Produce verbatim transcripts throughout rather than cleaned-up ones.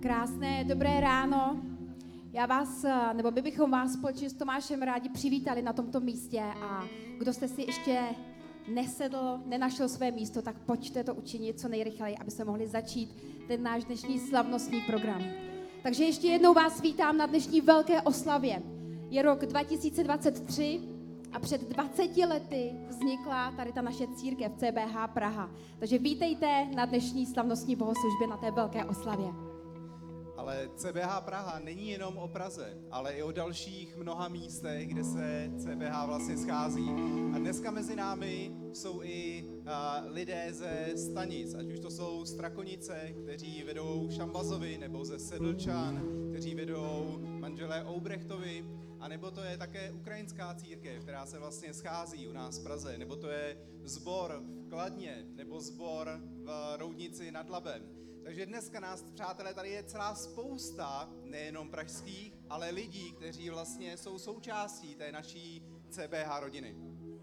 Krásné, dobré ráno. Já vás, nebo my bychom vás společně s Tomášem rádi přivítali na tomto místě a kdo jste si ještě nesedl, nenašel své místo, tak pojďte to učinit co nejrychleji, aby se mohli začít ten náš dnešní slavnostní program. Takže ještě jednou vás vítám na dnešní velké oslavě. Je rok dva tisíce dvacet tři a před dvaceti lety vznikla tady ta naše církev C B H Praha. Takže vítejte na dnešní slavnostní bohoslužbě na té velké oslavě. Ale C B H Praha není jenom o Praze, ale i o dalších mnoha místech, kde se C B H vlastně schází. A dneska mezi námi jsou i uh, lidé ze stanic, ať už to jsou Strakonice, kteří vedou Šambazovi, nebo ze Sedlčan, kteří vedou manželé Oubrechtovi, a nebo to je také ukrajinská církev, která se vlastně schází u nás v Praze, nebo to je sbor v Kladně, nebo sbor v Roudnici nad Labem. Takže dneska nás, přátelé, tady je celá spousta, nejenom pražských, ale lidí, kteří vlastně jsou součástí té naší C B H rodiny.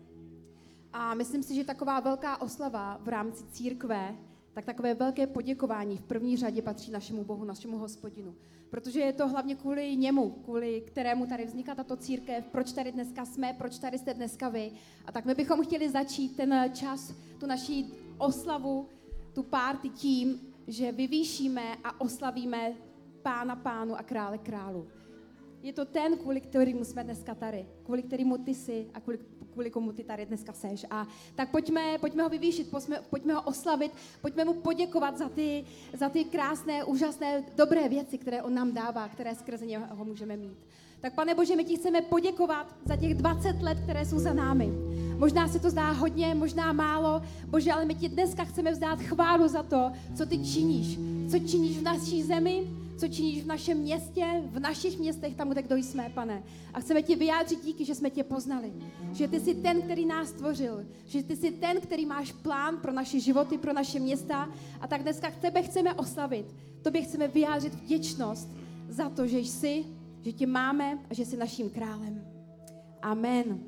A myslím si, že taková velká oslava v rámci církve, tak takové velké poděkování v první řadě patří našemu Bohu, našemu Hospodinu. Protože je to hlavně kvůli němu, kvůli kterému tady vznikla tato církev, proč tady dneska jsme, proč tady jste dneska vy. A tak my bychom chtěli začít ten čas, tu naši oslavu, tu party tím, že vyvýšíme a oslavíme Pána pánu a krále králu. Je to ten, kvůli kterému jsme dneska tady, kvůli kterému ty jsi a kvůli, kvůli komu ty tady dneska seš. A tak pojďme, pojďme ho vyvýšit, pojďme, pojďme ho oslavit, pojďme mu poděkovat za ty, za ty krásné, úžasné, dobré věci, které on nám dává, které skrze něho můžeme mít. Tak Pane Bože, my ti chceme poděkovat za těch dvacet let, které jsou za námi. Možná se to zdá hodně, možná málo, Bože, ale my ti dneska chceme vzdát chválu za to, co ty činíš. Co činíš v naší zemi, co činíš v našem městě, v našich městech, tam, kde kdo jsme, Pane. A chceme ti vyjádřit díky, že jsme tě poznali. Že ty jsi ten, který nás stvořil. Že ty jsi ten, který máš plán pro naše životy, pro naše města. A tak dneska tebe chceme oslavit. Tobě chceme vyjádřit vděčnost za to, že jsi, že tě máme a že jsi naším králem. Amen.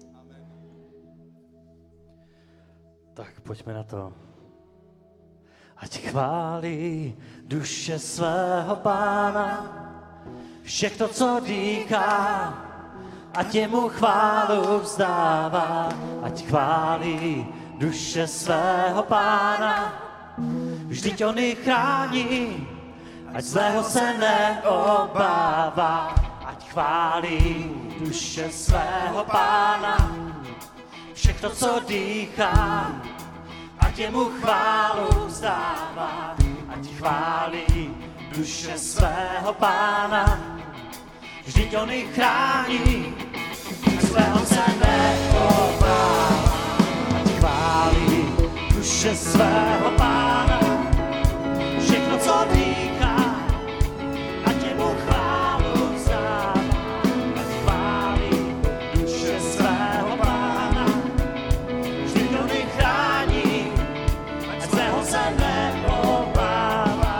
Tak pojďme na to. Ať chválí duše svého Pána, všechno, co dýchá, ať jemu chválu vzdává. Ať chválí duše svého Pána, vždyť on ji chrání, ať zlého se neobává. Ať chválí duše svého Pána, všechno, co dýchá, ať jemu chválu vzdává. Ať chválí duše svého Pána, vždyť on ji chrání, ať svého se neobává. Ať chválí duše svého Pána, všechno, co dýchá, ať jemu chválu vzdává. Ať chválí duše svého Pána, vždyť on ji chrání, ať svého se neobává.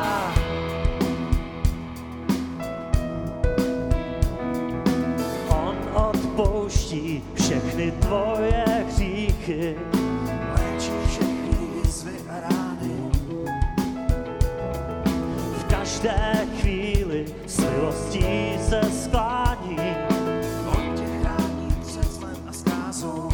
On odpouští všechny tvoje hříchy, léčí všechny jizvy a rány. V každé chvíli s milostí se sklání, on tě chrání před zlem a zkázou.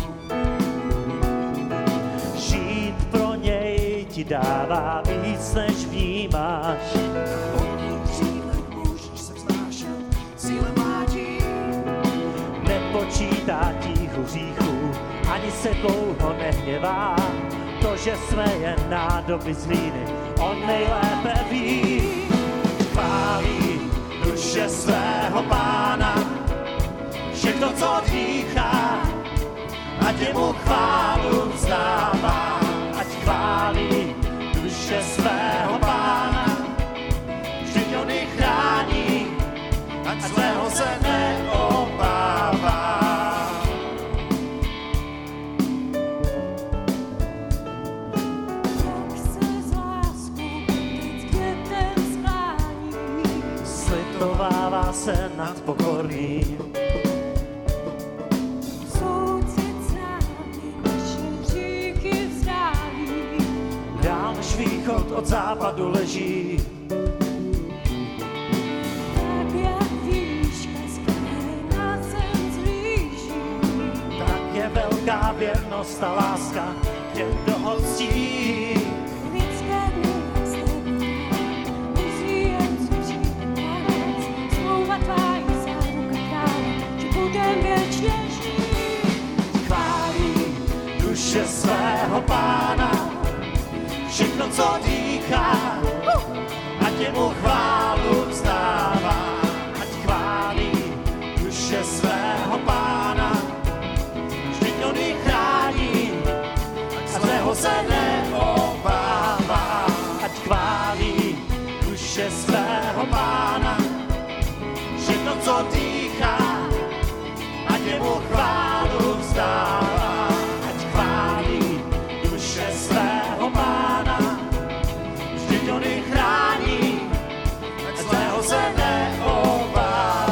Žít pro něj ti dává víc, než vnímáš. Na vodních křílech můžeš se vznášet, síle mládí. Nepočítá tíchu hříchů, ani se dlouho nehněvá. To, že jsme jen nádoby z hlíny, on nejlépe ví. Chválí duše svého Pána, všechno, co dýchá, ať jemu chválu vzdává. Ať chválí duše svého Pána, vždyť on ji chrání, ať zlého se neobává. Jak se z lásku teď květem sklání, Slitovává se nad pokorným, soucit s námi naše hříchy vzdálí. dál než východ od západu leží. velká věrnost a láska těm, kdo ho ctí. Lidské dny musí jen zuřít tanec, smlouva tvá je záruka krále, že budem věčně žít. Chválí duše svého Pána, všechno, co dýchá, ať jemu chválu vzdává. Ať chválí duše svého Pána, vždyť on ji chrání a zlého se neobává. Ať chválí duše svého Pána, všechno, co dýchá, ať jemu chválu vzdává. Ať chválí duše svého Pána, vždyť on ji chrání a zlého se neobává.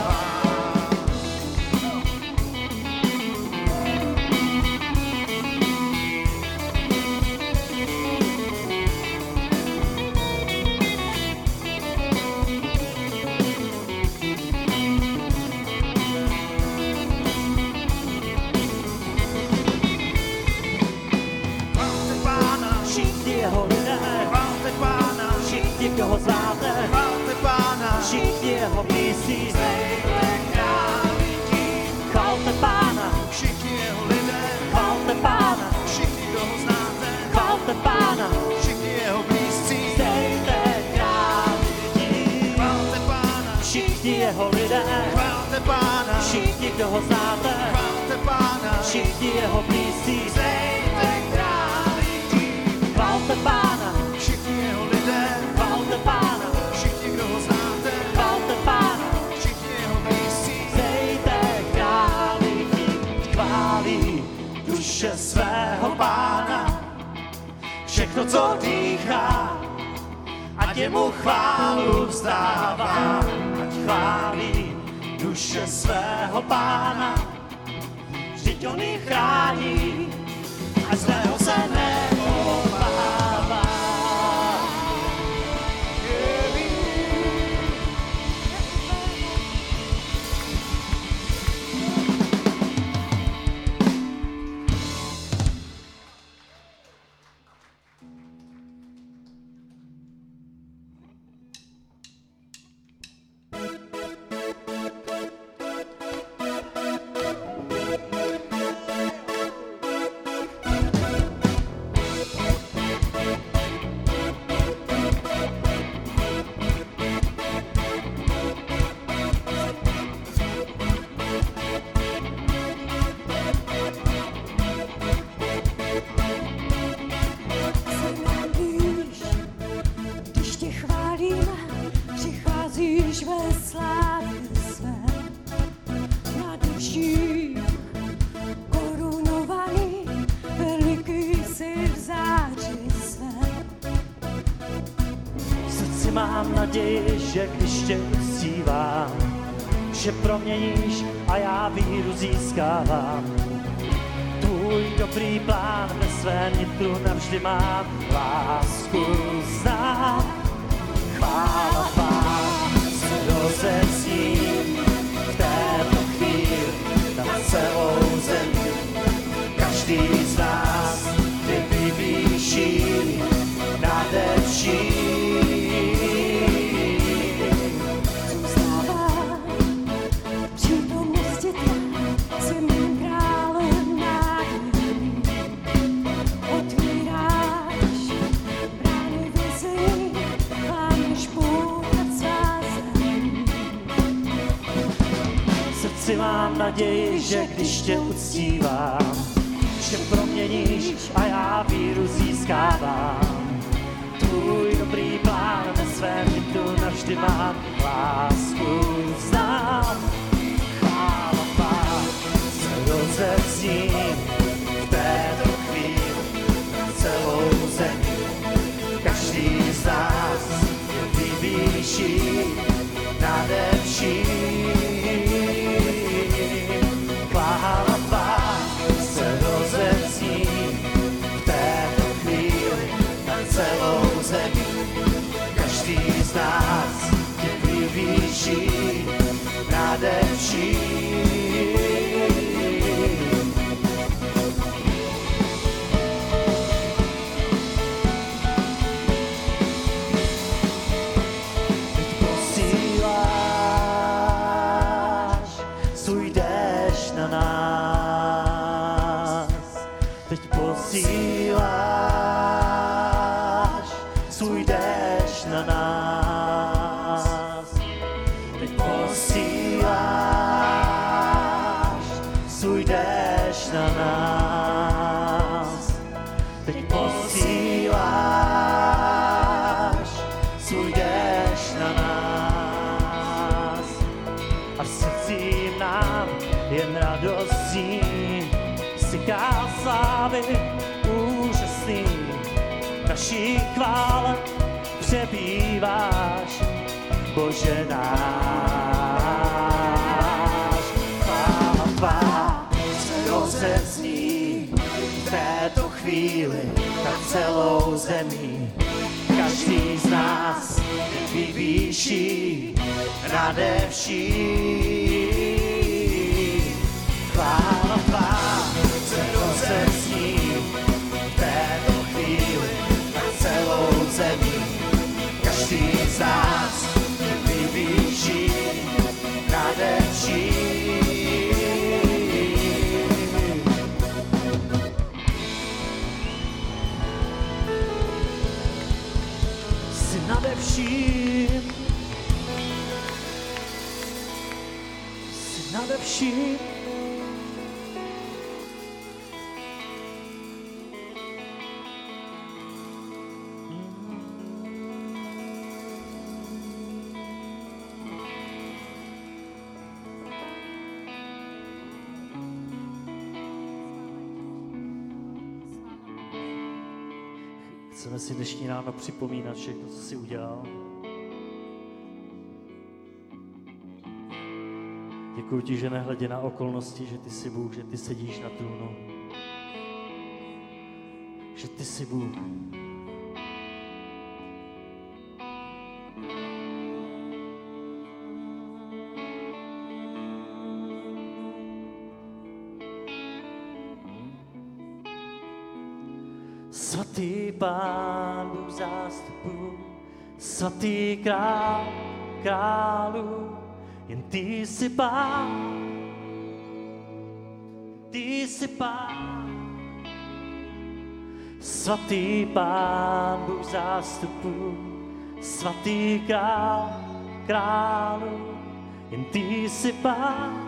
Chválte Pána, Všichni jeho lidé, chválte Pána, všichni, kdo ho znáte, chválte Pána, všichni jeho blízcí, král lidí. chvalte Pána, Všichni jeho lidé, chvalte Pána, všichni, kdo ho znáte, chvalte Pána, všichni jeho blízcí. dejte král lidí. Chválte Pána, Všichni jeho lidé, chválte Pána, všichni, kdo ho znáte, chválte Pána, všichni jeho blízcí, dejte král lidí. chvalte Pána, Všichni jeho lidé, chvalte Pána, všichni, kdo ho znáte, chvalte Pána, všichni jeho blízcí. dejte král lidí. Chválí duše svého Pána, všechno, co dýchá, ať jemu chválu vzdává. Ať chválí duše svého Pána, vždyť on ji chrání a zlého se neobává. Se nám blíž, když tě chválíme, přicházíš ve slávě své. Na duší korunovaný, veliký jsi v záři své. V srdci mám naději, že když tě uctívám, že proměníš a já víru získávám. Tvůj dobrý plán ve svém nitru navždy mám, lásku znám. Chvála tvá se rozezní v této chvíli na celou zemi. Každý z nás tě vyvýší nade vším. Zůstává přítomnosti tvá, jsi mým králem nádherný. Otvíráš brány vězení, lámeš půl nad svázem. V srdci mám naději, že když tě uctívám, že proměníš a já víru získávám. Tvůj dobrý plán ve svém nitru navždy mám, lásku znám. Chvála tvá se rozezní v této chvíli na celou zemi. Každý z nás je vyvýší nade vším. Chvála tvá se rozezní v této chvíli svůj déšť na nás. Teď posíláš svůj déšť na nás. Teď posíláš svůj déšť na nás. A v srdcích nám jen radostí syká slávy úžasný. Naší chvále přebýváš, Bože náš. Chvála tvá se rozezní v této chvíli na celou zemi. Každý z nás vyvýší nade vším. Chvála tvá se rozezní v této chvíli na celou zemi. Každý z nás vyvýší nade vším. Jsi nade vším. Jsi nade vším. Chceme si dnešní ráno připomínat všechno, co jsi udělal. Děkuji ti, že nehledě na okolnosti, že ty jsi Bůh, že ty sedíš na trůnu. Že ty jsi Bůh. Svatý Pán Bůh zástupů, svatý král králů, jen ty jsi Pán, ty jsi Pán. Svatý Pán Bůh zástupů, svatý král králů, jen ty jsi Pán,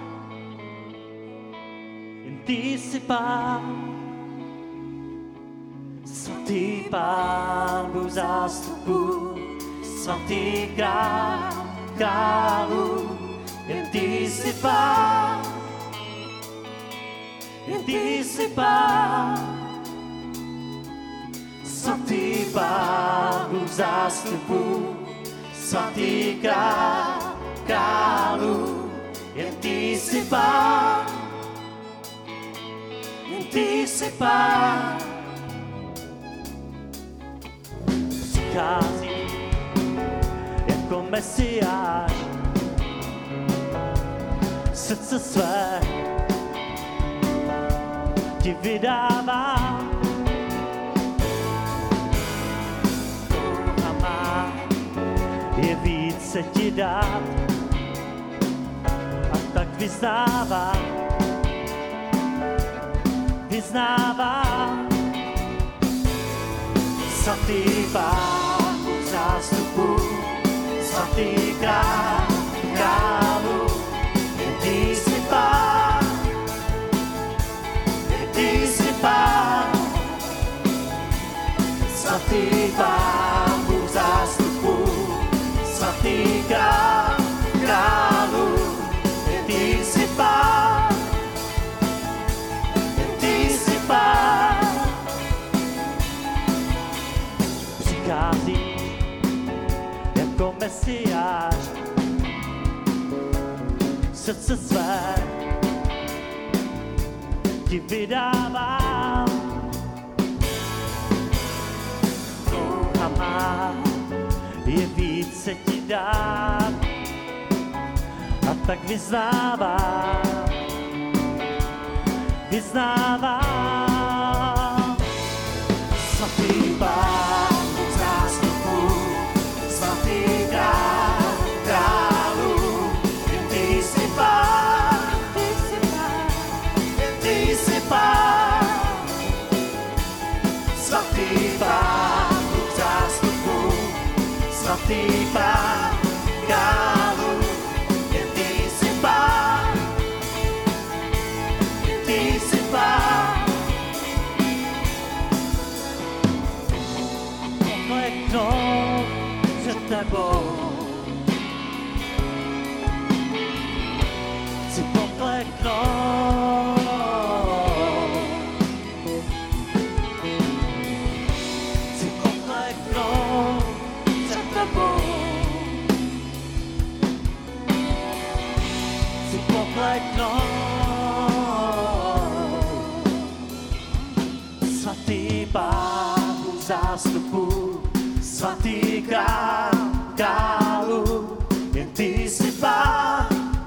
jen ty jsi Pán. Svatý Pán Bůh zástupů, svatý král králů, jen ty jsi Pán, jen ty jsi Pán. Svatý Pán Bůh zástupů, svatý král králů, jen ty jsi Pán, jen ty jsi Pán. Přichází jako Mesiáš, srdce své ti vydává. Touha má je více ti dát, a tak vyznává, vyznává. Svatý Pán Bůh zástupů, svatý král králů, jen ty jsi Pán, jen ty jsi Pán. Svatý Pán Bůh zástupů, svatý král králů, jen ty jsi Pán, jen ty jsi Pán. Přicházíš jako Mesiáš, srdce své ti vydávám. Touha má je více ti dát, a tak vyznávám, vyznávám. Svatý Pán Bůh zástupů, svatý král králů, jen ty jsi Pán, jen ty jsi Pán. Svatý Pán Bůh zástupů, svatý Pán králů, jen ty jsi Pán, jen ty jsi Pán. Pokleknou před tebou, chci pokleknout. Chci pokleknout před tebou. Chci pokleknout. Svatý Pán Bůh zástupů, svatý král králů, jen ty jsi Pán,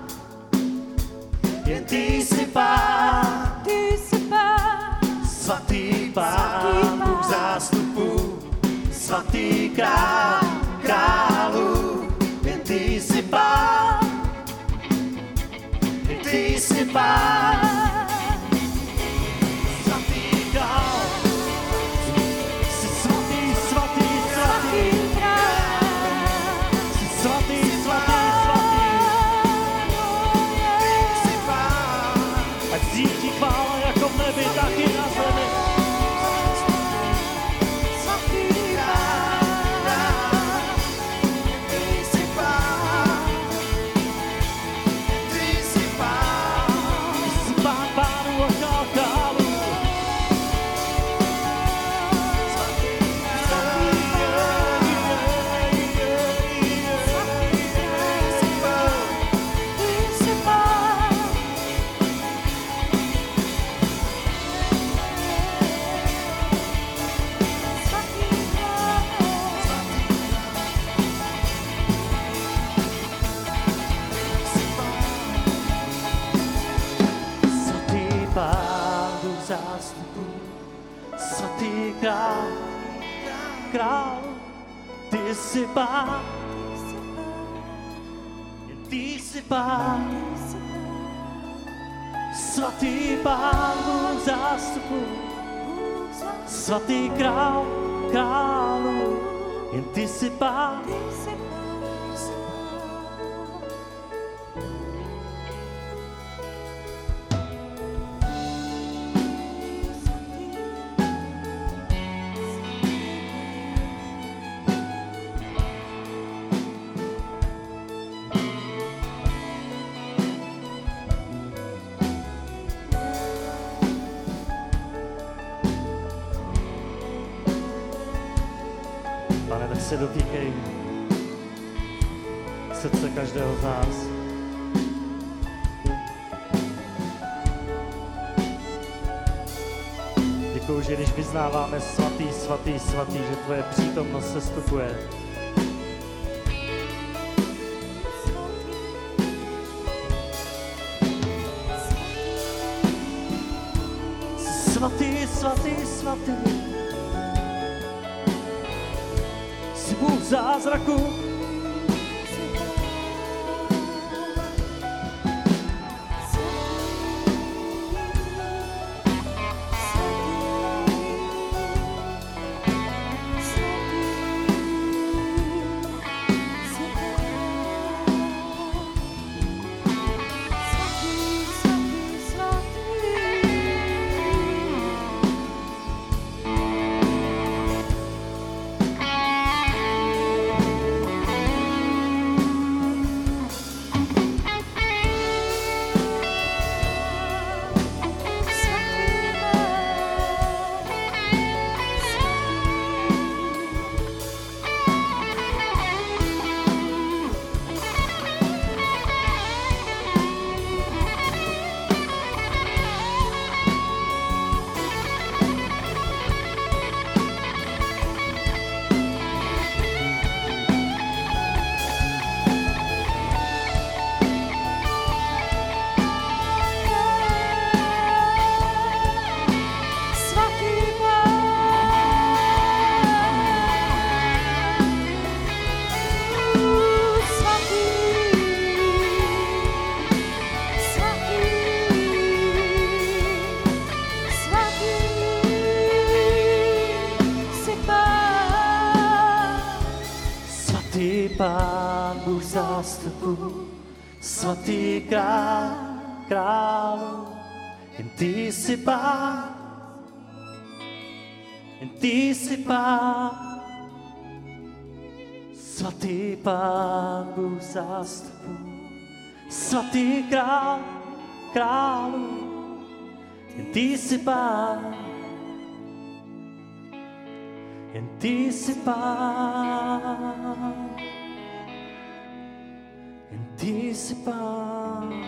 jen ty jsi Pán, Ty jsi Pán, svatý Pán Bůh zástupů, svatý král králů, jen ty jsi Pán, jen ty jsi Pán. Svatý král, jsi svatý, svatý, svatý, svatý král. jsi svatý, svatý, svatý. Ať zní ti chvála jako v nebi, tak i na zemi. Jsi Pán pánů a král králů. Svatý Pán Bůh zástupů, svatý král, král, ty jsi Pán, jen ty jsi Pán. Svatý Pán Bůh zástupů, svatý král, králu, jen ty jsi Pán. Pane, tak se dotýkej srdce každého z nás. Děkuju, že když vyznáváme svatý, svatý, svatý, že tvoje přítomnost se stupuje. Svatý, svatý, svatý. Jsi Bůh zázraku. Svatý, jsi Pán Bůh zástupů, svatý král, králu. Jen ty jsi Pán, jen ty jsi Pán, svatý Pán Bůh zástupů, svatý král, králu. Jen ty jsi Pán, jen ty jsi Pán, jen ty jsi Pán.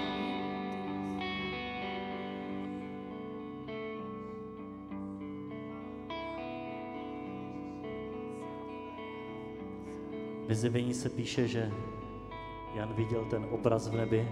Ve Zjevení se píše, že Jan viděl ten obraz v nebi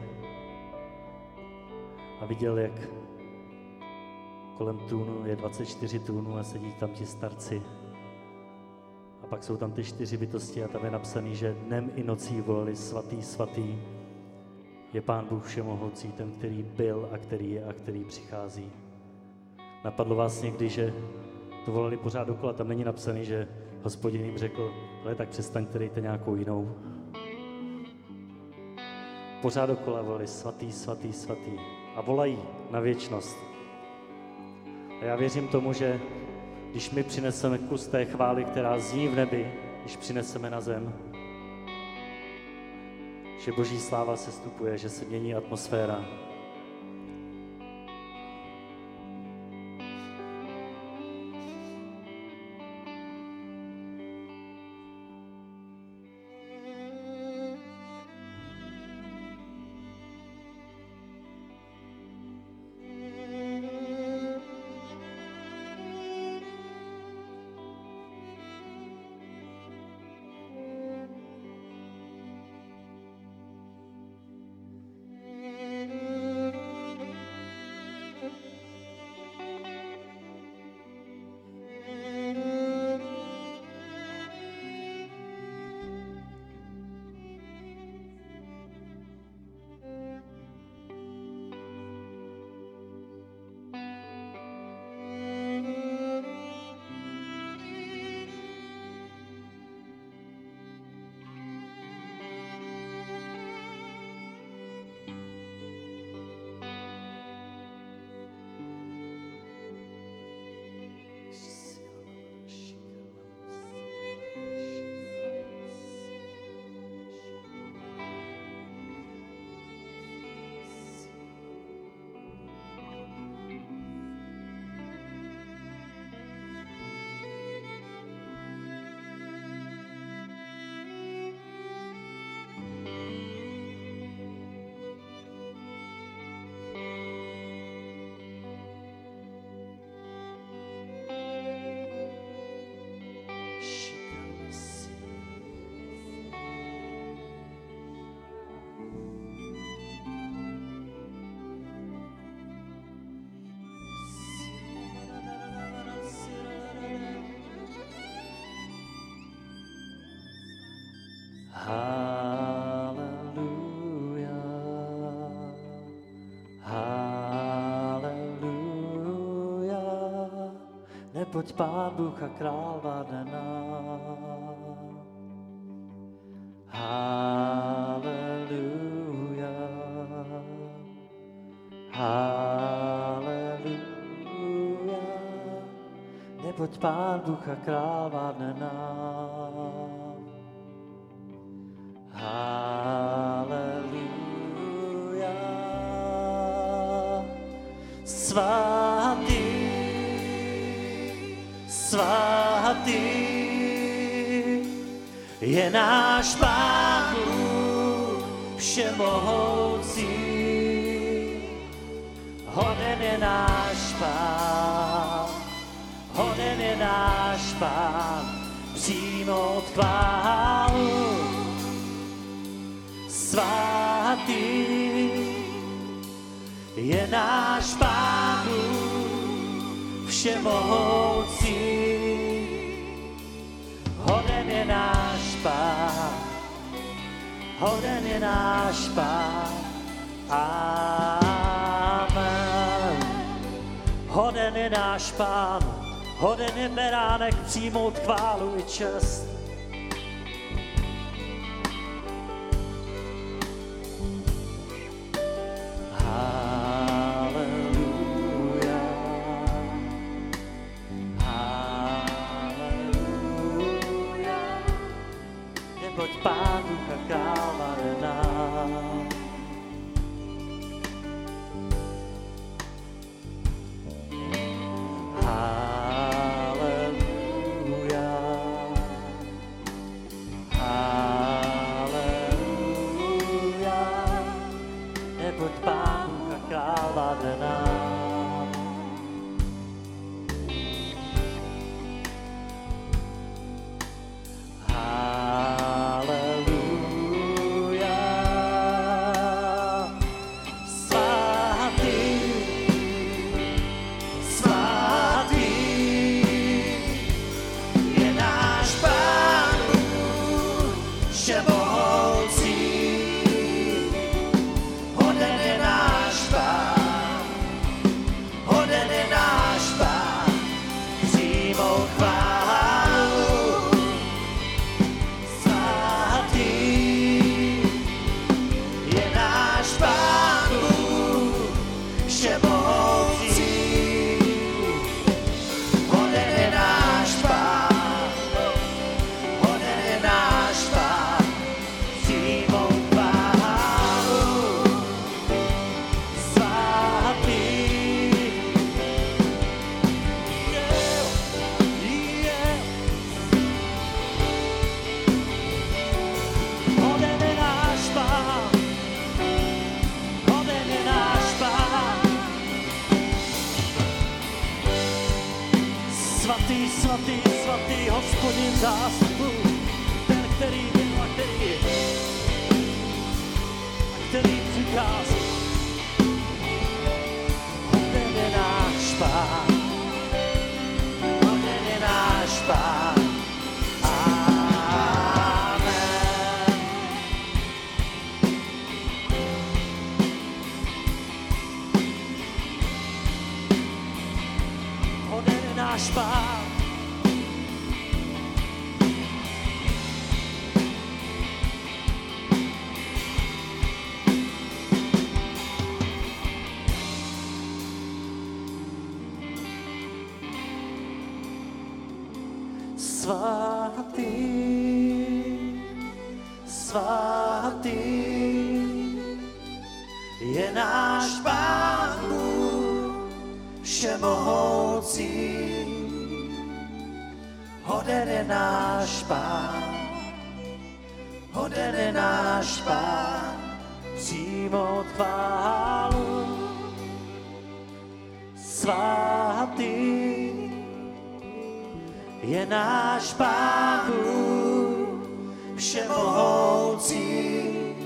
a viděl, jak kolem trůnu je dvacet čtyři trůnů a sedí tam ti starci. A pak jsou tam ty čtyři bytosti a tam je napsaný, že dnem i nocí volali svatý, svatý je Pán Bůh všemohoucí, ten, který byl a který je a který přichází. Napadlo vás někdy, že to volali pořád dokola, tam není napsaný, že Hospodin jim řekl, ale tak přestaňte, dejte nějakou jinou. Pořád dokola volali svatý, svatý, svatý a volají na věčnost. A já věřím tomu, že když my přineseme kus té chvály, která zní v nebi, když přineseme na zem, že Boží sláva se stupuje, že se mění atmosféra. Haleluja, haleluja, neboť Pán Bůh a král vládne nám. Haleluja, haleluja, neboť Pán Bůh a král vládne nám. Haleluja, svatý, svatý je náš Pán Bůh všemohoucí. Hoden je náš Pán, hoden je náš Pán, přijmout chválu. Svatý je náš Pán Bůh všemohoucí. Hoden je náš Pán, hoden je náš Pán. Amen. Hoden je náš Pán, hoden je beránek přijmout chválu i čest. neboť Pán Bůh a kráva nám. Haleluja, haleluja, neboť Pán Bůh a kráva nám. Haleluja, svatý, svatý je náš Pán Bůh všemohoucí. Hoden je náš Pán, hoden je náš Pán, přijmout chválu. Svatý je náš Pán Bůh všemohoucí. Hoden je náš Pán, hoden je náš Pán, přijmout chválu. Svatý je, je. Hoden je náš Pán, hoden je náš Pán. Svatý, svatý, svatý, Hospodin zástupu, ten, který byl a který je, a který přichází. Hoden je náš Pán, hoden je náš Pán. Amen. Hoden je náš Pán. Svatý, svatý je náš Pán Bůh všemohoucí. Hoden je náš Pán, hoden je náš Pán, přijmout chválu. Svatý je náš Pán Bůh všemohoucí.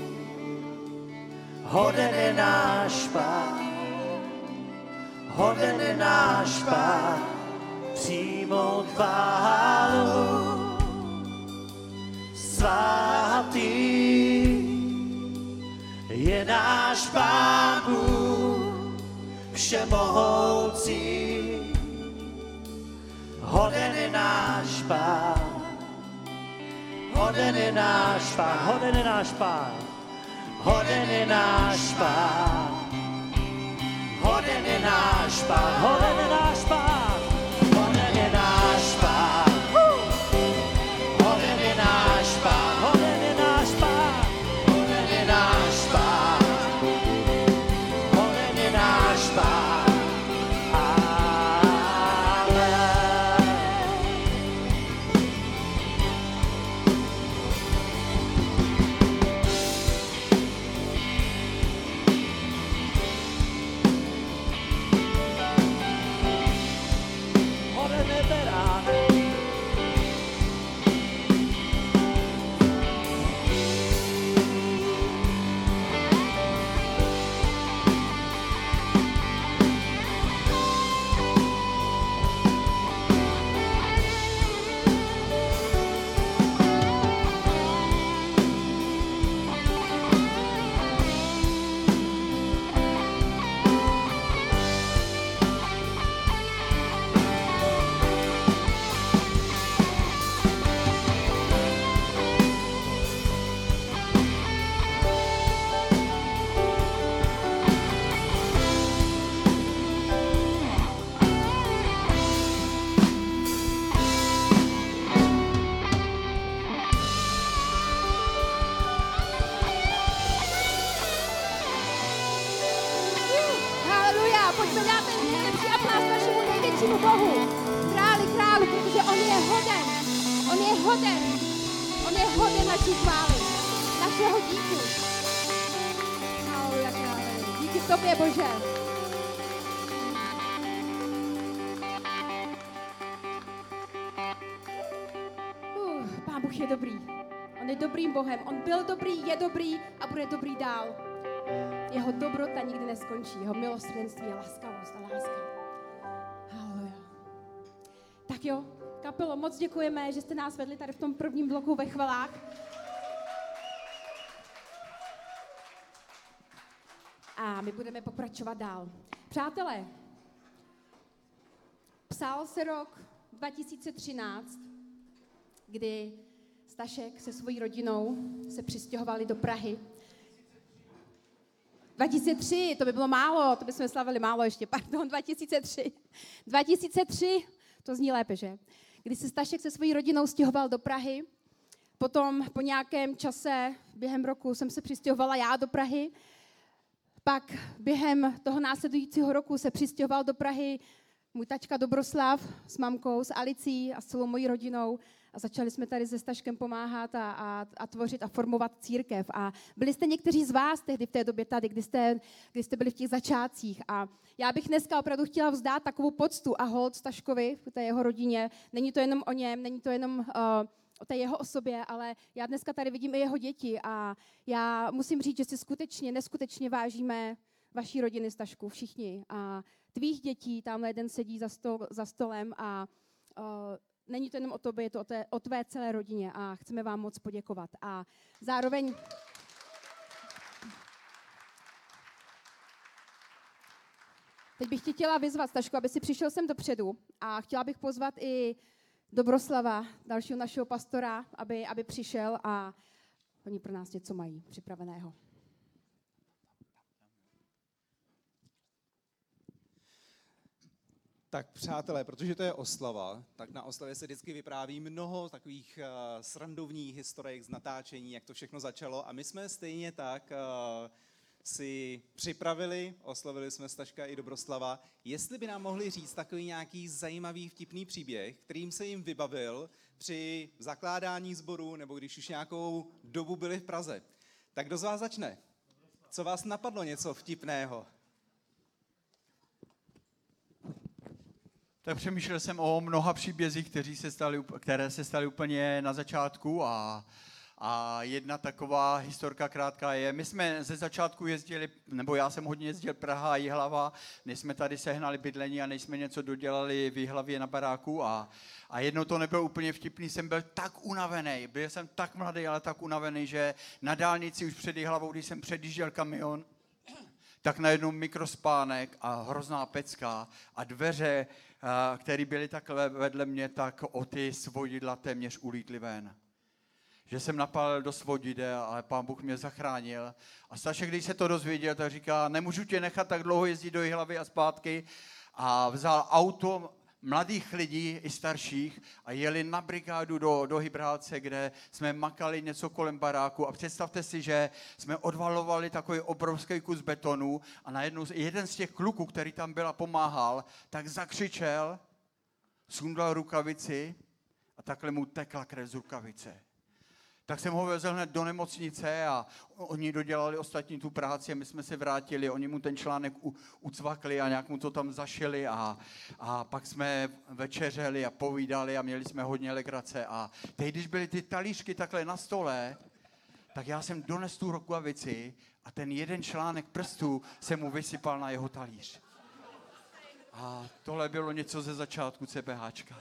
Hoden je náš Pán, hoden je náš Pán, přijmout chválu. Svatý je náš Pán Bůh všemohoucí. Hoden je náš Pán, hoden je náš Pán, hoden je náš Pán, hoden je náš Pán, hoden je náš Pán, hoden je náš Pán, hoden je náš Pán, hoden je náš Pán, hoden je náš Pán, hoden je náš Pán, hoden je náš Pán. Bohu, králi králu, protože on je hoden, on je hoden, on je hoden naší chvály, našeho díku. Haleluja, králi. Díky tobě, Bože. Uh, Pán Bůh je dobrý. On je dobrým Bohem. On byl dobrý, je dobrý a bude dobrý dál. Jeho dobrota nikdy neskončí. Jeho milosrdenství je laskavost a láska. Haleluja. Tak jo, kapelo, moc děkujeme, že jste nás vedli tady v tom prvním bloku ve chvalách. A my budeme pokračovat dál. Přátelé, psal se rok dva tisíce třináct, kdy Stašek se svojí rodinou se přistěhovali do Prahy. dva tisíce tři, to by bylo málo, to bychom slavili málo ještě, pardon, dva tisíce tři. dva tisíce tři, to zní lépe, že? Kdy se Stašek se svojí rodinou stěhoval do Prahy, potom po nějakém čase, během roku, jsem se přistěhovala já do Prahy, pak během toho následujícího roku se přistěhoval do Prahy můj tačka Dobroslav s mamkou, s Alicí a s celou mojí rodinou a začali jsme tady se Staškem pomáhat a, a, a tvořit a formovat církev. A byli jste někteří z vás tehdy v té době tady, kdy jste, kdy jste byli v těch začátcích. A já bych dneska opravdu chtěla vzdát takovou poctu a hold Staškovi, té jeho rodině. Není to jenom o něm, není to jenom uh, o té jeho osobě, ale já dneska tady vidím i jeho děti a já musím říct, že si skutečně, neskutečně vážíme vaší rodiny, Stašku, všichni. A tvých dětí, tamhle jeden sedí za, stol, za stolem a uh, není to jenom o tobě, je to o, té, o tvé celé rodině a chceme vám moc poděkovat. A zároveň teď bych tě chtěla vyzvat, Stašku, aby si přišel sem dopředu a chtěla bych pozvat i Dobroslava, dalšího našeho pastora, aby, aby přišel a oni pro nás něco mají připraveného. Tak přátelé, protože to je oslava, tak na oslavě se vždycky vypráví mnoho takových uh, srandovních historiek z natáčení, jak to všechno začalo. A my jsme stejně tak uh, si připravili, oslavili jsme Staška i Dobroslava, jestli by nám mohli říct takový nějaký zajímavý vtipný příběh, kterým se jim vybavil při zakládání sboru, nebo když už nějakou dobu byli v Praze. Tak kdo z vás začne? Co vás napadlo něco vtipného? Tak přemýšlel jsem o mnoha příbězích, kteří se stali, které se staly úplně na začátku a, a jedna taková historka krátká je, my jsme ze začátku jezdili, nebo já jsem hodně jezdil Praha a Jihlava, než jsme tady sehnali bydlení a než jsme něco dodělali v Jihlavě na baráku a, a jednou to nebylo úplně vtipný, jsem byl tak unavený, byl jsem tak mladý, ale tak unavený, že na dálnici už před Jihlavou, když jsem předjížděl kamion, tak najednou mikrospánek a hrozná pecka a dveře, které byly takhle vedle mě, tak o ty svodidla téměř ulítly ven. Že jsem napálil do svodidel, ale Pán Bůh mě zachránil. A Stašek, když se to dozvěděl, tak říká, nemůžu tě nechat tak dlouho jezdit do Jihlavy a zpátky. A vzal auto mladých lidí i starších a jeli na brigádu do, do Hybrálce, kde jsme makali něco kolem baráku a představte si, že jsme odvalovali takový obrovský kus betonu a najednou jeden z těch kluků, který tam byl a pomáhal, tak zakřičel, sundal rukavici a takhle mu tekla krev z rukavice. Tak jsem ho vezl hned do nemocnice a oni dodělali ostatní tu práci a my jsme se vrátili, oni mu ten článek u, ucvakli a nějak mu to tam zašili a, a pak jsme večeřeli a povídali a měli jsme hodně legrace a teď, když byly ty talířky takhle na stole, tak já jsem donesl tu rukavici a ten jeden článek prstů se mu vysypal na jeho talíř. A tohle bylo něco ze začátku CBHčka.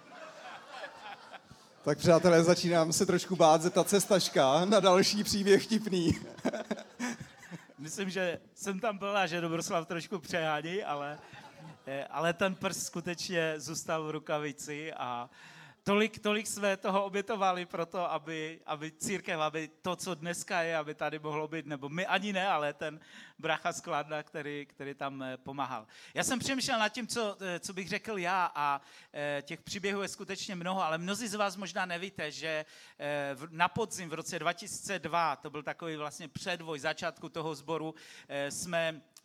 Tak přátelé, začínám se trošku bát zeptat se Staška na další příběh vtipný. Myslím, že jsem tam byl a že Dobroslav trošku přehání, ale, ale ten prst skutečně zůstal v rukavici a tolik, tolik jsme toho obětovali pro to, aby, aby církev, aby to, co dneska je, aby tady mohlo být, nebo my ani ne, ale ten bracha z Kladna, který, který tam pomáhal. Já jsem přemýšlel nad tím, co, co bych řekl já a těch příběhů je skutečně mnoho, ale mnozí z vás možná nevíte, že na podzim v roce dva tisíce dva, to byl takový vlastně předvoj začátku toho sboru, jsme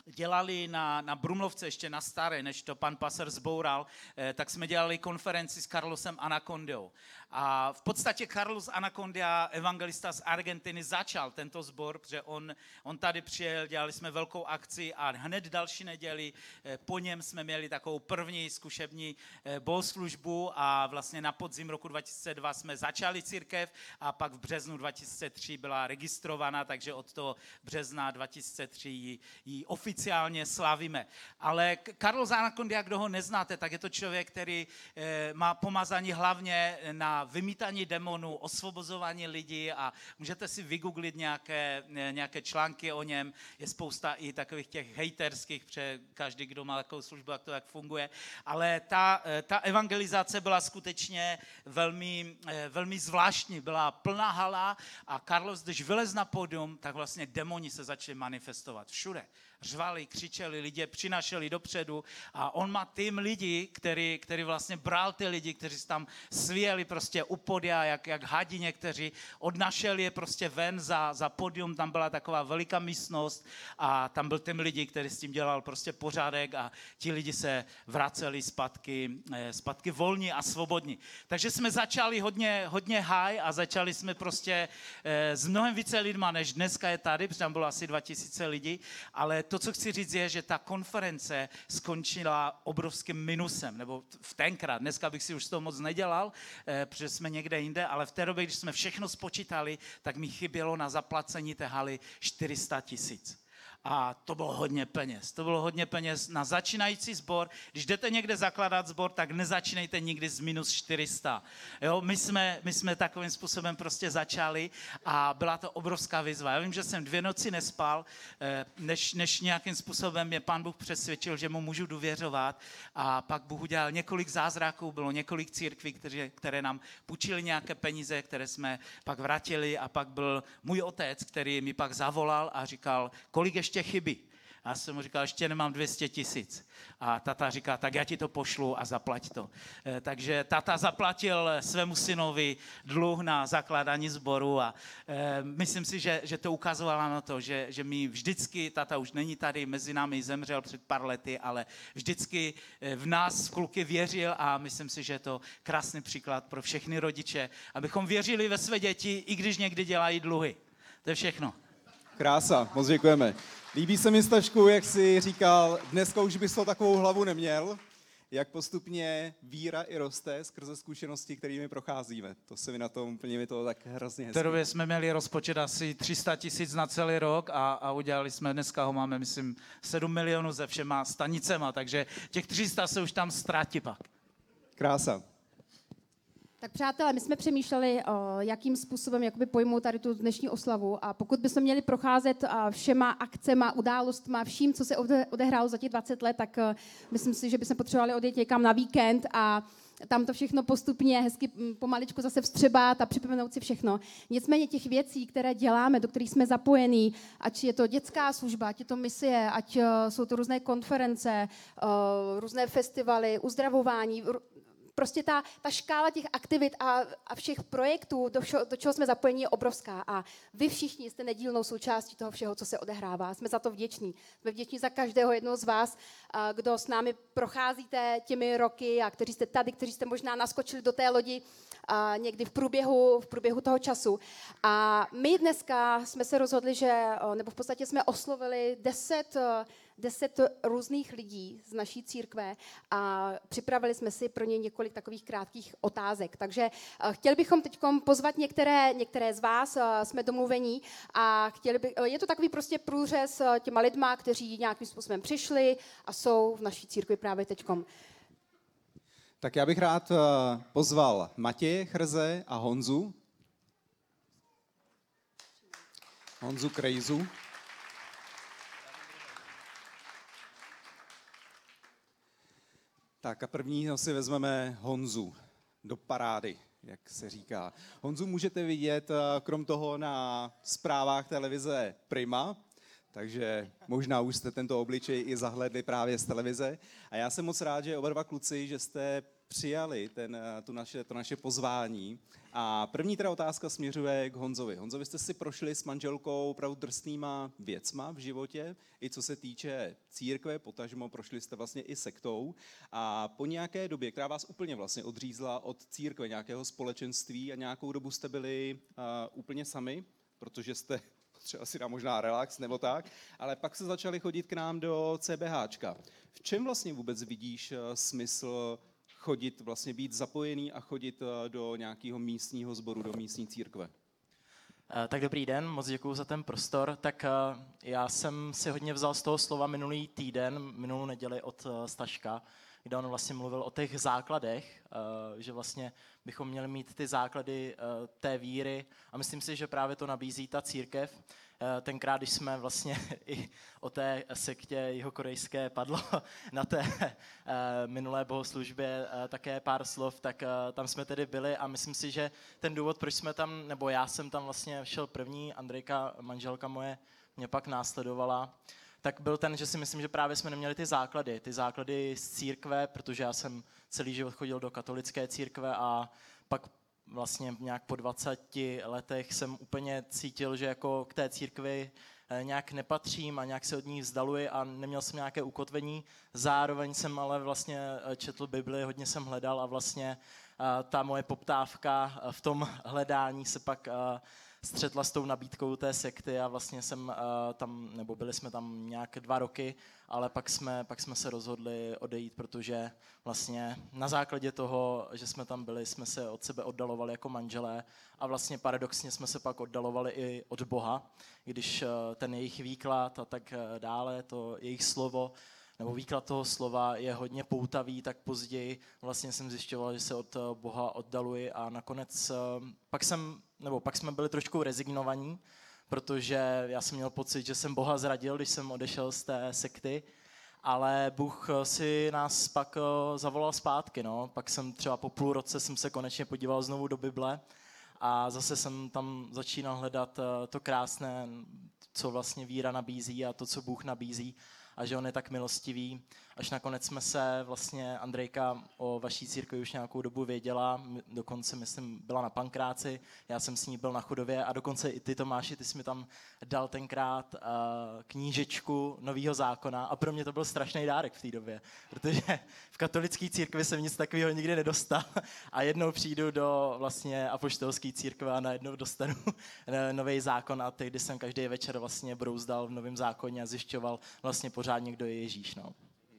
dělali na, na Brumlovce, ještě na staré, než to pan Passer zboural, eh, tak jsme dělali konferenci s Carlosem Anacondou. A v podstatě Carlos Anacondia, evangelista z Argentiny, začal tento sbor, protože on, on tady přijel, dělali jsme velkou akci a hned další neděli eh, po něm jsme měli takovou první zkušební eh, bohoslužbu a vlastně na podzim roku dva tisíce dva jsme začali církev a pak v březnu dva tisíce tři byla registrovaná, takže od toho března dva tisíce tři ji, ji oficiálně slavíme. Ale Carlos Anacondia, kdo ho neznáte, tak je to člověk, který eh, má pomazání hlavně na vymítání demonů, osvobozování lidí a můžete si vygooglit nějaké, nějaké články o něm. Je spousta i takových těch hejterských, protože každý, kdo má takovou službu, jak to jak funguje. Ale ta, ta evangelizace byla skutečně velmi, velmi zvláštní. Byla plná hala a Carlos, když vylez na pódium, tak vlastně demoni se začali manifestovat všude. Řvali, křičeli, lidé přinašeli dopředu a on má tým lidí, který, který vlastně bral ty lidi, kteří se tam svíjeli prostě u podia, jak, jak hadi někteří, odnašel je prostě ven za, za podium, tam byla taková veliká místnost a tam byl tým lidí, který s tím dělal prostě pořádek a ti lidi se vraceli zpátky, zpátky volní a svobodní. Takže jsme začali hodně, hodně high a začali jsme prostě s mnohem více lidma, než dneska je tady, protože tam bylo asi dva tisíce lidí, ale to, co chci říct, je, že ta konference skončila obrovským minusem, nebo v tenkrát, dneska bych si už z toho moc nedělal, eh, protože jsme někde jinde, ale v té době, když jsme všechno spočítali, tak mi chybělo na zaplacení té haly čtyři sta tisíc. A to bylo hodně peněz. To bylo hodně peněz na začínající sbor. Když jdete někde zakládat sbor, tak nezačínejte nikdy z minus čtyři sta. Jo, my jsme, my jsme takovým způsobem prostě začali a byla to obrovská výzva. Já vím, že jsem dvě noci nespal, než, než nějakým způsobem mě Pán Bůh přesvědčil, že mu můžu důvěřovat a pak Bůh udělal několik zázraků, bylo několik církví, které, které nám půjčili nějaké peníze, které jsme pak vrátili a pak byl můj otec, který mi pak zavolal a říkal, kolik ještě chybí. A já jsem mu říkal, ještě nemám dvě stě tisíc. A tata říká, tak já ti to pošlu a zaplať to. E, takže tata zaplatil svému synovi dluh na zakládání sboru a e, myslím si, že, že to ukazovalo na to, že, že my vždycky, tata už není tady, mezi námi zemřel před pár lety, ale vždycky v nás v kluky věřil a myslím si, že je to krásný příklad pro všechny rodiče, abychom věřili ve své děti, i když někdy dělají dluhy. To je všechno. Krása, moc děkujeme. Líbí se mi, Stašku, jak jsi říkal, dneska už bys to takovou hlavu neměl, jak postupně víra i roste skrze zkušenosti, kterými procházíme. To se mi na tom úplně mi to tak hrozně hezky. V té době jsme měli rozpočet asi tři sta tisíc na celý rok a, a udělali jsme, dneska ho máme, myslím, sedm milionů se všema stanicema, takže těch tři sta se už tam ztratí pak. Krása. Tak přátelé, my jsme přemýšleli, o, jakým způsobem jakoby pojmout tady tu dnešní oslavu a pokud bychom měli procházet a, všema akcema, událostma, vším, co se ode, odehrálo za těch dvacet let, tak a, myslím si, že bychom potřebovali odjet někam na víkend a tam to všechno postupně hezky pomaličku zase vstřebat a připomenout si všechno. Nicméně těch věcí, které děláme, do kterých jsme zapojení, ať je to dětská služba, ať je to misie, ať uh, jsou to různé konference, uh, různé festivaly, uzdravování, prostě ta, ta škála těch aktivit a, a všech projektů, do, všeho, do čeho jsme zapojeni, je obrovská. A vy všichni jste nedílnou součástí toho všeho, co se odehrává. Jsme za to vděční. Jsme vděční za každého jednoho z vás, a, kdo s námi procházíte těmi roky a kteří jste tady, kteří jste možná naskočili do té lodi a někdy v průběhu, v průběhu toho času. A my dneska jsme se rozhodli, že, nebo v podstatě jsme oslovili deset deset různých lidí z naší církve a připravili jsme si pro ně několik takových krátkých otázek. Takže chtěli bychom teď pozvat některé, některé z vás, jsme domluvení a chtěli by, je to takový prostě průřez těma lidma, kteří nějakým způsobem přišli a jsou v naší církvi právě teďkom. Tak já bych rád pozval Matěje Chrze a Honzu. Honzu Krejzu. Tak a prvního si vezmeme Honzu do parády, jak se říká. Honzu můžete vidět krom toho na zprávách televize Prima, takže možná už jste tento obličej i zahlédli právě z televize. A já jsem moc rád, že oba dva kluci, že jste přijali ten, tu naše, to naše pozvání. A první teda otázka směřuje k Honzovi. Honzo, vy jste si prošli s manželkou opravdu drsnýma věcma v životě, i co se týče církve, potažmo prošli jste vlastně i sektou. A po nějaké době, která vás úplně vlastně odřízla od církve, nějakého společenství a nějakou dobu jste byli uh, úplně sami, protože jste třeba si dá možná relax nebo tak, ale pak se začali chodit k nám do CBHčka. V čem vlastně vůbec vidíš uh, smysl chodit, vlastně být zapojený a chodit do nějakého místního sboru, do místní církve? Tak dobrý den, moc děkuji za ten prostor. Tak já jsem si hodně vzal z toho slova minulý týden, minulou neděli od Staška, kde on vlastně mluvil o těch základech, že vlastně bychom měli mít ty základy té víry a myslím si, že právě to nabízí ta církev. Tenkrát, když jsme vlastně i o té sektě jihokorejské padlo na té minulé bohoslužbě také pár slov, tak tam jsme tedy byli a myslím si, že ten důvod, proč jsme tam, nebo já jsem tam vlastně šel první, Andrejka, manželka moje, mě pak následovala, tak byl ten, že si myslím, že právě jsme neměli ty základy, ty základy z církve, protože já jsem celý život chodil do katolické církve a pak vlastně nějak po dvaceti letech jsem úplně cítil, že jako k té církvi nějak nepatřím a nějak se od ní vzdaluji a neměl jsem nějaké ukotvení. Zároveň jsem ale vlastně četl Bibli, hodně jsem hledal a vlastně ta moje poptávka v tom hledání se pak střetla s tou nabídkou té sekty a vlastně jsem uh, tam, nebo byli jsme tam nějak dva roky, ale pak jsme, pak jsme se rozhodli odejít, protože vlastně na základě toho, že jsme tam byli, jsme se od sebe oddalovali jako manželé a vlastně paradoxně jsme se pak oddalovali i od Boha, když uh, ten jejich výklad a tak dále, to jejich slovo, nebo výklad toho slova je hodně poutavý, tak později vlastně jsem zjišťoval, že se od Boha oddaluji a nakonec pak jsem, nebo pak jsme byli trošku rezignovaní, protože já jsem měl pocit, že jsem Boha zradil, když jsem odešel z té sekty, ale Bůh si nás pak zavolal zpátky, no. Pak jsem třeba po půl roce jsem se konečně podíval znovu do Bible a zase jsem tam začínal hledat to krásné, co vlastně víra nabízí a to, co Bůh nabízí. A že on je tak milostivý, až nakonec jsme se vlastně, Andrejka o vaší církvi už nějakou dobu věděla, dokonce myslím byla na Pankráci, já jsem s ní byl na Chudově a dokonce i ty, Tomáši, ty jsi mi tam dal tenkrát uh, knížečku Nového zákona a pro mě to byl strašný dárek v té době, protože v katolické církvi jsem nic takového nikdy nedostal a jednou přijdu do vlastně apoštolské církve a najednou dostanu Nový zákon a tehdy jsem každý večer vlastně brouzdal v Novém zákoně a zjišťoval vlastně pořádně, kdo je Ježíš. No.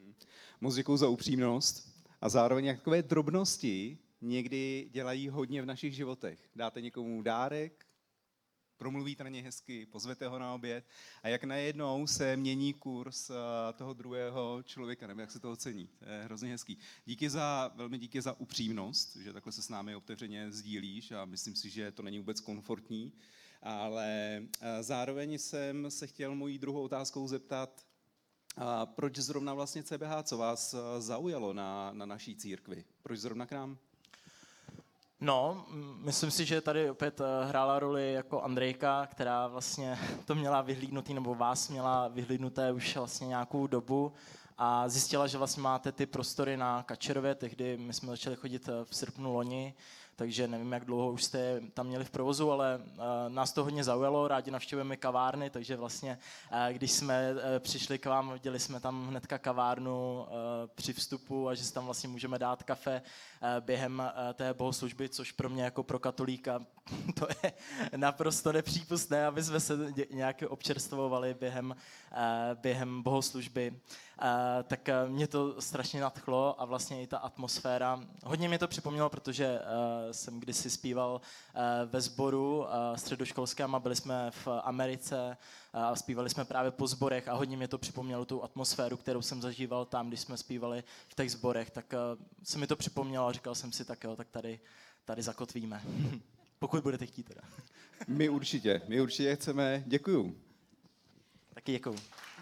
Moc děkuju za upřímnost a zároveň jak takové drobnosti někdy dělají hodně v našich životech. Dáte někomu dárek, promluvíte na něj hezky, pozvete ho na oběd a jak najednou se mění kurz toho druhého člověka, nebo jak se to ocení. To je hrozně hezký. Díky za, velmi díky za upřímnost, že takhle se s námi otevřeně sdílíš a myslím si, že to není vůbec komfortní, ale zároveň jsem se chtěl mojí druhou otázkou zeptat, a proč zrovna vlastně C B H, co vás zaujalo na, na naší církvi? Proč zrovna k nám? No, myslím si, že tady opět hrála roli jako Andrejka, která vlastně to měla vyhlídnutý, nebo vás měla vyhlídnuté už vlastně nějakou dobu a zjistila, že vlastně máte ty prostory na Kačerově, tehdy my jsme začali chodit v srpnu loni, takže nevím, jak dlouho už jste tam měli v provozu, ale uh, nás to hodně zaujalo, rádi navštěvujeme kavárny, takže vlastně, uh, když jsme uh, přišli k vám, viděli jsme tam hnedka kavárnu uh, při vstupu a že si tam vlastně můžeme dát kafe uh, během uh, té bohoslužby, což pro mě jako pro katolíka to je naprosto nepřípustné, aby jsme se nějak občerstvovali během, uh, během bohoslužby. Uh, tak uh, mě to strašně nadchlo a vlastně i ta atmosféra. Hodně mě to připomnělo, protože uh, jsem kdysi zpíval uh, ve sboru uh, středoškolském a byli jsme v Americe a uh, zpívali jsme právě po sborech a hodně mě to připomnělo tu atmosféru, kterou jsem zažíval tam, když jsme zpívali v těch sborech. Tak uh, se mi to připomnělo a říkal jsem si, tak jo, tak tady, tady zakotvíme. Pokud budete chtít teda. My určitě, my určitě chceme. Děkuju. Taky děkuju.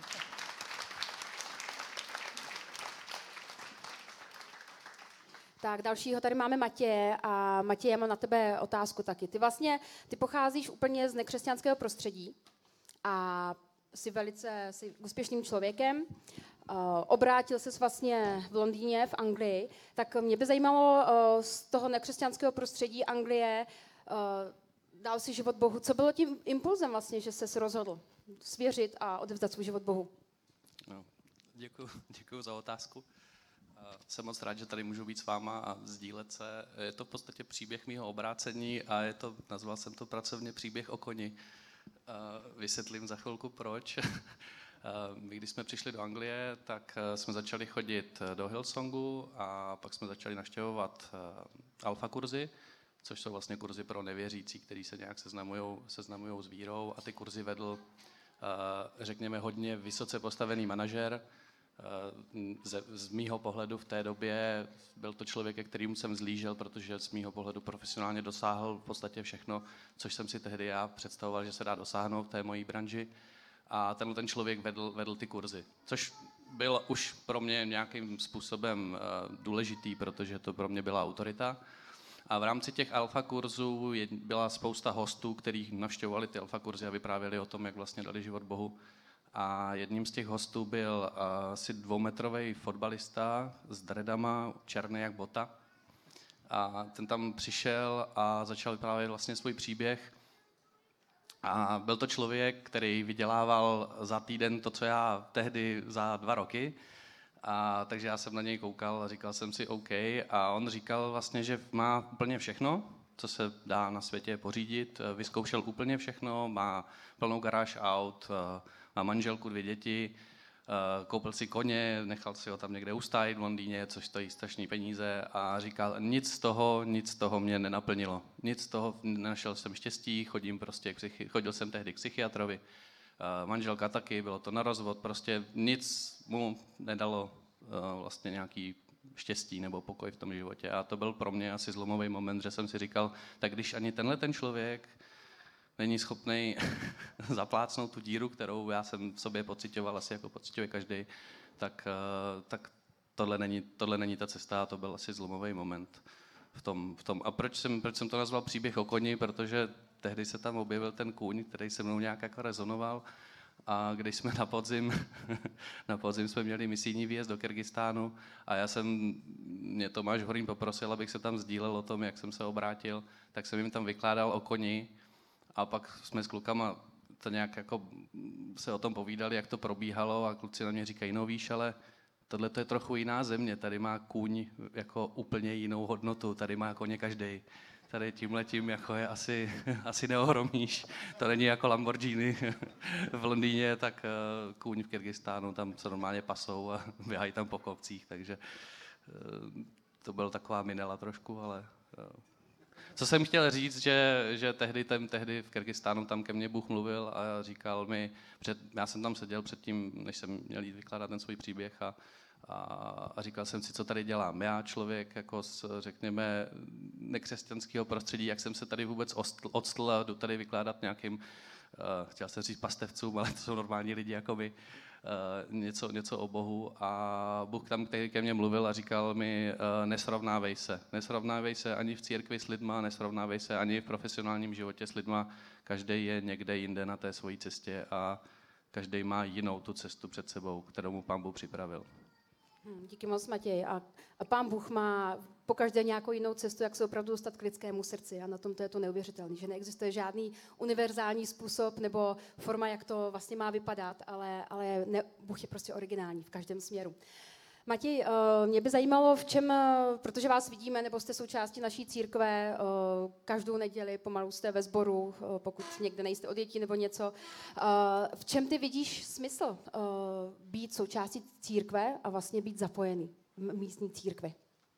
Tak dalšího tady máme Matěje a Matěj, já mám na tebe otázku taky. Ty vlastně, ty pocházíš úplně z nekřesťanského prostředí a jsi velice jsi úspěšným člověkem. obrátil ses vlastně v Londýně, v Anglii, tak mě by zajímalo uh, z toho nekřesťanského prostředí Anglie, uh, dal si život Bohu. Co bylo tím impulzem vlastně, že ses rozhodl svěřit a odevzdat svůj život Bohu? No, děkuji, děkuji za otázku. Jsem moc rád, že tady můžu být s váma a sdílet se. Je to v podstatě příběh mýho obrácení a je to, nazval jsem to pracovně příběh o koni. Vysvětlím za chvilku proč. My, když jsme přišli do Anglie, tak jsme začali chodit do Hillsongu a pak jsme začali navštěvovat alfa kurzy, což jsou vlastně kurzy pro nevěřící, kteří se nějak seznamujou, seznamujou s vírou, a ty kurzy vedl, řekněme, hodně vysoce postavený manažer. Z, z mýho pohledu v té době byl to člověk, ke kterému jsem zlížel, protože z mýho pohledu profesionálně dosáhl v podstatě všechno, což jsem si tehdy já představoval, že se dá dosáhnout v té mojí branži. A tenhle ten člověk vedl, vedl ty kurzy, což byl už pro mě nějakým způsobem důležitý, protože to pro mě byla autorita. A v rámci těch alfa kurzů byla spousta hostů, kteří navštěvovali ty alfa kurzy a vyprávěli o tom, jak vlastně dali život Bohu. A jedním z těch hostů byl asi dvoumetrový fotbalista s dreadama, černý jak bota. A ten tam přišel a začal vyprávět vlastně svůj příběh. A byl to člověk, který vydělával za týden to, co já tehdy za dva roky. A takže já jsem na něj koukal a říkal jsem si OK. A on říkal vlastně, že má úplně všechno, co se dá na světě pořídit. Vyzkoušel úplně všechno, má plnou garáž aut, má manželku, dvě děti, koupil si koně, nechal si ho tam někde ustájit v Londýně, což stojí strašný peníze, a říkal, nic z toho, nic z toho mě nenaplnilo. Nic z toho, nenašel jsem štěstí, chodím prostě, k psychi- chodil jsem tehdy k psychiatrovi, manželka taky, bylo to na rozvod, prostě nic mu nedalo vlastně nějaký štěstí nebo pokoj v tom životě. A to byl pro mě asi zlomový moment, že jsem si říkal, tak když ani tenhle ten člověk není schopný zaplácnout tu díru, kterou já jsem v sobě pocitoval, asi jako pociťuje každý, tak, tak tohle, není, tohle není ta cesta, a to byl asi zlomový moment v tom. V tom. A proč jsem, proč jsem to nazval příběh o koni? Protože tehdy se tam objevil ten kůň, který se mnou nějak jako rezonoval, a když jsme na podzim, na podzim jsme měli misijní výjezd do Kyrgyzstánu a já jsem, mě Tomáš Horín poprosil, abych se tam sdílel o tom, jak jsem se obrátil, tak jsem jim tam vykládal o koni. A pak jsme s klukama to nějak jako se o tom povídali, jak to probíhalo, a kluci na mě říkají, no víš, ale tohle to je trochu jiná země, tady má kůň jako úplně jinou hodnotu, tady má koně každej. Tady tímhletím jako je asi, asi neohromíš. To není jako Lamborghini v Londýně, tak kůň v Kyrgyzstánu, tam se normálně pasou a běhají tam po kopcích, takže to byla taková minela trošku, ale... Co jsem chtěl říct, že, že tehdy, ten, tehdy v Kyrgyzstánu tam ke mně Bůh mluvil a říkal mi, před, já jsem tam seděl předtím, než jsem měl jít vykládat ten svůj příběh, a, a, a říkal jsem si, co tady dělám. Já, člověk jako z, řekněme, nekřesťanského prostředí, jak jsem se tady vůbec odstl a jdu tady vykládat nějakým, uh, chtěl jsem říct pastevcům, ale to jsou normální lidi jako my, Uh, něco, něco o Bohu, a Bůh tam který ke mně mluvil a říkal mi, uh, nesrovnávej se. Nesrovnávej se ani v církvi s lidma, nesrovnávej se ani v profesionálním životě s lidma. Každý je někde jinde na té svojí cestě a každý má jinou tu cestu před sebou, kterou mu Pán Bůh připravil. Hmm, díky moc, Matěj. A, a Pán Bůh má pokaždé nějakou jinou cestu, jak se opravdu dostat k lidskému srdci. A na tom to je to neuvěřitelné, že neexistuje žádný univerzální způsob nebo forma, jak to vlastně má vypadat, ale, ale ne, Bůh je prostě originální v každém směru. Matěj, mě by zajímalo, v čem, protože vás vidíme, nebo jste součástí naší církve, každou neděli pomalu jste ve sboru, pokud někde nejste od dětí nebo něco. V čem ty vidíš smysl být součástí církve a vlastně být zapojený v místní církvi?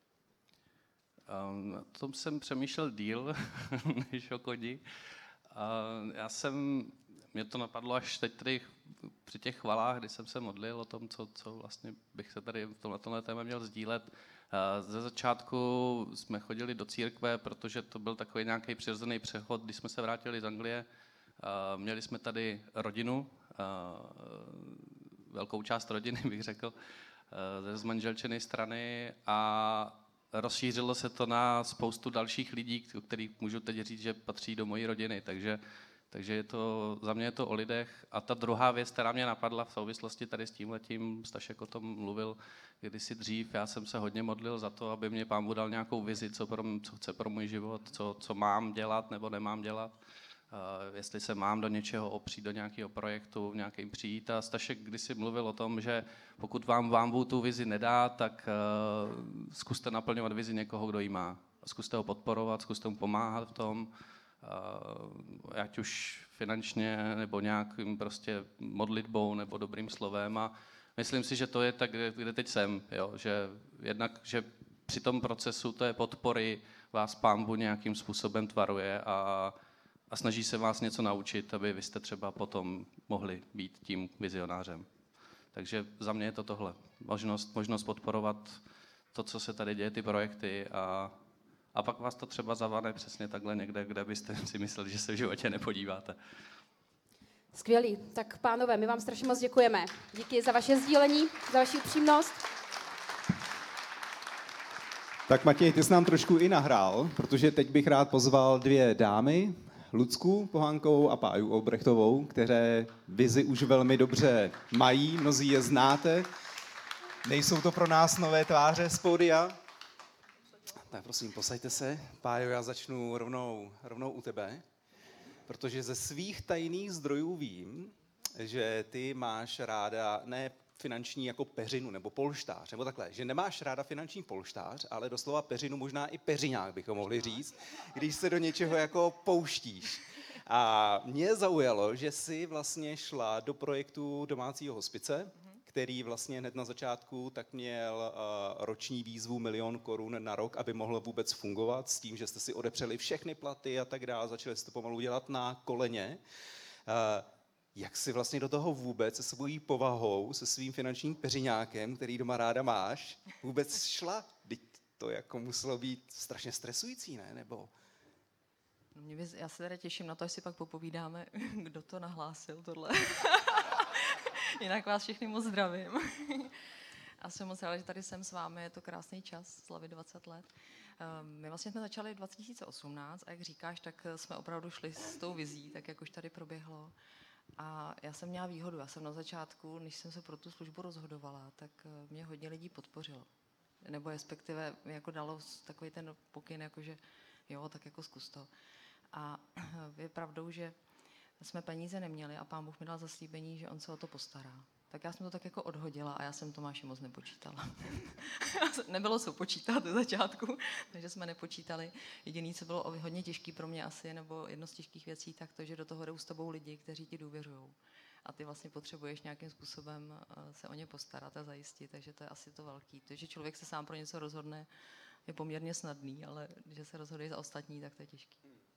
Um, o tom jsem přemýšlel díl, než o koni. Uh, já jsem, mě to napadlo až teď tady při těch chvalách, kdy jsem se modlil o tom, co, co vlastně bych se tady v tomhle, tomhle téma měl sdílet. Uh, ze začátku jsme chodili do církve, protože to byl takový nějaký přirozený přechod, když jsme se vrátili z Anglie. Uh, měli jsme tady rodinu, uh, velkou část rodiny bych řekl, uh, ze zmanželčené strany, a rozšířilo se to na spoustu dalších lidí, o kterých můžu teď říct, že patří do mojí rodiny, takže Takže je to, za mě je to o lidech. A ta druhá věc, která mě napadla v souvislosti tady s tímhletím, Stašek o tom mluvil kdysi dřív, já jsem se hodně modlil za to, aby mě Pán Bůh dal nějakou vizi, co, pro, co chce pro můj život, co, co mám dělat nebo nemám dělat. Uh, jestli se mám do něčeho opřít, do nějakého projektu, v nějakým přijít. A Stašek kdysi mluvil o tom, že pokud vám, vám Bůh tu vizi nedá, tak uh, zkuste naplňovat vizi někoho, kdo ji má. Zkuste ho podporovat, zkuste mu pomáhat v tom, uh, ať už finančně, nebo nějakým prostě modlitbou, nebo dobrým slovem. A myslím si, že to je tak, kde, kde teď jsem. Jo? Že jednak, že při tom procesu té podpory vás Pán Bůh nějakým způsobem tvaruje a a snaží se vás něco naučit, aby vy jste třeba potom mohli být tím vizionářem. Takže za mě je to tohle. Možnost, možnost podporovat to, co se tady děje, ty projekty a, a pak vás to třeba zavane přesně takhle někde, kde byste si mysleli, že se v životě nepodíváte. Skvělý. Tak pánové, my vám strašně moc děkujeme. Díky za vaše sdílení, za vaši upřímnost. Tak Matěj, ty jsi nám trošku i nahrál, protože teď bych rád pozval dvě dámy, Lucku Pohánkovou a Páju Olbrechtovou, které vizi už velmi dobře mají, mnozí je znáte. Nejsou to pro nás nové tváře z pódia. Tak prosím, posaďte se. Pájo, já začnu rovnou, rovnou u tebe, protože ze svých tajných zdrojů vím, že ty máš ráda ne finanční jako peřinu nebo polštář, nebo takhle, že nemáš ráda finanční polštář, ale doslova peřinu, možná i peřiňák bychom mohli říct, když se do něčeho jako pouštíš. A mě zaujalo, že jsi vlastně šla do projektu domácího hospice, který vlastně hned na začátku tak měl uh, roční výzvu milion korun na rok, aby mohl vůbec fungovat, s tím, že jste si odepřeli všechny platy a tak dále, začali jste to pomalu dělat na koleně. Uh, Jak jsi vlastně do toho vůbec se svojí povahou, se svým finančním peřiňákem, který doma ráda máš, vůbec šla? Teď to jako muselo být strašně stresující, ne? Nebo... No mě bys, já se teda těším na to, až si pak popovídáme, kdo to nahlásil, tohle. Jinak vás všechny moc zdravím. A jsem moc ráda, že tady jsem s vámi, je to krásný čas, slavit dvacet let. My vlastně jsme začali dva tisíce osmnáct a jak říkáš, tak jsme opravdu šli s tou vizí, tak jak už tady proběhlo. A já jsem měla výhodu, já jsem na začátku, než jsem se pro tu službu rozhodovala, tak mě hodně lidí podpořilo. Nebo respektive jako dalo takový ten pokyn, jakože jo, tak jako zkus to. A je pravdou, že jsme peníze neměli a Pán Bůh mi dal zaslíbení, že on se o to postará. Tak já jsem to tak jako odhodila a já jsem Tomáši moc nepočítala. Nebylo co počítat do začátku, takže jsme nepočítali. Jediné, co bylo hodně těžké pro mě asi, nebo jedno z těžkých věcí, tak to, že do toho jdou s tebou lidi, kteří ti důvěřují. A ty vlastně potřebuješ nějakým způsobem se o ně postarat a zajistit, takže to je asi to velký. To, že člověk se sám pro něco rozhodne, je poměrně snadný, ale když se rozhoduje za ostatní, tak to je těžký.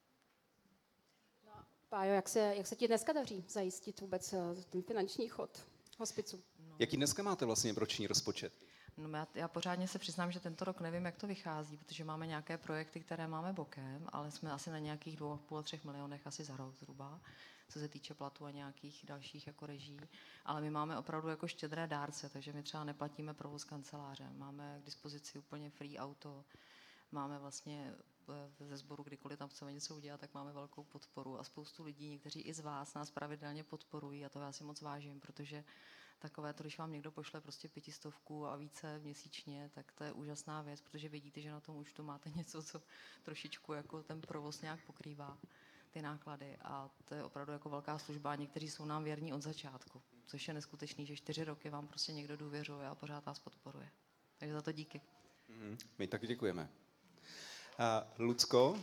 Pájo, jak se, jak se ti dneska daří zajistit vůbec ten finanční chod hospicu? No. Jaký dneska máte vlastně roční rozpočet? No já, já pořádně se přiznám, že tento rok nevím, jak to vychází, protože máme nějaké projekty, které máme bokem, ale jsme asi na nějakých dvou a půl, třech milionech asi za rok zhruba, co se týče platu a nějakých dalších jako reží. Ale my máme opravdu jako štědré dárce, takže my třeba neplatíme provoz kanceláře. Máme k dispozici úplně free auto, máme vlastně ze sboru, kdykoliv tam chceme něco udělat, tak máme velkou podporu a spoustu lidí, někteří i z vás nás pravidelně podporují a to já si moc vážím, protože takové to, když vám někdo pošle prostě pětistovku a více měsíčně, tak to je úžasná věc, protože vidíte, že na tom účtu máte něco, co trošičku jako ten provoz nějak pokrývá ty náklady a to je opravdu jako velká služba a někteří jsou nám věrní od začátku, což je neskutečný, že čtyři roky vám prostě někdo důvěřuje a pořád vás podporuje. Takže za to díky. Mm-hmm. My taky děkujeme. Uh, Lucko?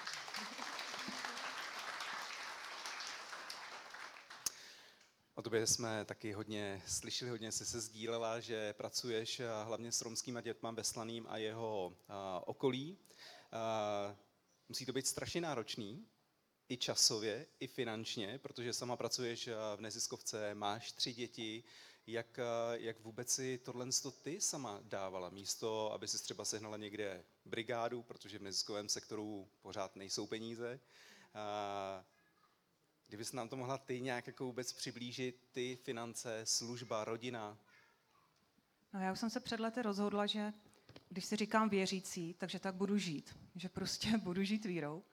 O tobě jsme taky hodně slyšeli, hodně jsi se sdílela, že pracuješ hlavně s romskýma dětma ve Slaným a jeho uh, okolí. Uh, musí to být strašně náročný, i časově, i finančně, protože sama pracuješ v neziskovce, máš tři děti. Jak, jak vůbec si tohle ty sama dávala? Místo, aby si třeba sehnala někde brigádu, protože v neziskovém sektoru pořád nejsou peníze. Uh, Kdybys nám to mohla ty nějak jako vůbec přiblížit, ty finance, služba, rodina? No já už jsem se před lety rozhodla, že když si říkám věřící, takže tak budu žít. Že prostě budu žít vírou.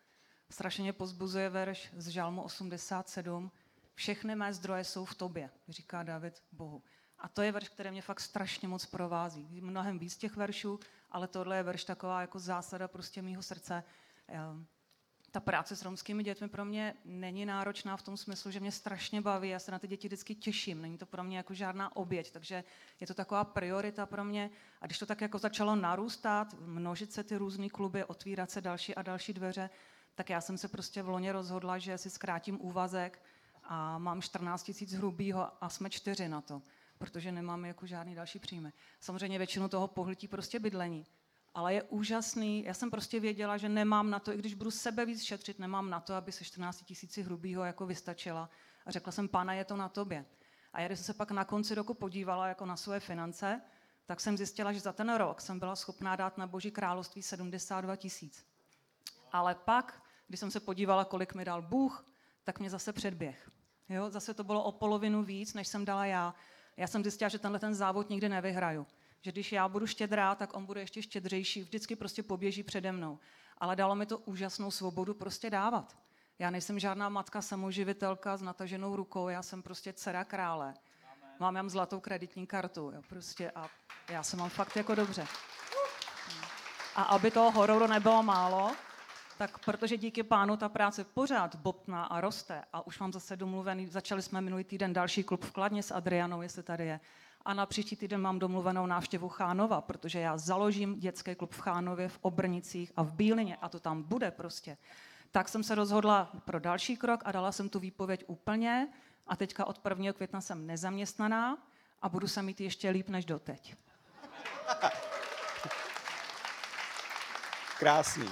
strašně mě pozbuzuje verš z Žalmu osmdesát sedm. Všechny mé zdroje jsou v tobě, říká David Bohu. A to je verš, který mě fakt strašně moc provází. Mnohem víc těch veršů, ale tohle je verš taková jako zásada prostě mýho srdce. Ta práce s romskými dětmi pro mě není náročná v tom smyslu, že mě strašně baví, já se na ty děti vždycky těším, není to pro mě jako žádná oběť, takže je to taková priorita pro mě. A když to tak jako začalo narůstat, množit se ty různý kluby, otvírat se další a další dveře, tak já jsem se prostě v loni rozhodla, že si zkrátím úvazek a mám čtrnáct tisíc hrubýho a jsme čtyři na to, protože nemám jako žádný další příjmy. Samozřejmě většinu toho pohltí prostě bydlení. Ale je úžasný, já jsem prostě věděla, že nemám na to, i když budu sebe víc šetřit, nemám na to, aby se čtrnáct tisíci hrubýho jako vystačila. A řekla jsem, Pane, je to na tobě. A já, když jsem se pak na konci roku podívala jako na svoje finance, tak jsem zjistila, že za ten rok jsem byla schopná dát na Boží království sedmdesát dva tisíc. Ale pak, když jsem se podívala, kolik mi dal Bůh, tak mě zase předběh. Jo? Zase to bylo o polovinu víc, než jsem dala já. Já jsem zjistila, že tenhle ten závod nikdy nevyhraju. Že když já budu štědrá, tak on bude ještě štědřejší, vždycky prostě poběží přede mnou. Ale dalo mi to úžasnou svobodu prostě dávat. Já nejsem žádná matka samoživitelka s nataženou rukou, já jsem prostě dcera krále. Amen. Mám jam zlatou kreditní kartu, jo, prostě a já se mám fakt jako dobře. A aby toho hororu nebylo málo, tak protože díky Pánu ta práce pořád bobtná a roste a už mám zase domluvený, začali jsme minulý týden další klub v Kladně s Adrianou, jestli tady je. A na příští týden mám domluvenou návštěvu Chánova, protože já založím dětský klub v Chánově, v Obrnicích a v Bílině a to tam bude prostě. Tak jsem se rozhodla pro další krok a dala jsem tu výpověď úplně a teďka od prvního května jsem nezaměstnaná a budu se mít ještě líp než doteď. Krásný.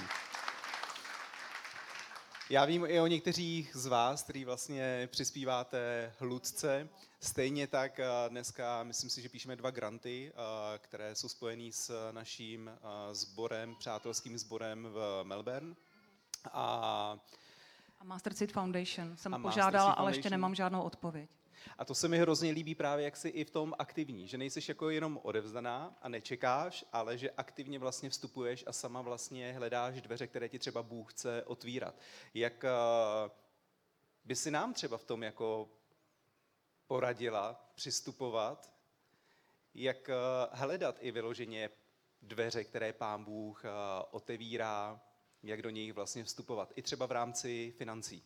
Já vím i o některých z vás, kteří vlastně přispíváte Hludce. Stejně tak dneska, myslím si, že píšeme dva granty, které jsou spojený s naším sborem, přátelským sborem v Melbourne. A, a Master Seed Foundation jsem a požádala, ale ještě nemám žádnou odpověď. A to se mi hrozně líbí právě, jak jsi i v tom aktivní, že nejseš jako jenom odevzdaná a nečekáš, ale že aktivně vlastně vstupuješ a sama vlastně hledáš dveře, které ti třeba Bůh chce otvírat. Jak by si nám třeba v tom jako poradila přistupovat, jak hledat i vyloženě dveře, které Pán Bůh otevírá, jak do nich vlastně vstupovat, i třeba v rámci financí.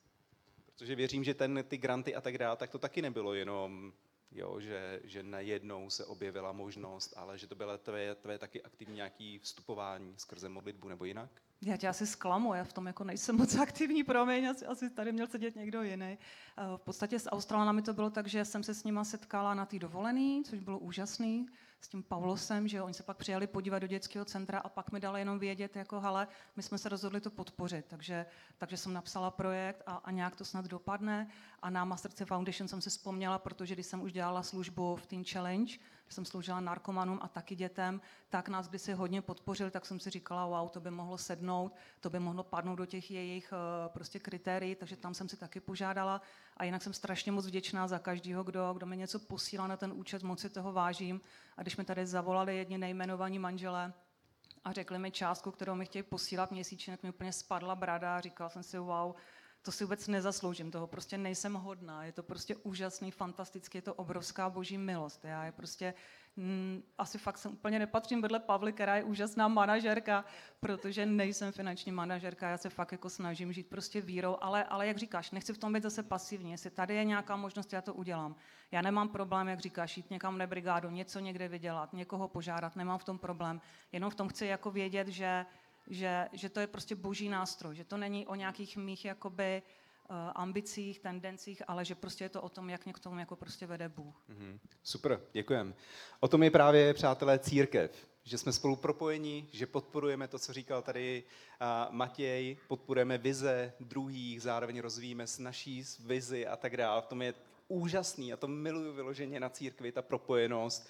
Protože věřím, že ten, ty granty a tak dále, tak to taky nebylo jenom, jo, že, že najednou se objevila možnost, ale že to bylo tvé, tvé taky aktivní nějaké vstupování skrze modlitbu nebo jinak? Já tě asi zklamu, já v tom jako nejsem moc aktivní, promiň, asi, asi tady měl sedět někdo jiný. V podstatě s Australanami to bylo tak, že jsem se s nima setkala na té dovolený, což bylo úžasný, s tím Pavlosem, že oni se pak přijali podívat do dětského centra a pak mi dali jenom vědět, jako hele, my jsme se rozhodli to podpořit, takže, takže jsem napsala projekt a, a nějak to snad dopadne a na Master Seed Foundation jsem si vzpomněla, protože když jsem už dělala službu v Teen Challenge, jsem sloužila narkomanům a taky dětem, tak nás kdysi hodně podpořil, tak jsem si říkala, wow, to by mohlo sednout, to by mohlo padnout do těch jejich uh, prostě kritérií, takže tam jsem si taky požádala a jinak jsem strašně moc vděčná za každého, kdo, kdo mi něco posílá na ten účet, moc si toho vážím. A když mi tady zavolali jedni nejmenovaní manželé a řekli mi částku, kterou mi chtějí posílat měsíčně, tak mi úplně spadla brada a říkala jsem si, wow, to si vůbec nezasloužím, toho prostě nejsem hodná, je to prostě úžasný, fantastický, je to obrovská boží milost. Já je prostě, mm, asi fakt jsem úplně nepatřím vedle Pavly, která je úžasná manažerka, protože nejsem finanční manažerka, já se fakt jako snažím žít prostě vírou, ale, ale jak říkáš, nechci v tom být zase pasivní, jestli tady je nějaká možnost, já to udělám. Já nemám problém, jak říkáš, jít někam na brigádu, něco někde vydělat, někoho požádat, nemám v tom problém, jenom v tom chci jako vědět, že Že, že to je prostě boží nástroj, že to není o nějakých mých jakoby uh, ambicích, tendencích, ale že prostě je to o tom, jak mě k tomu jako prostě vede Bůh. Mm-hmm. Super, děkujem. O tom je právě, přátelé, církev, že jsme spolu propojeni, že podporujeme to, co říkal tady uh, Matěj, podporujeme vize druhých, zároveň rozvíjíme s naší vizi a tak dále. V tom je úžasný a to miluju vyloženě na církvi, ta propojenost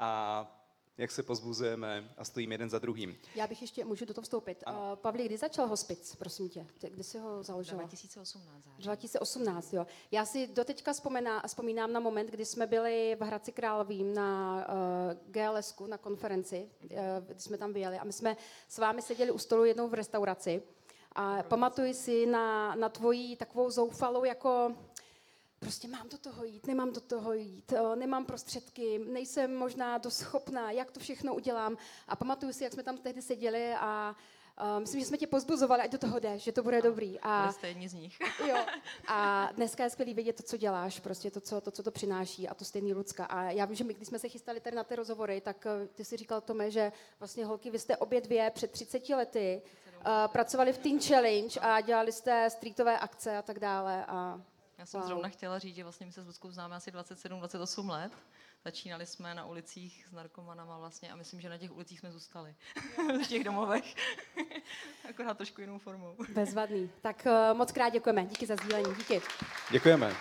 a jak se pozbuzujeme a stojíme jeden za druhým. Já bych ještě, můžu do toho vstoupit. Uh, Pavli, kdy začal hospic, prosím tě? Kdy jsi ho založila? dva tisíce osmnáct. dva tisíce osmnáct, jo. Já si doteďka vzpomíná, vzpomínám na moment, kdy jsme byli v Hradci Králové na uh, G L S ku, na konferenci, uh, kdy jsme tam vyjeli a my jsme s vámi seděli u stolu jednou v restauraci A pamatuj si na, na tvoji takovou zoufalou jako prostě mám do toho jít, nemám do toho jít, nemám prostředky, nejsem možná dost schopná, jak to všechno udělám. A pamatuju si, jak jsme tam tehdy seděli a uh, myslím, že jsme tě pozbuzovali, ať do toho jdeš, že to bude dobrý. A byli jste jedni z nich. Jo. A dneska je skvělý vědět to, co děláš, prostě to, co to, co to přináší a to stejný Lucka. A já vím, že my, když jsme se chystali tady na ty rozhovory, tak uh, ty si říkal, Tome, že vlastně holky, vy jste obě dvě před třiceti lety uh, pracovali v Teen Challenge a dělali jste streetové akce a tak dále. A Já jsem wow. zrovna chtěla říct, že vlastně my se s Luckou známe asi dvacet sedm dvacet osm let. Začínali jsme na ulicích s narkomanama vlastně a myslím, že na těch ulicích jsme zůstali. V těch domovech. Akorát trošku jinou formou. Bezvadný. Tak uh, moc krát děkujeme. Díky za sdílení. Díky. Děkujeme.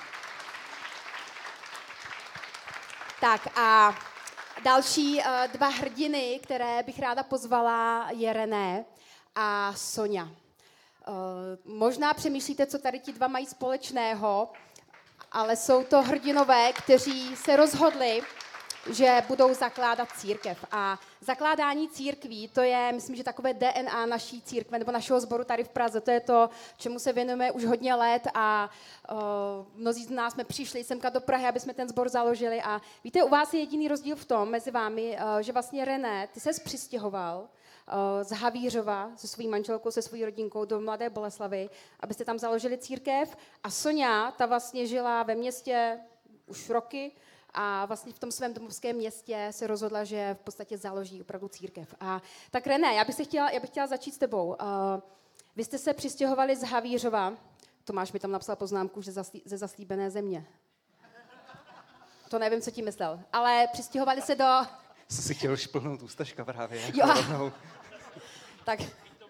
Tak a další uh, dva hrdiny, které bych ráda pozvala, je René a Sonja. Uh, možná přemýšlíte, co tady ti dva mají společného, ale jsou to hrdinové, kteří se rozhodli, že budou zakládat církev. A zakládání církví, to je, myslím, že takové D N A naší církve, nebo našeho sboru tady v Praze. To je to, čemu se věnujeme už hodně let a uh, mnozí z nás jsme přišli semka do Prahy, aby jsme ten sbor založili. A víte, u vás je jediný rozdíl v tom, mezi vámi, uh, že vlastně René, ty ses přistěhoval z Havířova se svojí manželkou, se svojí rodinkou do Mladé Boleslavi, abyste tam založili církev. A Sonja, ta vlastně žila ve městě už roky a vlastně v tom svém domovském městě se rozhodla, že v podstatě založí opravdu církev. A tak René, já bych, se chtěla, já bych chtěla začít s tebou. Uh, vy jste se přistěhovali z Havířova. Tomáš mi tam napsal poznámku, že zaslí, ze zaslíbené země. To nevím, co tím myslel. Ale přistěhovali se do... Jsi si chtěl šplhnout ústaška právě. Jo. Tak.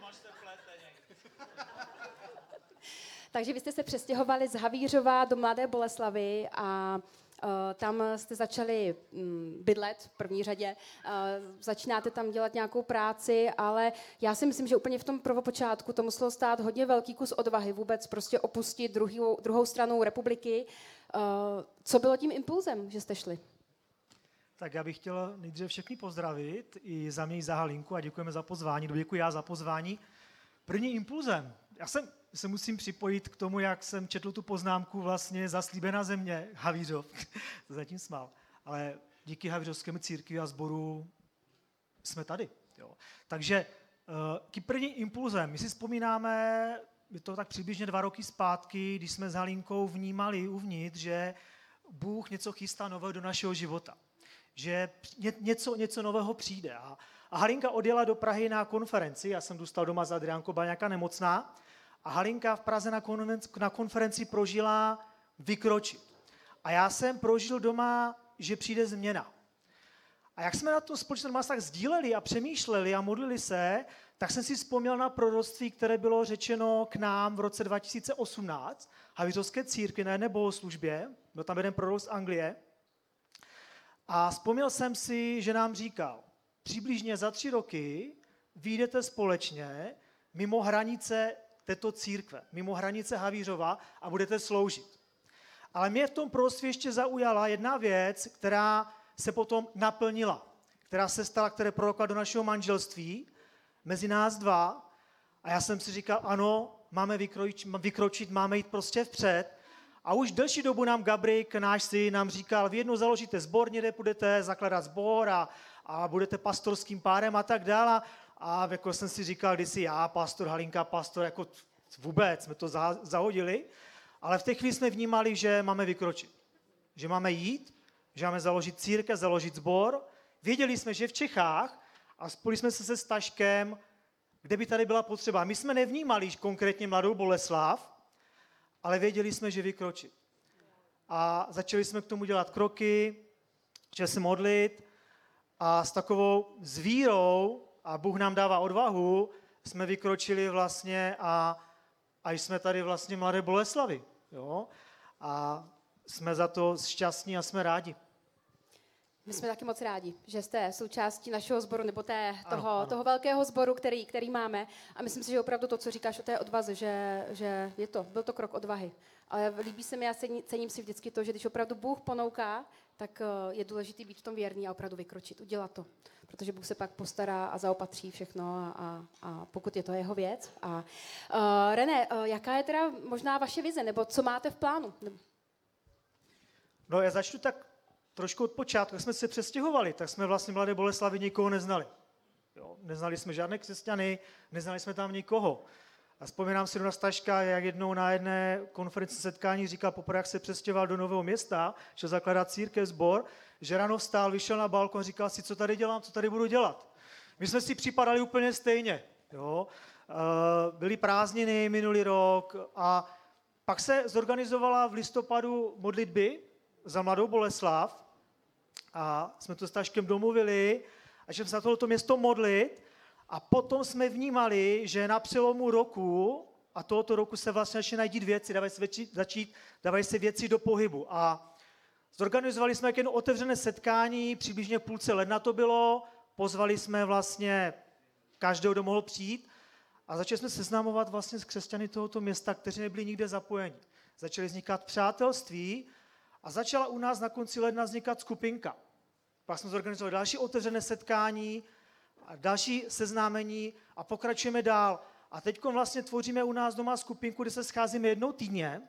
Takže vy jste se přestěhovali z Havířova do Mladé Boleslavy a uh, tam jste začali um, bydlet v první řadě. Uh, začínáte tam dělat nějakou práci, ale já si myslím, že úplně v tom prvopočátku to muselo stát hodně velký kus odvahy vůbec prostě opustit druhou, druhou stranu republiky. Uh, co bylo tím impulzem, že jste šli? Tak já bych chtěl nejdříve všechny pozdravit i za mě i za Halinku a děkujeme za pozvání. Děkuji já za pozvání. První impulzem. Já jsem, se musím připojit k tomu, jak jsem četl tu poznámku vlastně zaslíbená země Havířov. To zatím smál. Ale díky Havířovskému církvi a sboru jsme tady. Jo. Takže uh, první impulzem. My si vzpomínáme, je to tak přibližně dva roky zpátky, když jsme s Halinkou vnímali uvnitř, že Bůh něco chystá nového do našeho života. Že něco, něco nového přijde. A, a Halinka odjela do Prahy na konferenci, já jsem dostal doma s Adriánkou, byla nějaká nemocná, a Halinka v Praze na, konferenci, na konferenci prožila vykročit. A já jsem prožil doma, že přijde změna. A jak jsme na to společně doma tak sdíleli a přemýšleli a modlili se, tak jsem si vzpomněl na proroctví, které bylo řečeno k nám v roce dva tisíce osmnáct, Havířovské církvi na jedné bohoslužbě, byl tam jeden prorok z Anglie. A vzpomněl jsem si, že nám říkal, přibližně za tři roky vyjdete společně mimo hranice této církve, mimo hranice Havířova a budete sloužit. Ale mě v tom proroctví ještě zaujala jedna věc, která se potom naplnila, která se stala, které prorokla do našeho manželství, mezi nás dva. A já jsem si říkal, ano, máme vykročit, vykročit máme jít prostě vpřed. A už delší dobu nám Gabrik, náš syn, nám říkal, vy jednou založíte sbor, někde budete zakládat sbor a, a budete pastorským párem a tak dále. A jako jsem si říkal, kdysi já, pastor, Halinka, pastor, jako vůbec jsme to za, zahodili. Ale v té chvíli jsme vnímali, že máme vykročit. Že máme jít, že máme založit církev, založit sbor. Věděli jsme, že v Čechách, a spojili jsme se se Staškem, kde by tady byla potřeba. My jsme nevnímali konkrétně Mladou Boleslav, ale věděli jsme, že vykročit. A začali jsme k tomu dělat kroky, začali se modlit a s takovou zvírou, a Bůh nám dává odvahu, jsme vykročili vlastně a, a jsme tady vlastně Mladé Boleslavi. Jo? A jsme za to šťastní a jsme rádi. My jsme taky moc rádi, že jste součástí našeho sboru, nebo té, toho, ano. toho velkého sboru, který, který máme. A myslím si, že opravdu to, co říkáš o té odvaze, že, že je to, byl to krok odvahy. Ale líbí se mi a cením, cením si vždycky to, že když opravdu Bůh ponouká, tak je důležité být v tom věrný a opravdu vykročit, udělat to. Protože Bůh se pak postará a zaopatří všechno, a, a, a pokud je to jeho věc. A, uh, René, uh, jaká je teda možná vaše vize, nebo co máte v plánu? No já začnu tak trošku od počátku. Jak jsme se přestěhovali, tak jsme vlastně v Mladé Boleslavi nikoho neznali. Jo, neznali jsme žádné křesťany, neznali jsme tam nikoho. A vzpomínám si na Staška, jak jednou na jedné konferenci setkání říkal, poprvé, jak se přestěhoval do nového města, šel zakládat církev, sbor, že ráno vstál, vyšel na balkon, říkal si, co tady dělám, co tady budu dělat. My jsme si připadali úplně stejně. Jo. Byly prázdniny minulý rok a pak se zorganizovala v listopadu modlitby za Mladou Boleslav a jsme to s Staškem domluvili a že se na tohleto město modlit. A potom jsme vnímali, že na přelomu roku a tohoto roku se vlastně začínají dít věci, dávají se, věci, začít, dávají se věci do pohybu. A zorganizovali jsme jedno otevřené setkání, přibližně v půlce ledna to bylo, pozvali jsme vlastně každého, kdo mohl přijít a začali jsme seznamovat vlastně s křesťany tohoto města, kteří nebyli nikde zapojeni. Začaly vznikat přátelství a začala u nás na konci ledna vznikat skupinka. Pak jsme zorganizovali další otevřené setkání, a další seznámení a pokračujeme dál. A teď vlastně tvoříme u nás doma skupinku, kde se scházíme jednou týdně.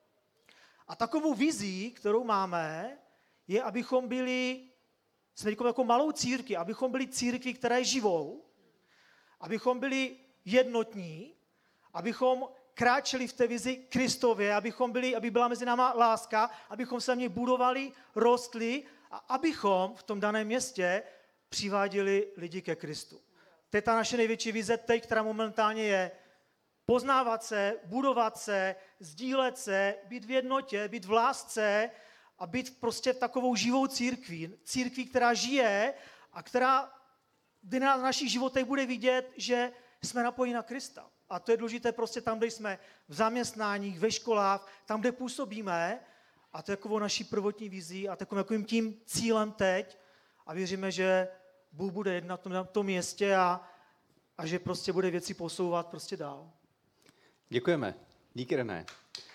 A takovou vizí, kterou máme, je, abychom byli, jsme jako malou církvi, abychom byli církvi, která je živou, abychom byli jednotní, abychom kráčeli v té vizi Kristově, abychom byli, aby byla mezi náma láska, abychom se v něj budovali, rostli a abychom v tom daném městě přiváděli lidi ke Kristu. To je ta naše největší vize teď, která momentálně je poznávat se, budovat se, sdílet se, být v jednotě, být v lásce a být prostě takovou živou církví. Církví, která žije a která kdy na našich životech bude vidět, že jsme napojeni na Krista. A to je důležité prostě tam, kde jsme v zaměstnáních, ve školách, tam, kde působíme. A to je takovou naší prvotní vizí a takovým tím cílem teď. A věříme, že Bůh bude jednat na tom městě a, a že prostě bude věci posouvat prostě dál. Děkujeme. Díky, René.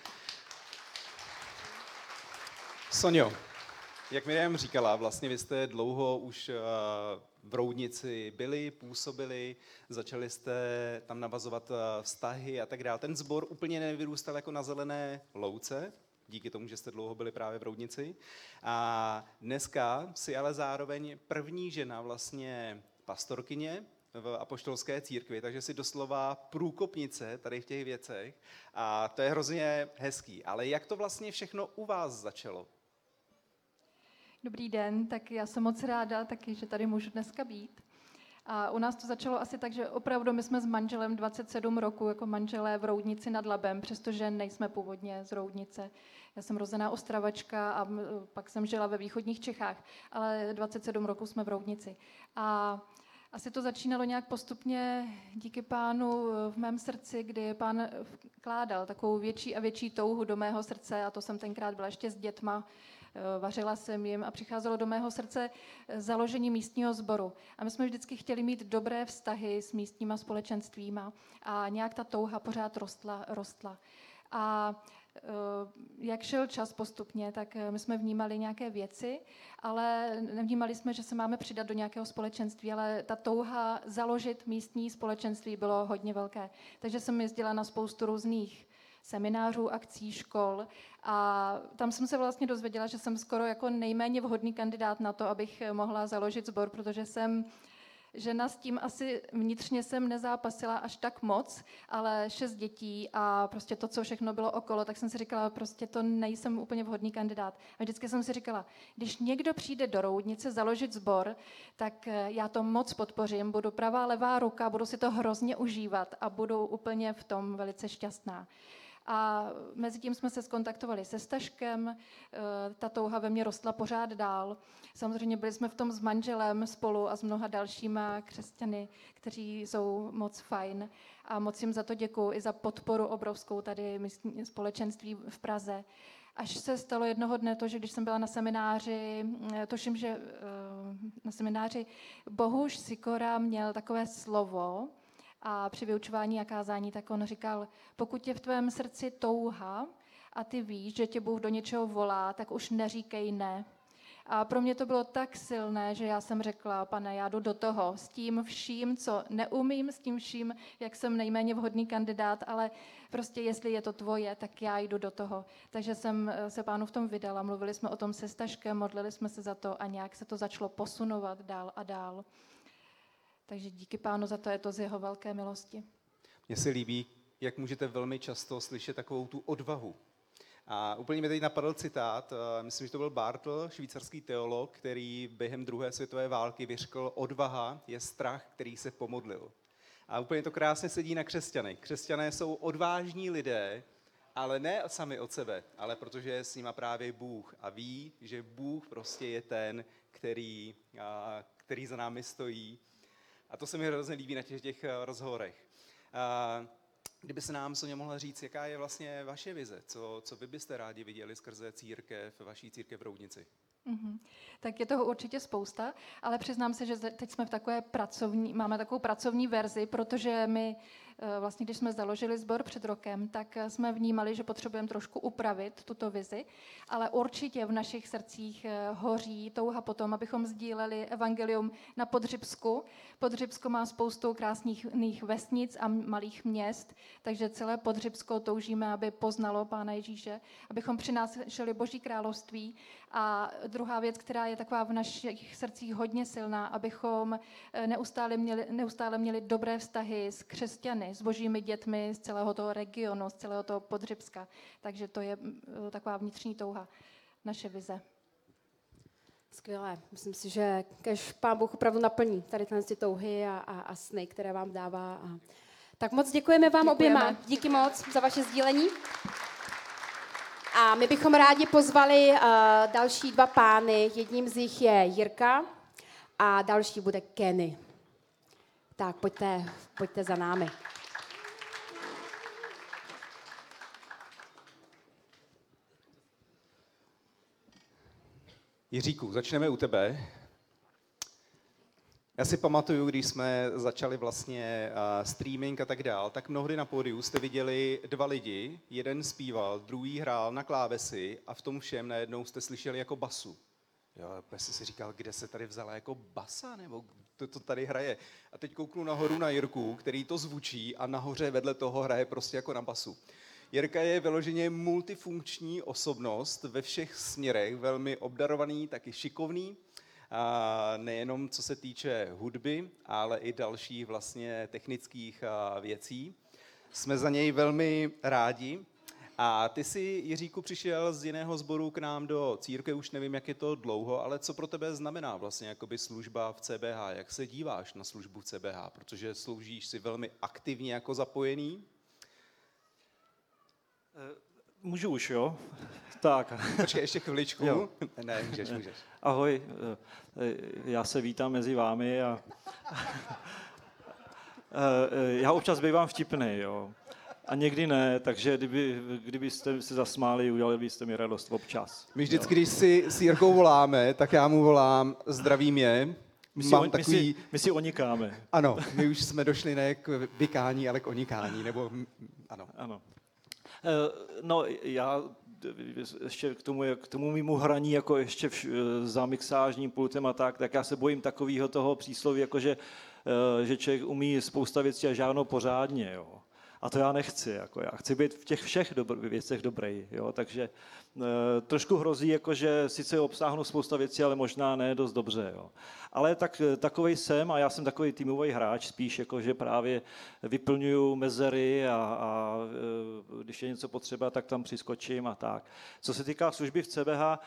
Sonjo, jak Miriam říkala, vlastně vy jste dlouho už v Roudnici byli, působili, začali jste tam navazovat vztahy a tak dále. Ten sbor úplně nevyrůstal jako na zelené louce, díky tomu, že jste dlouho byli právě v Roudnici. A dneska si ale zároveň první žena vlastně pastorkyně v apoštolské církvi, takže si doslova průkopnice tady v těch věcech a to je hrozně hezký. Ale jak to vlastně všechno u vás začalo? Dobrý den, tak já jsem moc ráda taky, že tady můžu dneska být. A u nás to začalo asi tak, že opravdu my jsme s manželem dvacet sedm roku jako manželé v Roudnici nad Labem, přestože nejsme původně z Roudnice. Já jsem rozená Ostravačka a pak jsem žila ve východních Čechách, ale dvacet sedm roku jsme v Roudnici. A asi to začínalo nějak postupně díky Pánu v mém srdci, kdy Pán vkládal takovou větší a větší touhu do mého srdce a to jsem tenkrát byla ještě s dětma. Vařila jsem jim a přicházelo do mého srdce založení místního sboru. A my jsme vždycky chtěli mít dobré vztahy s místníma společenstvíma a nějak ta touha pořád rostla, rostla. A jak šel čas postupně, tak my jsme vnímali nějaké věci, ale nevnímali jsme, že se máme přidat do nějakého společenství, ale ta touha založit místní společenství bylo hodně velké. Takže jsem jezdila na spoustu různých seminářů, akcí, škol a tam jsem se vlastně dozvěděla, že jsem skoro jako nejméně vhodný kandidát na to, abych mohla založit sbor, protože jsem žena s tím asi vnitřně jsem nezápasila až tak moc, ale šest dětí a prostě to, co všechno bylo okolo, tak jsem si říkala, prostě to nejsem úplně vhodný kandidát. A vždycky jsem si říkala, když někdo přijde do Roudnice založit sbor, tak já to moc podpořím, budu pravá, levá ruka, budu si to hrozně užívat a budu úplně v tom velice šťastná. A mezi tím jsme se skontaktovali se Staškem, ta touha ve mně rostla pořád dál. Samozřejmě byli jsme v tom s manželem spolu a s mnoha dalšíma křesťany, kteří jsou moc fajn. A moc jim za to děkuju i za podporu obrovskou tady místní společenství v Praze. Až se stalo jednoho dne to, že když jsem byla na semináři, tuším, že na semináři Bohuš Sikora měl takové slovo a při vyučování a kázání, tak on říkal, pokud je v tvém srdci touha a ty víš, že tě Bůh do něčeho volá, tak už neříkej ne. A pro mě to bylo tak silné, že já jsem řekla, Pane, já jdu do toho s tím vším, co neumím, s tím vším, jak jsem nejméně vhodný kandidát, ale prostě jestli je to tvoje, tak já jdu do toho. Takže jsem se Pánu v tom vydala, mluvili jsme o tom se Staškem, modlili jsme se za to a nějak se to začalo posunovat dál a dál. Takže díky Pánu za to, je to z jeho velké milosti. Mně se líbí, jak můžete velmi často slyšet takovou tu odvahu. A úplně mi teď napadl citát, myslím, že to byl Bartl, švýcarský teolog, který během druhé světové války vyřkl, odvaha je strach, který se pomodlil. A úplně to krásně sedí na křesťany. Křesťané jsou odvážní lidé, ale ne sami od sebe, ale protože je s nima právě Bůh a ví, že Bůh prostě je ten, který, který za námi stojí. A to se mi hrozně líbí na těch, těch rozhovorech. Kdyby se nám Soňa mohla říct, jaká je vlastně vaše vize, co, co vy byste rádi viděli skrze církev, vaší církev v Roudnici? Mm-hmm. Tak je toho určitě spousta, ale přiznám se, že teď jsme v takové pracovní, máme takovou pracovní verzi, protože my vlastně, když jsme založili sbor před rokem, tak jsme vnímali, že potřebujeme trošku upravit tuto vizi, ale určitě v našich srdcích hoří touha potom, abychom sdíleli evangelium na Podřibsku. Podřibsko má spoustu krásných vesnic a malých měst, takže celé Podřibsko toužíme, aby poznalo Pána Ježíše, abychom přinášeli Boží království. A druhá věc, která je taková v našich srdcích hodně silná, abychom neustále měli, neustále měli dobré vztahy s křesťany, s božími dětmi z celého toho regionu, z celého toho Podřibska. Takže to je taková vnitřní touha, naše vize. Skvělé. Myslím si, že kež Pán Bůh opravdu naplní tady tyhle touhy a, a, a sny, které vám dává. A... Tak moc děkujeme vám Děkujeme. oběma. Díky moc za vaše sdílení. A my bychom rádi pozvali uh, další dva pány. Jedním z nich je Jirka a další bude Kenny. Tak pojďte, pojďte za námi. Jiříku, začneme u tebe. Já si pamatuju, když jsme začali vlastně uh, streaming a tak dál, tak mnohdy na pódiu jste viděli dva lidi, jeden zpíval, druhý hrál na klávesi a v tom všem najednou jste slyšeli jako basu. Jo, já jsem si říkal, kde se tady vzala jako basa, nebo to, to tady hraje. A teď kouknu nahoru na Jirku, který to zvučí a nahoře vedle toho hraje prostě jako na basu. Jirka je vyloženě multifunkční osobnost ve všech směrech, velmi obdarovaný, taky šikovný. A nejenom co se týče hudby, ale i dalších vlastně technických věcí. Jsme za něj velmi rádi. A ty jsi, Jiříku, přišel z jiného sboru k nám do církve, už nevím, jak je to dlouho, ale co pro tebe znamená vlastně jakoby služba v C B H? Jak se díváš na službu v C B H? Protože sloužíš si velmi aktivně jako zapojený. Můžu už, jo? Tak. Počkej, ještě chviličku. Jo. Ne, můžeš, můžeš. Ahoj, já se vítám mezi vámi a já občas bývám vtipnej, jo. A někdy ne, takže kdyby, kdybyste se zasmáli, udělali byste mi radost občas. My vždycky, když si s Jirkou voláme, tak já mu volám zdravím je. My si, Mám on, takový... my, si, my si onikáme. Ano, my už jsme došli ne k vykání, ale k onikání, nebo ano. Ano. No, já ještě k tomu, k tomu mému hraní, jako ještě v, za mixážním pultem a tak, tak já se bojím takového toho přísloví, jako že, že člověk umí spousta věcí a žádnou pořádně, jo. A to já nechci, jako já chci být v těch všech dobr, věcech dobrý, jo, takže e, trošku hrozí, jako že sice obsáhnu spousta věcí, ale možná ne dost dobře, jo. Ale tak, takovej jsem a já jsem takový týmový hráč, spíš jako, že právě vyplňuju mezery a, a e, když je něco potřeba, tak tam přiskočím a tak. Co se týká služby v C B H,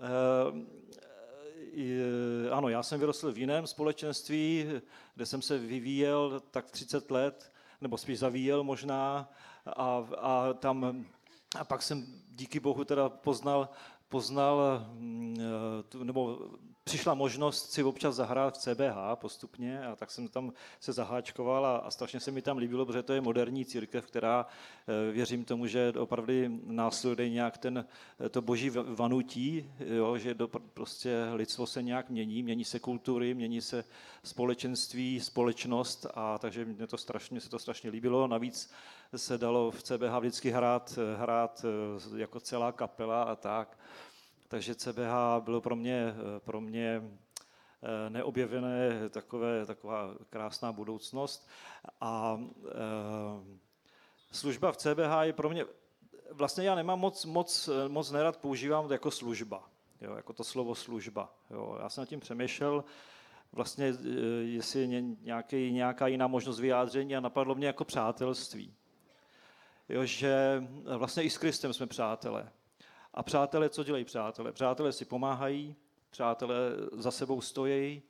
e, ano, já jsem vyrostl v jiném společenství, kde jsem se vyvíjel tak třicet let, nebo spíš zavíjel možná a, a tam a pak jsem díky Bohu teda poznal, poznal nebo přišla možnost si občas zahrát v C B H postupně a tak jsem tam se zaháčkoval a, a strašně se mi tam líbilo, protože to je moderní církev, která věřím tomu, že opravdu následuje nějak ten, to boží vanutí, jo, že do, prostě lidstvo se nějak mění, mění se kultury, mění se společenství, společnost a takže mě to strašně, se to strašně líbilo. Navíc se dalo v C B H vždycky hrát, hrát jako celá kapela a tak. Takže C B H bylo pro mě, pro mě neobjevené takové, taková krásná budoucnost. A e, služba v C B H je pro mě, vlastně já nemám moc, moc, moc nerad používám to jako služba, jo, jako to slovo služba. Jo. Já jsem nad tím přemýšlel, vlastně jestli je nějaký, nějaká jiná možnost vyjádření a napadlo mě jako přátelství. Jo, že vlastně i s Kristem jsme přátelé. A přátelé, co dělají přátelé? Přátelé si pomáhají, přátelé za sebou stojí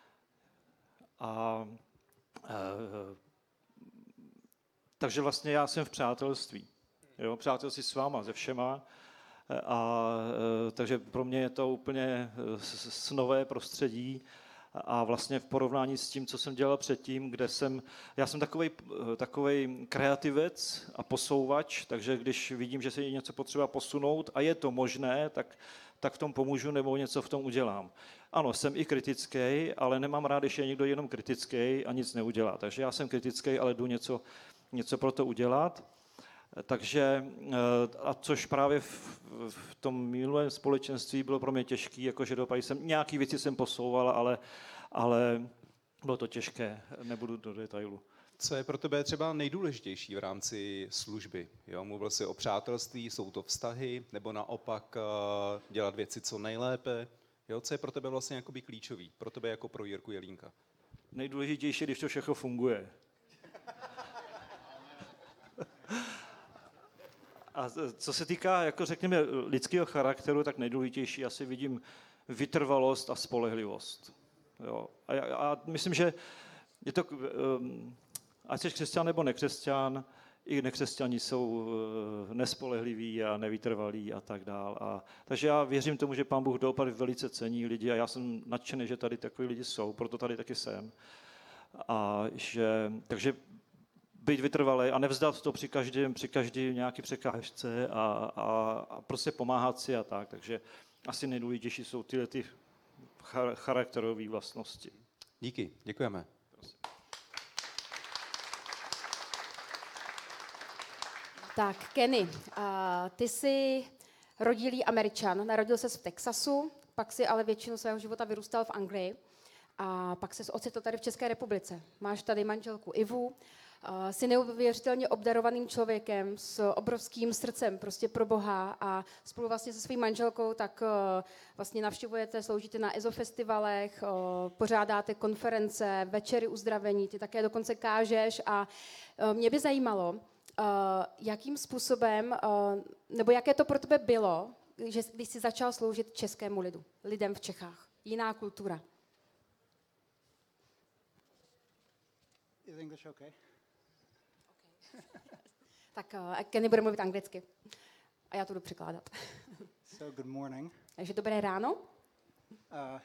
a e, takže vlastně já jsem v přátelství. Jo, přátelství s váma, se všema. A e, takže pro mě je to úplně snové prostředí. A vlastně v porovnání s tím, co jsem dělal předtím, kde jsem, já jsem takovej, takovej kreativec a posouvač, takže když vidím, že se je něco potřeba posunout a je to možné, tak, tak v tom pomůžu nebo něco v tom udělám. Ano, jsem i kritický, ale nemám rád, když je někdo jenom kritický a nic neudělá. Takže já jsem kritický, ale jdu něco, něco pro to udělat. Takže, a což právě v, v tom minulém společenství bylo pro mě těžké, jakože dopady jsem, nějaké věci jsem posouval, ale, ale bylo to těžké, nebudu do detailu. Co je pro tebe třeba nejdůležitější v rámci služby? Jo, mluvil jsi o přátelství, jsou to vztahy, nebo naopak uh, dělat věci co nejlépe? Jo, co je pro tebe vlastně jakoby klíčový? Pro tebe jako pro Jirku Jelínka? Nejdůležitější, když to všechno funguje. A co se týká, jako řekněme, lidského charakteru, tak nejdůležitější asi vidím vytrvalost a spolehlivost. Jo. A, a myslím, že je to, um, ať jsi křesťan nebo nekřesťan, i nekřesťani jsou nespolehliví a nevytrvalí a tak dál. A, takže já věřím tomu, že Pán Bůh doopravdy velice cení lidi a já jsem nadšený, že tady takový lidi jsou, proto tady taky jsem. A že, takže být vytrvalý a nevzdat to při každém, při každé nějaké překážce a, a, a prostě pomáhat si a tak. Takže asi nejdůležitější jsou tyhle ty charakterové vlastnosti. Díky, děkujeme. Tak, Kenny, uh, ty jsi rodilý Američan, narodil ses v Texasu, pak si ale většinu svého života vyrůstal v Anglii a pak ses ocitl tady v České republice. Máš tady manželku Ivu, uh, jsi neuvěřitelně obdarovaným člověkem s obrovským srdcem prostě pro Boha a spolu vlastně se svým manželkou tak uh, vlastně navštěvujete, sloužíte na ezofestivalech, uh, pořádáte konference, večery uzdravení, ty také dokonce kážeš a uh, mě by zajímalo, Uh, jakým způsobem, uh, nebo jaké to pro tebe bylo, že, když jsi začal sloužit českému lidu, lidem v Čechách? Jiná kultura. Is English okay? Tak uh, Kenny bude mluvit anglicky. A já to jdu překládat. So, good morning. Takže dobré ráno. Uh,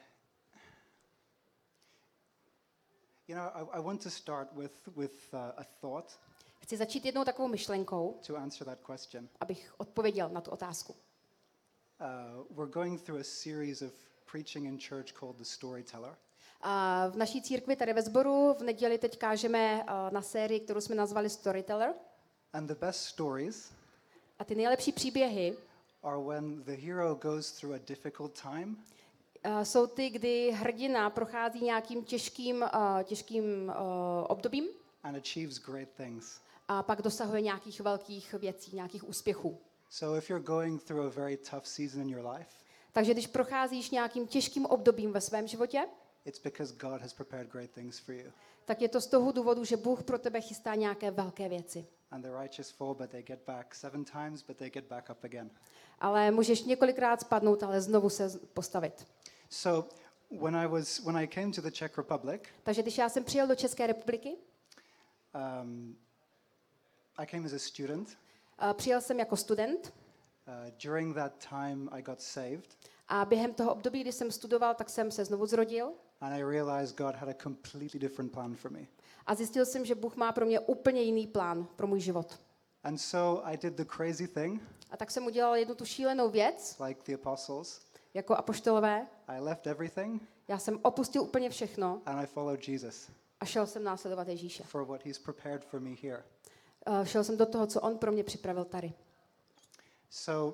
you know, I, I want to start with, with uh, a thought. Chci začít jednou takovou myšlenkou, to answer that question. Abych odpověděl na tu otázku. Uh, we're going through a series of preaching in church called The Storyteller. A v naší církvi tady ve sboru v neděli teď kážeme uh, na sérii, kterou jsme nazvali Storyteller. And the best stories a ty nejlepší příběhy are when the hero goes through a difficult time. Uh, jsou ty, kdy hrdina prochází nějakým těžkým, uh, těžkým uh, obdobím and achieves great things. A pak dosahuje nějakých velkých věcí, nějakých úspěchů. So if you're going through a very tough season in your life, takže když procházíš nějakým těžkým obdobím ve svém životě, it's because God has prepared great things for you. tak je to z toho důvodu, že Bůh pro tebe chystá nějaké velké věci. And the righteous fall, but they get back seven times, but they get back up again. Ale můžeš několikrát spadnout, ale znovu se postavit. So when I was when I came to the Czech Republic, takže když já jsem přijel do České republiky, um, I came as a student. Uh, přijel jsem jako student. Uh, during that time, I got saved. A během toho období, kdy jsem studoval, tak jsem se znovu zrodil. And I realized God had a completely different plan for me. A zjistil jsem, že Bůh má pro mě úplně jiný plán pro můj život. And so I did the crazy thing. A tak jsem udělal jednu tu šílenou věc, like the apostles. Jako apoštolové. I left everything. Já jsem opustil úplně všechno. And I followed Jesus. A šel jsem následovat Ježíše. For what he's prepared for me here. Uh, šel jsem do toho, co on pro mě připravil tady. So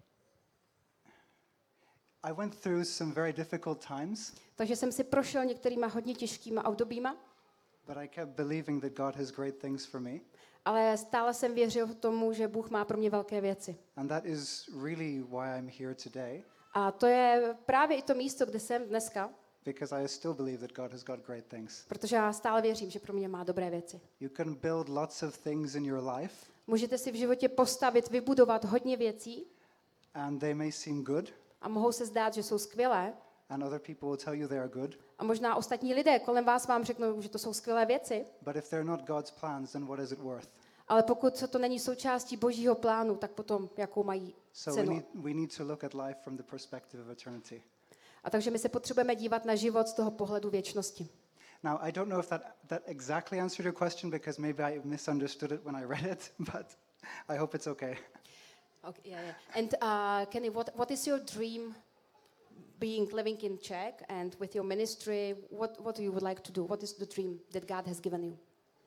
I went through some very difficult times. Takže jsem si prošel některýma hodně těžkýma obdobíma. But I kept believing that God has great things for me. Ale stále jsem věřil tomu, že Bůh má pro mě velké věci. And that is really why I'm here today. A to je právě i to místo, kde jsem dneska. Because I still believe that God has got great things. Protože já stále věřím, že pro mě má dobré věci. You can build lots of things in your life. Můžete si v životě postavit, vybudovat hodně věcí. And they may seem good. A mohou se zdát, že jsou skvělé. And other people will tell you they are good. A možná ostatní lidé kolem vás vám řeknou, že to jsou skvělé věci. But if they're not God's plans, then what is it worth? Ale pokud to není součástí Božího plánu, tak potom jakou mají So we cenu. need, we need to look at life from the perspective of eternity. A takže my se potřebujeme dívat na život z toho pohledu věčnosti. Now, I don't know if that, that exactly answered your question because maybe I misunderstood it when I read it, but I hope it's okay. Okay, yeah, yeah. And uh, Kenny, what, what is your dream being living in Czech and with your ministry? What, what do you would like to do? What is the dream that God has given you?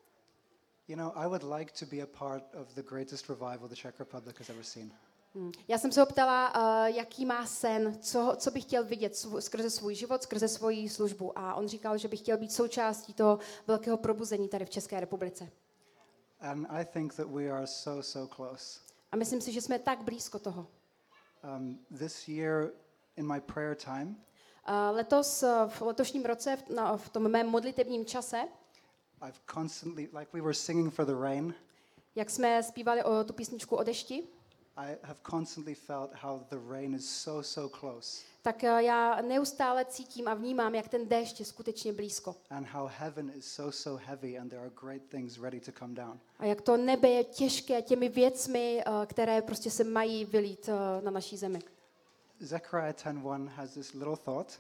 You know, I would like to be a part of the greatest revival the Czech Republic has ever seen. Hmm. Já jsem se ho ptala, uh, jaký má sen, co, co by chtěl vidět sv- skrze svůj život, skrze svoji službu. A on říkal, že by chtěl být součástí toho velkého probuzení tady v České republice. And I think that we are so, so close. A myslím si, že jsme tak blízko toho. Um, this year in my prayer time, Uh, letos, uh, v letošním roce, v, na, v tom mém modlitebním čase, I've constantly, like we were singing for the rain, jak jsme zpívali o tu písničku o dešti, I have constantly felt how the rain is so, so close. tak uh, já neustále cítím a vnímám, jak ten déšť je skutečně blízko. And how heaven is so, so heavy and there are great things ready to come down. A jak to nebe je těžké těmi věcmi, uh, které prostě se mají vylít uh, na naší zemi. Zechariah ten one has this little thought.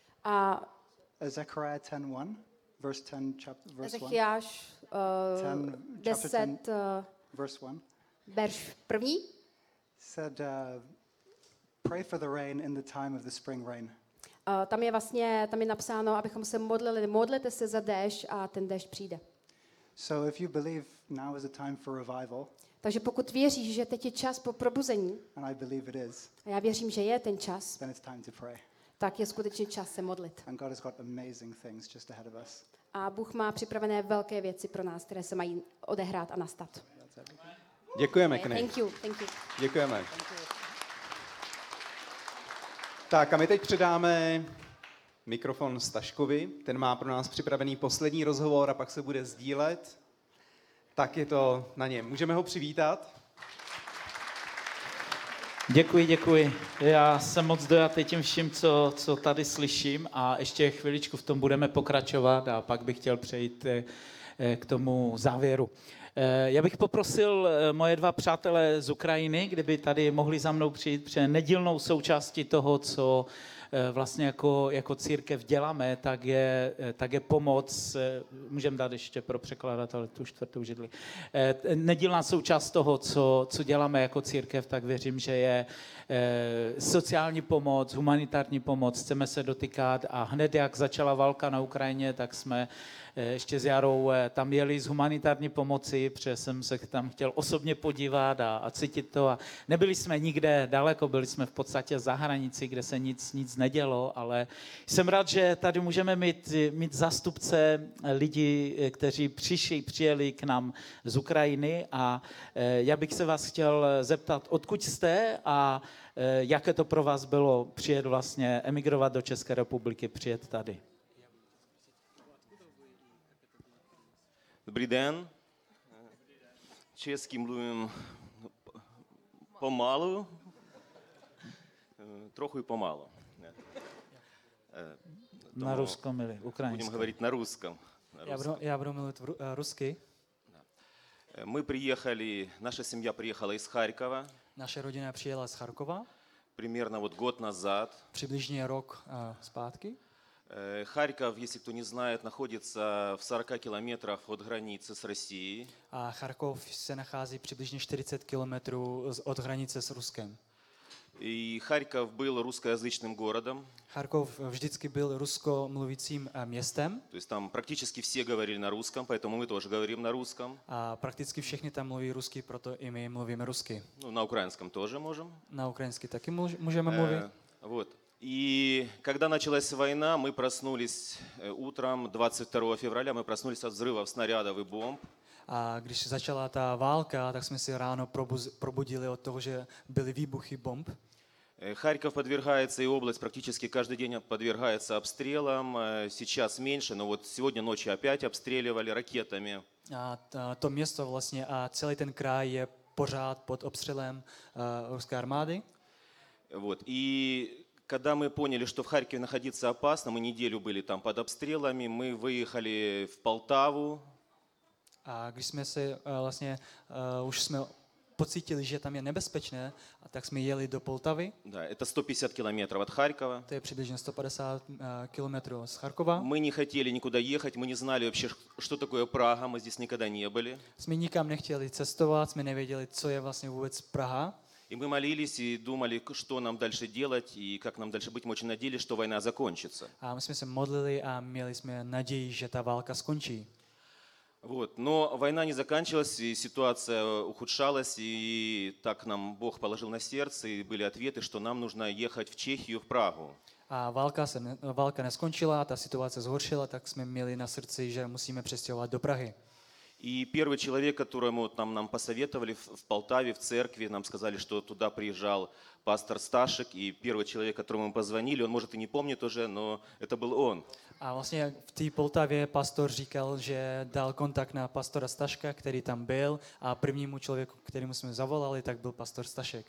A Uh, Zechariah ten one, verse ten, chapter, verse one. Ezechiáš uh, ten, chapter ten, deset, uh, verse one. verš první, Said, uh, pray for the rain in the time of the spring rain. uh, tam je vlastně, tam je napsáno, abychom se modlili, modlete se za déšť a ten déšť přijde. So if you believe now is a time for revival, Takže pokud věříš, že teď je čas po probuzení, and I believe it is, a já věřím, že je ten čas, then it's time to pray. tak je skutečně čas se modlit. And God has got amazing things just ahead of us. A Bůh má připravené velké věci pro nás, které se mají odehrát a nastat. Děkujeme, Kenny. Thank you, thank you. Děkujeme. Tak a my teď předáme mikrofon Staškovi. Ten má pro nás připravený poslední rozhovor a pak se bude sdílet. Tak je to na něm. Můžeme ho přivítat? Děkuji, děkuji. Já jsem moc dojatý tím vším, co, co tady slyším a ještě chviličku v tom budeme pokračovat a pak bych chtěl přejít k tomu závěru. Já bych poprosil moje dva přátelé z Ukrajiny, kdyby tady mohli za mnou přijít, protože nedílnou součástí toho, co vlastně jako, jako církev děláme, tak je, tak je pomoc, můžeme dát ještě pro překladatele tu čtvrtou židli, nedílná součást toho, co, co děláme jako církev, tak věřím, že je sociální pomoc, humanitární pomoc, chceme se dotýkat a hned jak začala válka na Ukrajině, tak jsme ještě s Jarou tam jeli z humanitární pomoci, protože jsem se tam chtěl osobně podívat a, a cítit to. A nebyli jsme nikde daleko, byli jsme v podstatě za hranici, kde se nic, nic nedělo, ale jsem rád, že tady můžeme mít, mít zástupce lidí, kteří přišli, přijeli k nám z Ukrajiny a já bych se vás chtěl zeptat, odkud jste a jaké to pro vás bylo přijet vlastně, emigrovat do České republiky, přijet tady. Dobrý den. Česky mluvím pomalu, trochu i pomalu. Na ruskom или украинском? Будем говорить на русском. На я, буду, я буду говорить русский. Мы приехали, наша семья приехала из Харькова. Naše rodina přijela z Charkova. Примерно вот год назад. Přibližně rok uh, zpátky. Э, Харьков, если кто не знает, находится в сорока километрах от границы с Россией. A Charkov se nachází přibližně čtyřicet kilometrů od hranice s Ruskem. И Харьков был русскоязычным городом. Charkov vždycky byl ruskomluvícím městem. То есть там практически все говорили на русском, поэтому мы тоже говорим на русском. A prakticky všichni tam mluví rusky, proto i my mluvíme rusky. Ну, на украинском тоже можем. Na ukrajinsky taky můžeme mluvit. Э, вот. И когда началась война, мы проснулись утром двадцать второго февраля, мы проснулись от взрывов снарядов и бомб. A když začala ta válka, tak jsme si ráno probuz, probudili od toho, že byly výbuchy bomb. Харьков подвергается, и область практически каждый день подвергается обстрелам. Сейчас меньше, но вот сегодня ночью опять обстреливали ракетами. A to město vlastně a celý ten kraj je pořád pod obstřelem uh, ruské armády. Вот. И когда мы поняли, что в Харькове находиться опасно, мы неделю были там под обстрелами, мы выехали в Полтаву. A když jsme se uh, vlastně uh, už jsme pocítili, že tam je nebezpečné, a tak jsme jeli do Poltavy. Да, это сто пятьдесят километров от Харькова. To je přibližně sto padesát uh, kilometrů z Charkova. Мы не хотели никуда ехать, мы не знали вообще, что такое Прага, мы здесь никогда не были. Jsme nikam nechtěli cestovat, jsme nevěděli, co je vlastně vůbec Praha. И мы молились и думали, что нам дальше делать и как нам дальше быть. Мы очень надеялись, что война закончится. A my jsme se modlili a měli jsme naději, že ta válka skončí. Вот. Но война не заканчивалась, и ситуация ухудшалась, и так нам Бог положил на сердце, и были ответы, что нам нужно ехать в Чехию, в Прагу. A válka, se ne, válka neskončila, ta situace zhoršila, tak jsme měli na srdci, že musíme přestěhovat do Prahy. И первый человек, которому там нам посоветовали в, в Полтаве, в церкви, нам сказали, что туда приезжал пастор Сташек, и первый человек, которому мы позвонили, он, может, и не помнит уже, но это был он. A vlastně v té Poltavě pastor říkal, že dal kontakt na pastora Staška, který tam byl, a prvnímu člověku, kterému jsme zavolali, tak byl pastor Stašek.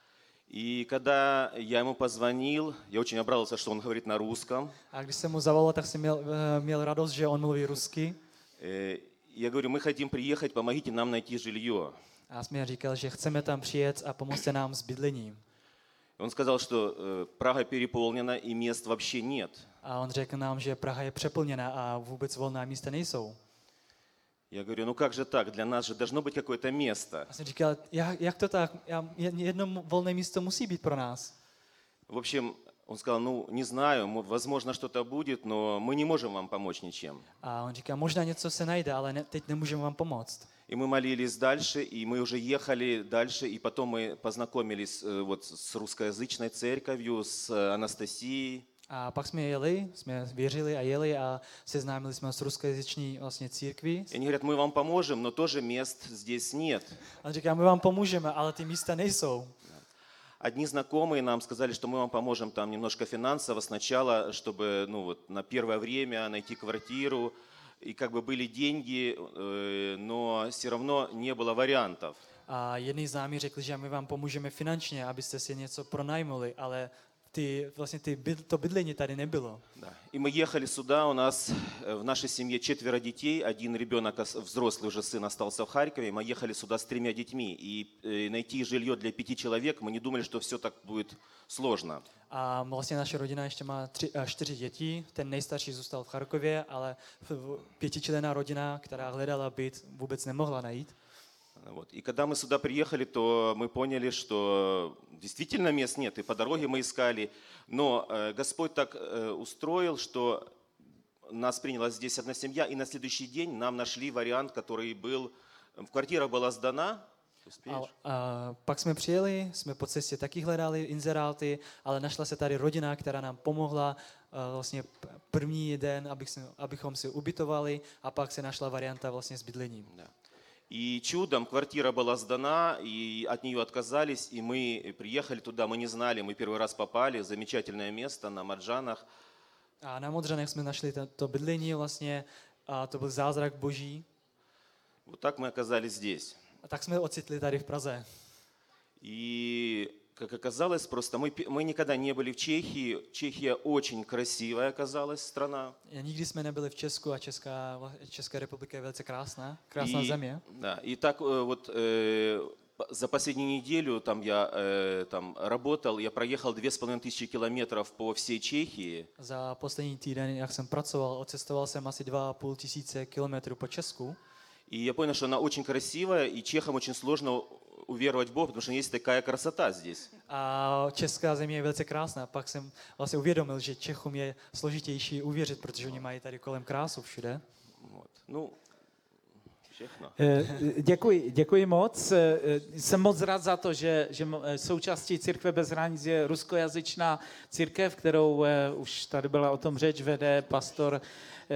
И когда я ему позвонил, я очень обрадовался, что он говорит на русском. A když jsem mu zavolal, tak jsem měl, měl radost, že on mluví rusky. Я говорю, мы хотим приехать, помогите нам найти жилье. A jsem říkal, že chceme tam přijet a pomozte nám s bydlením. Он сказал, что э, Прага переполнена и мест вообще нет. A on řekl nám, že Praha je přeplněná a vůbec volná místa nejsou. Я говорю, ну как же так? Для нас же должно быть какое-то место. A jsem říkal, jak, jak to tak? Jedno volné místo musí být pro nás. В общем, он сказал, ну не знаю, возможно что-то будет, но мы не можем вам помочь ничем. A on říká, možná něco se najde, ale ne, teď nemůžeme vám pomoct. И мы молились дальше, и мы уже ехали дальше, и потом мы познакомились э, вот с русскоязычной церковью, с Анастасией. A pak jsme jeli, jsme věřili a jeli a seznámili jsme s ruskojazyční vlastně církví. И они говорят, мы вам поможем, но тоже мест здесь нет. A on říká, my vám pomůžeme, ale ty místa nejsou. Одни знакомые нам сказали, что мы вам поможем там немножко финансово сначала, чтобы ну, вот, на первое время найти квартиру. И как бы были деньги, э, но все равно не было вариантов. A jedný známý řekl, že my vám pomůžeme finančně, abyste si něco pronajmuli, ale ty, vlastně ty byd, to bydlení tady nebylo. Да. И мы ехали сюда, у нас в нашей семье четверо детей, один ребенок, взрослый уже сын, остался в Харькове, мы ехали сюда с тремя детьми, и найти жилье для пяти человек, мы не думали, что все так будет сложно. A vlastně naše rodina ještě má tři, čtyři děti, ten nejstarší zůstal v Charkově, ale pětičlenná rodina, která hledala byt, vůbec nemohla najít. Вот. И когда мы сюда приехали, то мы поняли, что действительно мест нет, и по дороге мы искали. Но э, Господь так э, устроил, что нас приняла здесь одна семья, и на следующий день нам нашли вариант, который был... Kvartíra byla zdaná. A, a pak jsme přijeli, jsme po cestě taky hledali inzeráty, ale našla se tady rodina, která nám pomohla uh, vlastně první den, abych si, abychom si ubytovali, a pak se našla varianta vlastně s bydlením. Да. И чудом квартира была сдана, и от нее отказались, и мы приехали туда, мы не знали, мы первый раз попали, замечательное место на Марджанах. A na Modřanech jsme našli to, to bydlení vlastně, a to byl zázrak boží. Вот так мы оказались здесь. A tak jsme ocitli tady v Praze. И, как оказалось, просто мы, мы никогда не были в Чехии. Чехия очень красивая оказалась страна. Nikdy jsme nebyli v Česku a Česká, Česká republika je velice krásná, krásná и, země. Да, и так вот э, п- за последнюю неделю там я э, там работал, я проехал две с половиной тысячи километров по всей Чехии. Za poslední týden, jak jsem pracoval, odcestoval jsem asi dva a půl tisíce kilometrů po Česku. И я понял, что она очень красивая, и чехам очень сложно уверовать в Бога, потому что есть такая красота здесь. A česká země je velice krásná. Pak jsem vlastně uvědomil, že Čechům je složitější uvěřit, protože oni mají tady kolem krásu všude. Вот. Ну, všechno. Eh, Děkuji, děkuji moc. Eh, Jsem moc rád za to, že, že mo- eh, součástí Církve bez hranic je ruskojazyčná církev, kterou eh, už tady byla o tom řeč, vede pastor, eh,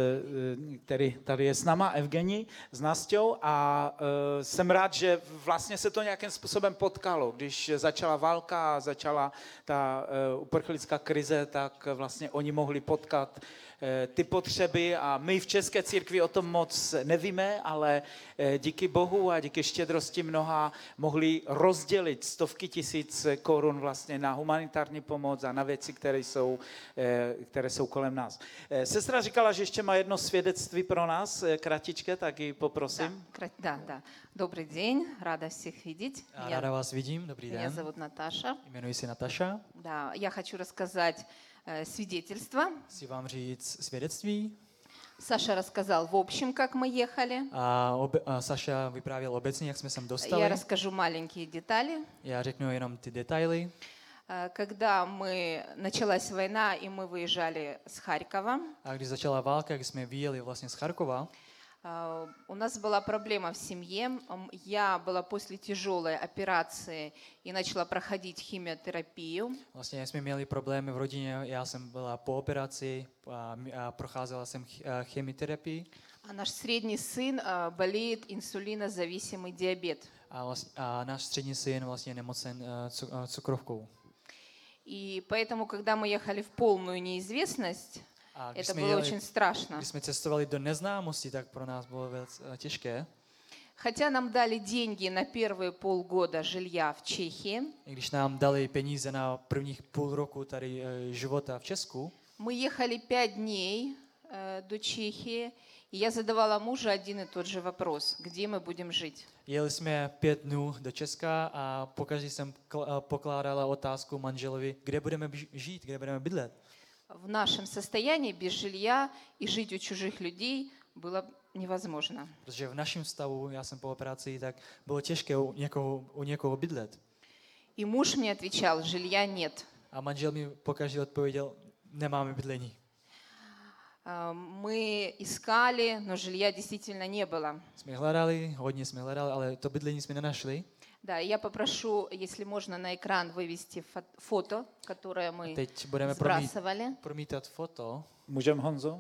eh, který tady je s náma, Evgenij, s Nasťou, a eh, jsem rád, že vlastně se to nějakým způsobem potkalo. Když začala válka a začala ta eh, uprchlická krize, tak vlastně oni mohli potkat eh, ty potřeby a my v České církvi o tom moc nevíme, ale eh, díky Bohu a díky štědrosti mnoha mohli rozdělit stovky tisíc korun vlastně na humanitární pomoc a na věci, které jsou, eh, které jsou kolem nás. Eh, Sestra říkala, že ještě má jedno svědectví pro nás, eh, kratičké, tak ji poprosím. Кра- Да, да. Добрый день, рада всех видеть. A ráda vás vidím, dobrý меня den. зовут Наташа. Jmenuji se Nataša. Да, я хочу рассказать э, свидетельство. Chci vám říct svědectví. Саша рассказал в общем, как мы ехали. A, obe, a Saša vyprávěl obecně, jak jsme sem dostali. Я расскажу маленькие детали. Já řeknu jenom ty detaily. Э, Когда мы началась война и мы выезжали с Харькова, A když začala válka, když jsme vyjeli vlastně z Charkova, э, у нас была проблема в семье. М, Я была после тяжелой операции и начала проходить химиотерапию. vlastně jsme měli problémy v rodině. Já jsem byla po operaci a, a procházela jsem ch- a chemioterapii. А наш средний сын э, болеет инсулинозависимый диабет. A, vlastně, a náš střední syn vlastně je nemocen uh, cu, uh, cukrovkou. И поэтому, когда мы ехали в полную неизвестность, A když это jsme, было jeli, очень страшно. když jsme cestovali do neznámosti, tak pro nás bylo velice uh, těžké. Хотя нам дали деньги на первые полгода жилья в Чехии, I když nám dali peníze na prvních půl roku tady uh, života v Česku, мы ехали пять дней э, до Чехии, и я задавала мужу один и тот же вопрос, где мы будем жить. jeli jsme pět dnů do Česka a pokaždé jsem kl- uh, pokládala otázku manželovi, kde budeme bž- žít, kde budeme bydlet. В нашем состоянии без жилья и жить у чужих людей было невозможно. Protože v našem stavu, já jsem po operaci, tak bylo těžké u někoho, u někoho bydlet. И муж мне отвечал, жилья нет. A manžel mi pokaždé odpověděl, nemáme bydlení. А, Мы искали, но жилья действительно не было. Jsme hledali, hodně jsme hledali, ale to bydlení jsme nenašli. Да, я попрошу, если можно, на экран вывести фо- фото, которое мы Teď budeme promít, сбрасывали. promítat foto. Můžem, Honzo?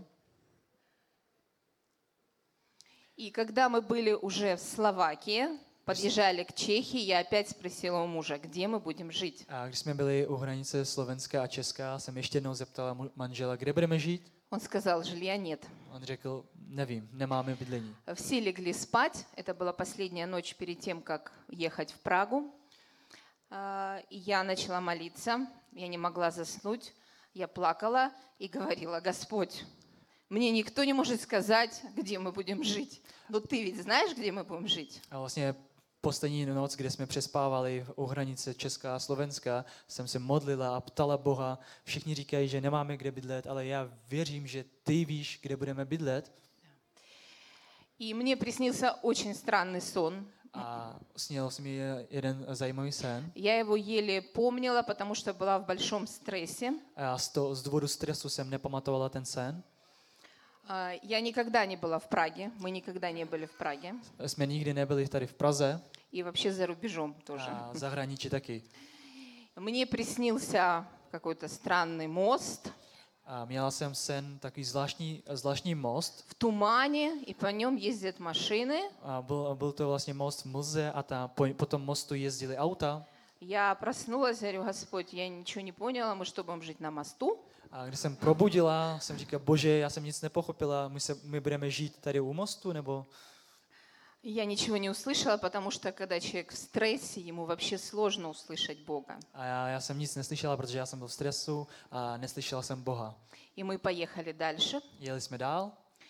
И когда мы были уже в Словакии, подъезжали к Чехии, я опять спросила у мужа, где мы будем жить. A když jsme byli u hranice Slovenska a Česka, jsem ještě jednou zeptala mu- manžela, kde budeme žít. Он сказал, жилья нет. On řekl, nevím, nemáme bydlení. Все легли спать. Это была последняя ночь перед тем, как ехать в Прагу. А, и Я начала молиться. Я не могла заснуть. Я плакала и говорила, Господь, мне никто не может сказать, где мы будем жить. Но ты ведь знаешь, где мы будем жить? A vlastně poslední noc, kde jsme přespávali u hranice Česka a Slovenska, jsem se modlila a ptala Boha. Všichni říkají, že nemáme kde bydlet, ale já věřím, že ty víš, kde budeme bydlet. И мне приснился очень странный сон. A sněl jsem mi jeden zajímavý sen. Я его еле помнила, потому что была в большом стрессе. A já z, to, z důvodu stresu jsem nepamatovala ten sen. А, Я никогда не была в Праге. Мы никогда не были в Праге. Jsme nikdy nebyli tady v Praze И вообще за рубежом тоже. a v zahraničí taky. Мне приснился какой-то странный мост A měla jsem sen takový zvláštní, zvláštní most. в тумане, и по нем ездят машины. A byl, byl to vlastně most v mlze a ta, po, po tom mostu jezdily auta. Я проснулась, говорю, Господь, я ничего не поняла, мы что, будем жить на мосту? A když jsem probudila, jsem říkal, bože, já jsem nic nepochopila, my, se, my budeme žít tady u mostu, nebo... Я ничего не услышала, потому что когда человек в стрессе, ему вообще сложно услышать Бога. A já, já jsem nic neslyšela, protože já jsem byl v stresu a neslyšela jsem Boha. И мы поехали дальше. Jeli jsme dál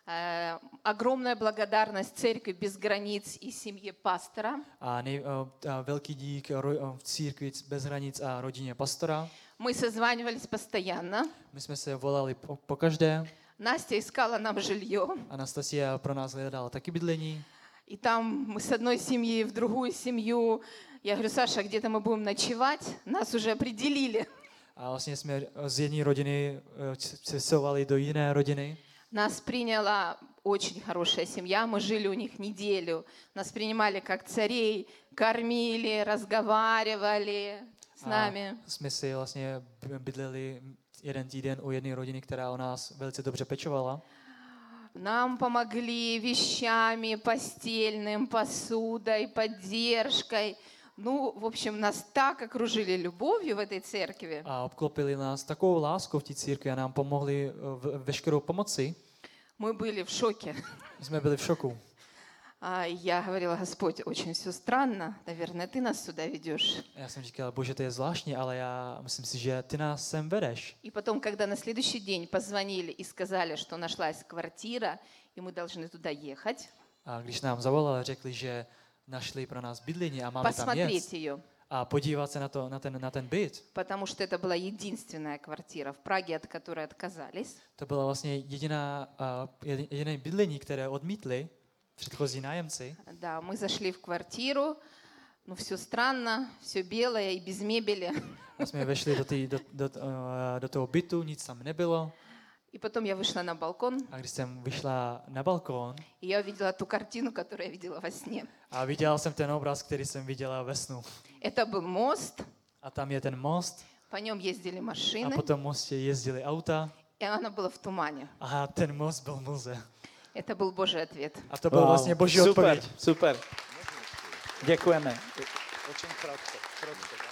Э, Огромная благодарность церкви без границ и семье пастора. A, nej, a velký dík ro, církvi bez hranic a rodině pastora. Мы созванивались постоянно. My jsme se volali po, po každé. Настя искала нам жилье. Anastasia pro nás hledala taky bydlení. И там мы с одной семьи в другую семью. Я говорю, Саша, где-то мы будем ночевать? Нас уже определили. A vlastně jsme z jedné rodiny cestovali do jiné rodiny. Нас приняла очень хорошая семья. Мы жили у них неделю. Нас принимали как царей, кормили, разговаривали с нами. A jsme si vlastně bydleli jeden týden u jedné rodiny, která o nás velice dobře pečovala. Нам помогли вещами, постельным, посудой, поддержкой. Ну, в общем, нас так окружили любовью в этой церкви. A obklopili nás takovou láskou v té církvi a nám pomohli v veškerou pomoci. Мы были в шоке. My jsme byli v šoku. А я говорила, Господь, очень все странно. Наверное, ты нас сюда ведешь. Já jsem říkal, Bože, to je zvláštní, ale já myslím si, že ty nás sem vedeš. И потом, когда на следующий день позвонили и сказали, что нашлась квартира, и мы должны туда ехать, A když nám zavolali, řekli, že našli pro nás bydlení a máme tam посмотреть jet ее, a podívat se na, to, na, ten, na ten byt. потому что это была единственная квартира в Праге, от которой отказались. To byla vlastně jediná, uh, jediné bydlení, které odmítli předchozí nájemci. Да, мы зашли в квартиру, ну все странно, все белое и без мебели. A jsme vešli do, tý, do, do, uh, do toho bytu, nic tam nebylo. И потом я вышла на балкон, A když jsem vyšla na balkón и я увидела ту картину, которую я видела во сне. a viděla jsem ten obraz, který jsem viděla ve snu. Это был мост, A tam je ten most по нем ездили a машины, po tom mostě jezdily auta и оно было в тумане. a ten most byl v mlze. Это был Божий ответ. A to byl vlastně boží super, odpověď. Super, děkujeme. Очень кратко, кратко, да?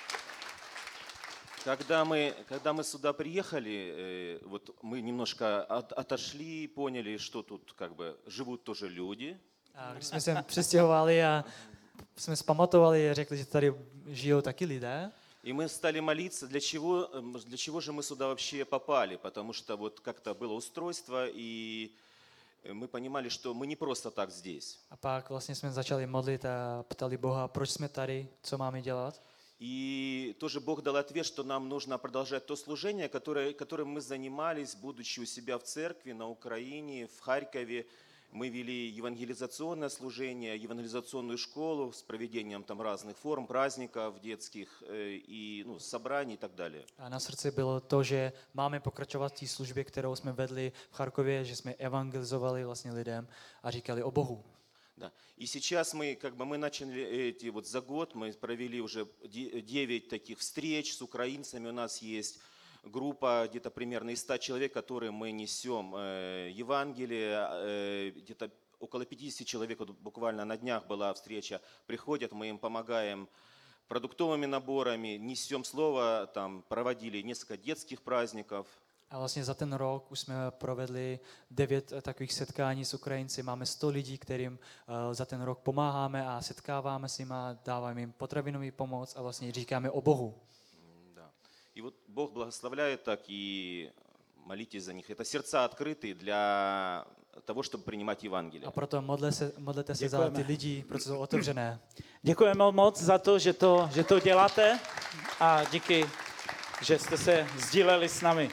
Когда мы, когда мы сюда приехали, э, вот мы немножко от, отошли, поняли, что тут как бы живут тоже люди. A když jsme se přestěhovali a jsme zpamatovali a řekli, že tady žijou taky lidé. И мы стали молиться, для чего, э, для чего же мы сюда вообще попали, потому что вот как-то было устройство, и мы понимали, что мы не просто так здесь. A pak vlastně jsme začali modlit a ptali Boha, proč jsme tady, co máme dělat. И тоже Бог дал ответ, что нам нужно продолжать то служение, которое, которым мы занимались, будучи у себя в церкви на Украине, в Харькове. Мы вели евангелизационное служение, евангелизационную школу с проведением там разных форм, праздников детских э, и ну, собраний и так далее. A na srdci bylo to, že máme pokračovat v té službě, kterou jsme vedli v Charkově, že jsme evangelizovali vlastně lidem a říkali o Bohu. Да. И сейчас мы, как бы, мы начали эти вот за год, мы провели уже девять таких встреч с украинцами. У нас есть группа где-то примерно из ста человек, которые мы несем э, Евангелие. Э, где-то около пятидесяти человек, вот буквально на днях была встреча, приходят, мы им помогаем продуктовыми наборами, несем слово, там проводили несколько детских праздников. A vlastně za ten rok už jsme provedli devět takových setkání s Ukrajinci. Máme sto lidí, kterým uh, za ten rok pomáháme a setkáváme s nimi, dáváme jim potravinový pomoc a vlastně říkáme o Bohu. Да. И вот Бог благословляет так, и молитесь за них. Это сердца открытые для того, чтобы принимать Евангелие. A proto modle se, modlete se za ty lidi, protože jsou otevřené. Děkujeme moc za to, že to, že to děláte a díky, že jste se sdíleli s námi.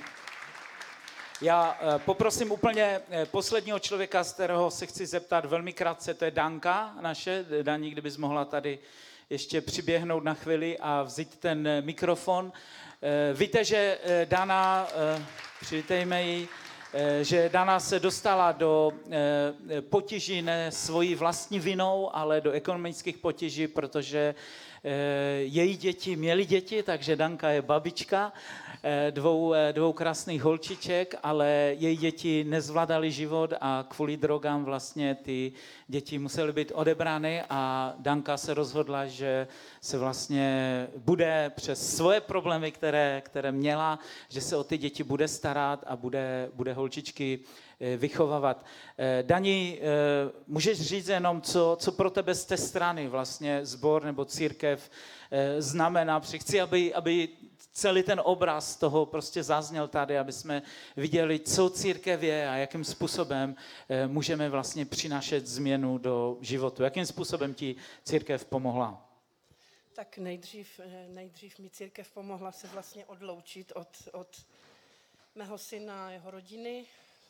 Já poprosím úplně posledního člověka, z kterého se chci zeptat velmi krátce, to je Danka naše. Daní, kdybys mohla tady ještě přiběhnout na chvíli a vzít ten mikrofon. Víte, že Dana, přivítejme ji, že Dana se dostala do potíží ne svojí vlastní vinou, ale do ekonomických potíží, protože její děti měly děti, takže Danka je babička dvou, dvou krásných holčiček, ale její děti nezvládaly život a kvůli drogám vlastně ty děti musely být odebrány a Danka se rozhodla, že se vlastně bude přes svoje problémy, které, které měla, že se o ty děti bude starat a bude, bude holčičky vychovávat. Dani, můžeš říct jenom, co, co pro tebe z té strany vlastně sbor nebo církev znamená? Chci, aby, aby celý ten obraz toho prostě zazněl tady, aby jsme viděli, co církev je a jakým způsobem můžeme vlastně přinášet změnu do životu. Jakým způsobem ti církev pomohla? Tak nejdřív, nejdřív mi církev pomohla se vlastně odloučit od, od mého syna a jeho rodiny,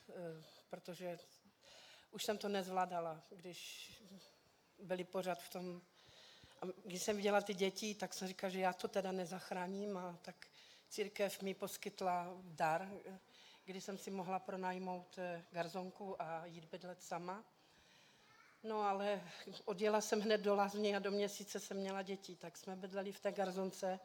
protože už jsem to nezvládala, když byli pořád v tom. A když jsem viděla ty děti, tak jsem říkala, že já to teda nezachráním, a tak církev mi poskytla dar, kdy jsem si mohla pronajmout garzonku a jít bydlet sama. No ale odjela jsem hned do Lázně a do měsíce jsem měla děti, tak jsme bydleli v té garzonce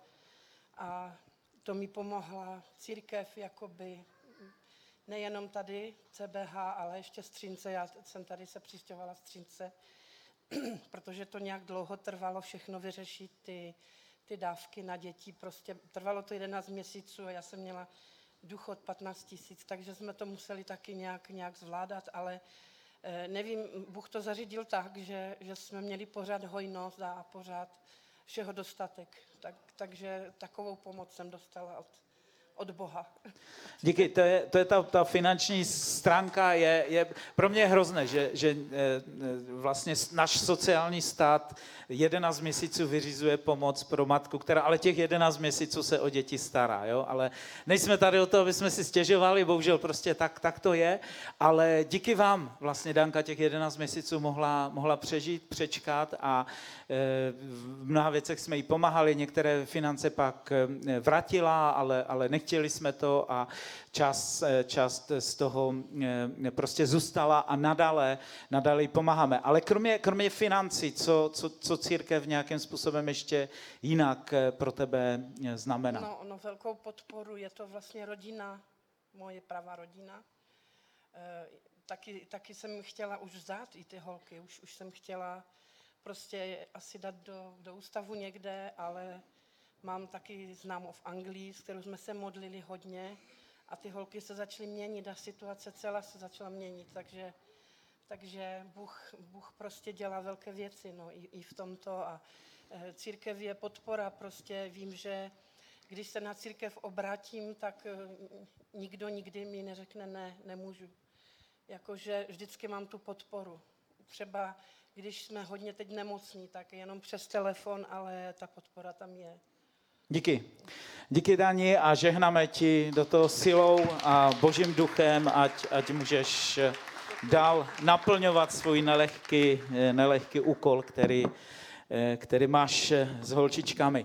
a to mi pomohla církev, jakoby nejenom tady C B H, ale ještě Střínce. Já jsem tady se přistěhovala Střínce, protože to nějak dlouho trvalo všechno vyřešit, ty, ty dávky na děti. Prostě trvalo to jedenáct měsíců a já jsem měla důchod patnáct tisíc, takže jsme to museli taky nějak, nějak zvládat, ale eh, nevím, Bůh to zařídil tak, že, že jsme měli pořád hojnost a pořád všeho dostatek. Tak, takže takovou pomoc jsem dostala od, od Boha. Díky, to je, to je ta, ta finanční stránka, je, je pro mě je hrozné, že, že vlastně náš sociální stát jedenáct měsíců vyřizuje pomoc pro matku, která ale těch jedenáct měsíců se o děti stará, jo? Ale nejsme tady o to, aby jsme si stěžovali, bohužel prostě tak, tak to je, ale díky vám vlastně Danka těch jedenáct měsíců mohla, mohla přežít, přečkat a e, v mnoha věcech jsme jí pomáhali, některé finance pak vrátila, ale, ale nechtěli jsme to a část, část z toho prostě zůstala a nadále, nadále jí pomáháme. Ale kromě, kromě financí, co, co, co církev nějakým způsobem ještě jinak pro tebe znamená? No, no velkou podporu je to vlastně rodina, moje pravá rodina. E, taky, taky jsem chtěla už vzdát i ty holky, už, už jsem chtěla prostě asi dát do, do ústavu někde, ale mám taky známou v Anglii, s kterou jsme se modlili hodně a ty holky se začaly měnit a situace celá se začala měnit, takže, takže Bůh, Bůh prostě dělá velké věci, no, i, i v tomto a e, církev je podpora, prostě vím, že když se na církev obrátím, tak e, nikdo nikdy mi neřekne ne, nemůžu. Jakože vždycky mám tu podporu. Třeba když jsme hodně teď nemocní, tak jenom přes telefon, ale ta podpora tam je. Díky. Díky, Dani, a žehnáme ti do toho silou a Božím duchem, ať, ať můžeš dál naplňovat svůj nelehký, nelehký úkol, který, který máš s holčičkami.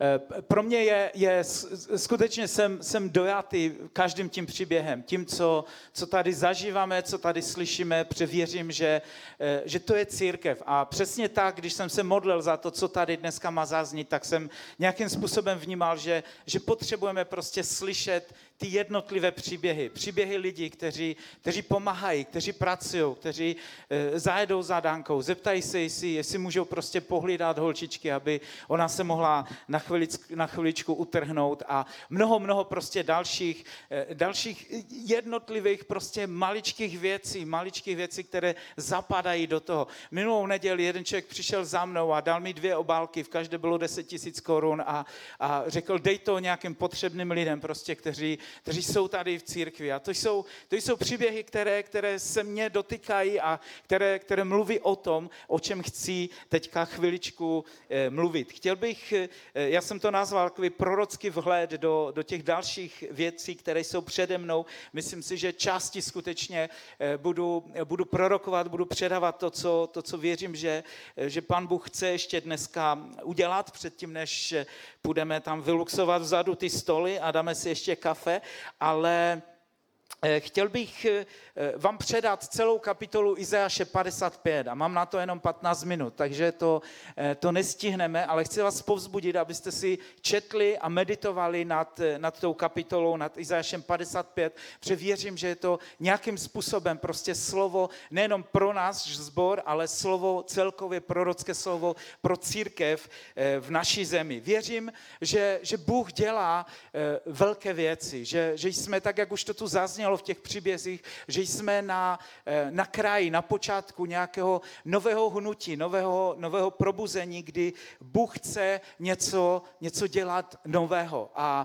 Pro mě je, je skutečně jsem, jsem dojatý každým tím příběhem, tím, co, co tady zažíváme, co tady slyšíme, převěřím, že, že to je církev. A přesně tak, když jsem se modlil za to, co tady dneska má zaznít, tak jsem nějakým způsobem vnímal, že, že potřebujeme prostě slyšet ty jednotlivé příběhy. Příběhy lidí, kteří, kteří pomáhají, kteří pracují, kteří e, zajedou za Dankou, zeptají se, jestli, jestli můžou prostě pohlídat holčičky, aby ona se mohla na chviličku, na chviličku utrhnout a mnoho, mnoho prostě dalších, e, dalších jednotlivých prostě maličkých věcí, maličkých věcí, které zapadají do toho. Minulou neděli jeden člověk přišel za mnou a dal mi dvě obálky, v každé bylo deset tisíc korun a, a řekl, dej to nějakým potřebným lidem, prostě, kteří kteří jsou tady v církvi. A to jsou, to jsou příběhy, které, které se mě dotýkají a které, které mluví o tom, o čem chci teďka chviličku eh, mluvit. Chtěl bych, eh, já jsem to nazval takový prorocký vhled do, do těch dalších věcí, které jsou přede mnou. Myslím si, že části skutečně eh, budu, budu prorokovat, budu předávat to, co, to, co věřím, že, že Pán Bůh chce ještě dneska udělat předtím, než půjdeme tam vyluxovat vzadu ty stoly a dáme si ještě kafe, ale chtěl bych vám předat celou kapitolu Izajáše padesát pět a mám na to jenom patnáct minut, takže to, to nestihneme, ale chci vás povzbudit, abyste si četli a meditovali nad, nad tou kapitolou, nad Izajášem padesát pět, protože věřím, že je to nějakým způsobem prostě slovo nejenom pro nás sbor, ale slovo celkově prorocké slovo pro církev v naší zemi. Věřím, že, že Bůh dělá velké věci, že, že jsme tak, jak už to tu zaznělo, zaznělo v těch příbězích, že jsme na, na kraji, na počátku nějakého nového hnutí, nového, nového probuzení, kdy Bůh chce něco, něco dělat nového. A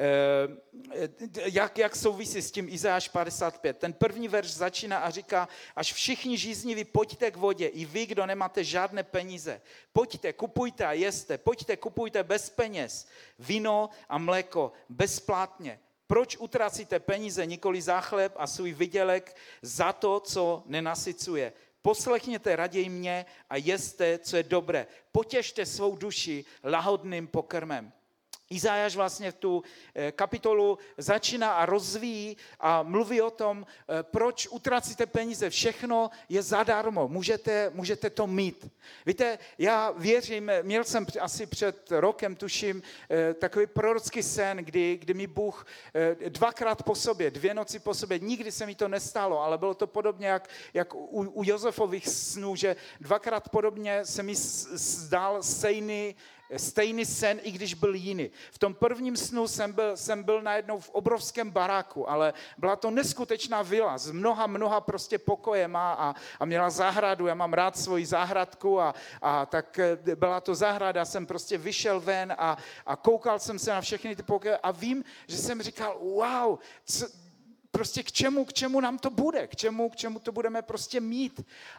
jak, jak souvisí s tím Izajáš padesát pět? Ten první verš začíná a říká, až všichni žízniví, pojďte k vodě, i vy, kdo nemáte žádné peníze. Pojďte, kupujte a jeste, pojďte, kupujte bez peněz, víno a mléko bezplatně. Proč utracíte peníze, nikoli za chléb a svůj vydělek za to, co nenasycuje? Poslechněte raději mě a jeste, co je dobré. Potěšte svou duši lahodným pokrmem. Izajáš vlastně v tu kapitolu začíná a rozvíjí a mluví o tom, proč utracíte peníze. Všechno je zadarmo, můžete, můžete to mít. Víte, já věřím, měl jsem asi před rokem, tuším, takový prorocký sen, kdy, kdy mi Bůh dvakrát po sobě, dvě noci po sobě, nikdy se mi to nestalo, ale bylo to podobně jak, jak u, u Josefových snů, že dvakrát podobně se mi zdál stejný Stejný sen, i když byl jiný. V tom prvním snu jsem byl, jsem byl najednou v obrovském baráku, ale byla to neskutečná vila s mnoha, mnoha prostě pokojema a, a měla zahradu. Já mám rád svoji zahradku a, a tak byla to zahrada, jsem prostě vyšel ven a, a koukal jsem se na všechny ty pokoje a vím, že jsem říkal, wow, co, prostě k čemu, k čemu nám to bude, k čemu, k čemu to budeme prostě mít.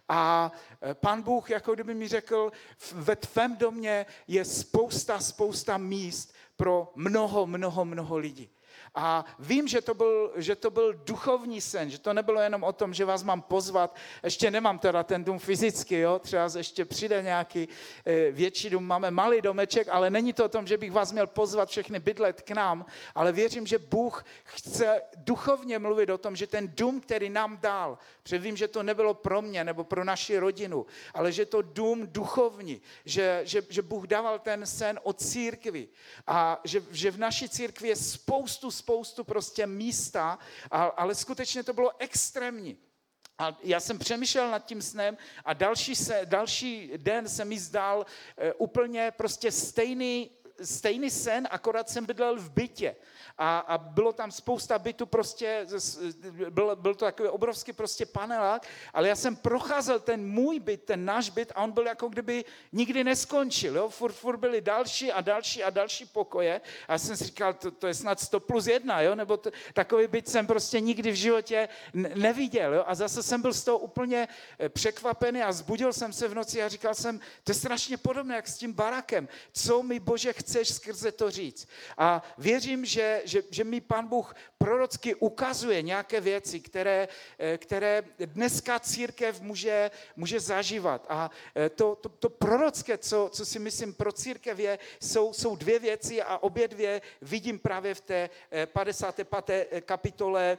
A Pán Bůh, jako kdyby mi řekl, ve tvém domě je spousta, spousta míst pro mnoho, mnoho, mnoho lidí. A vím, že to, byl, že to byl duchovní sen, že to nebylo jenom o tom, že vás mám pozvat, ještě nemám teda ten dům fyzicky, jo? Třeba ještě přijde nějaký e, větší dům, máme malý domeček, ale není to o tom, že bych vás měl pozvat všechny bydlet k nám, ale věřím, že Bůh chce duchovně mluvit o tom, že ten dům, který nám dal, protože vím, že to nebylo pro mě nebo pro naši rodinu, ale že to dům duchovní, že, že, že Bůh dával ten sen o církvi a že, že v naší církvi je spoustu, spoustu prostě místa, ale skutečně to bylo extrémní. A já jsem přemýšlel nad tím snem a další, se, další den se mi zdál e, úplně prostě stejný, stejný sen, akorát jsem bydlel v bytě. A, a bylo tam spousta bytů, prostě, byl, byl to takový obrovský prostě panelák, ale já jsem procházel ten můj byt, ten náš byt a on byl jako kdyby nikdy neskončil. Jo? Furt, furt byly další a další a další pokoje a já jsem si říkal, to, to je snad sto plus jedna, jo? Nebo to, takový byt jsem prostě nikdy v životě neviděl. Jo? A zase jsem byl z toho úplně překvapený a zbudil jsem se v noci a říkal jsem, to je strašně podobné jak s tím barakem. Co mi, Bože, chceš skrze to říct? A věřím, že Že, že mi Pán Bůh prorocky ukazuje nějaké věci, které, které dneska církev může, může zažívat. A to, to, to prorocké, co, co si myslím pro církev je, jsou, jsou dvě věci a obě dvě vidím právě v té padesáté páté kapitole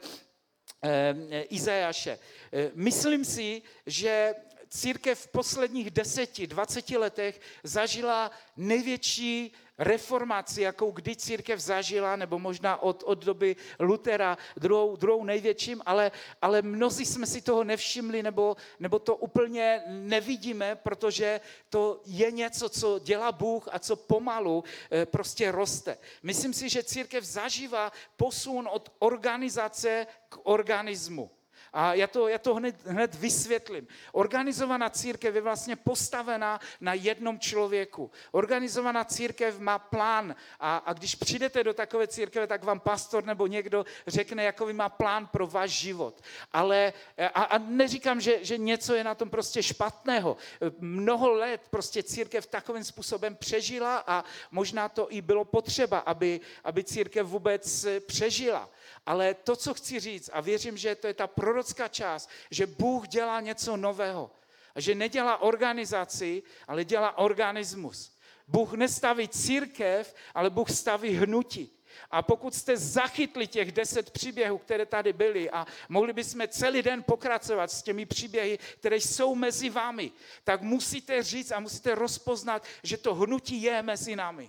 Izajáše. Myslím si, že církev v posledních deseti, dvaceti letech zažila největší reformaci, jakou kdy církev zažila, nebo možná od, od doby Lutera, druhou, druhou největším, ale, ale mnozí jsme si toho nevšimli, nebo, nebo to úplně nevidíme, protože to je něco, co dělá Bůh a co pomalu e, prostě roste. Myslím si, že církev zažívá posun od organizace k organismu. A já to, já to hned, hned vysvětlím. Organizovaná církev je vlastně postavená na jednom člověku. Organizovaná církev má plán a, a když přijdete do takové církve, tak vám pastor nebo někdo řekne, jakový má plán pro váš život. Ale a, a neříkám, že, že něco je na tom prostě špatného. Mnoho let prostě církev takovým způsobem přežila a možná to i bylo potřeba, aby, aby církev vůbec přežila. Ale to, co chci říct, a věřím, že to je ta prorocká část, že Bůh dělá něco nového. A že nedělá organizaci, ale dělá organismus. Bůh nestaví církev, ale Bůh staví hnutí. A pokud jste zachytli těch deset příběhů, které tady byly a mohli bychom celý den pokračovat s těmi příběhy, které jsou mezi vámi, tak musíte říct a musíte rozpoznat, že to hnutí je mezi námi.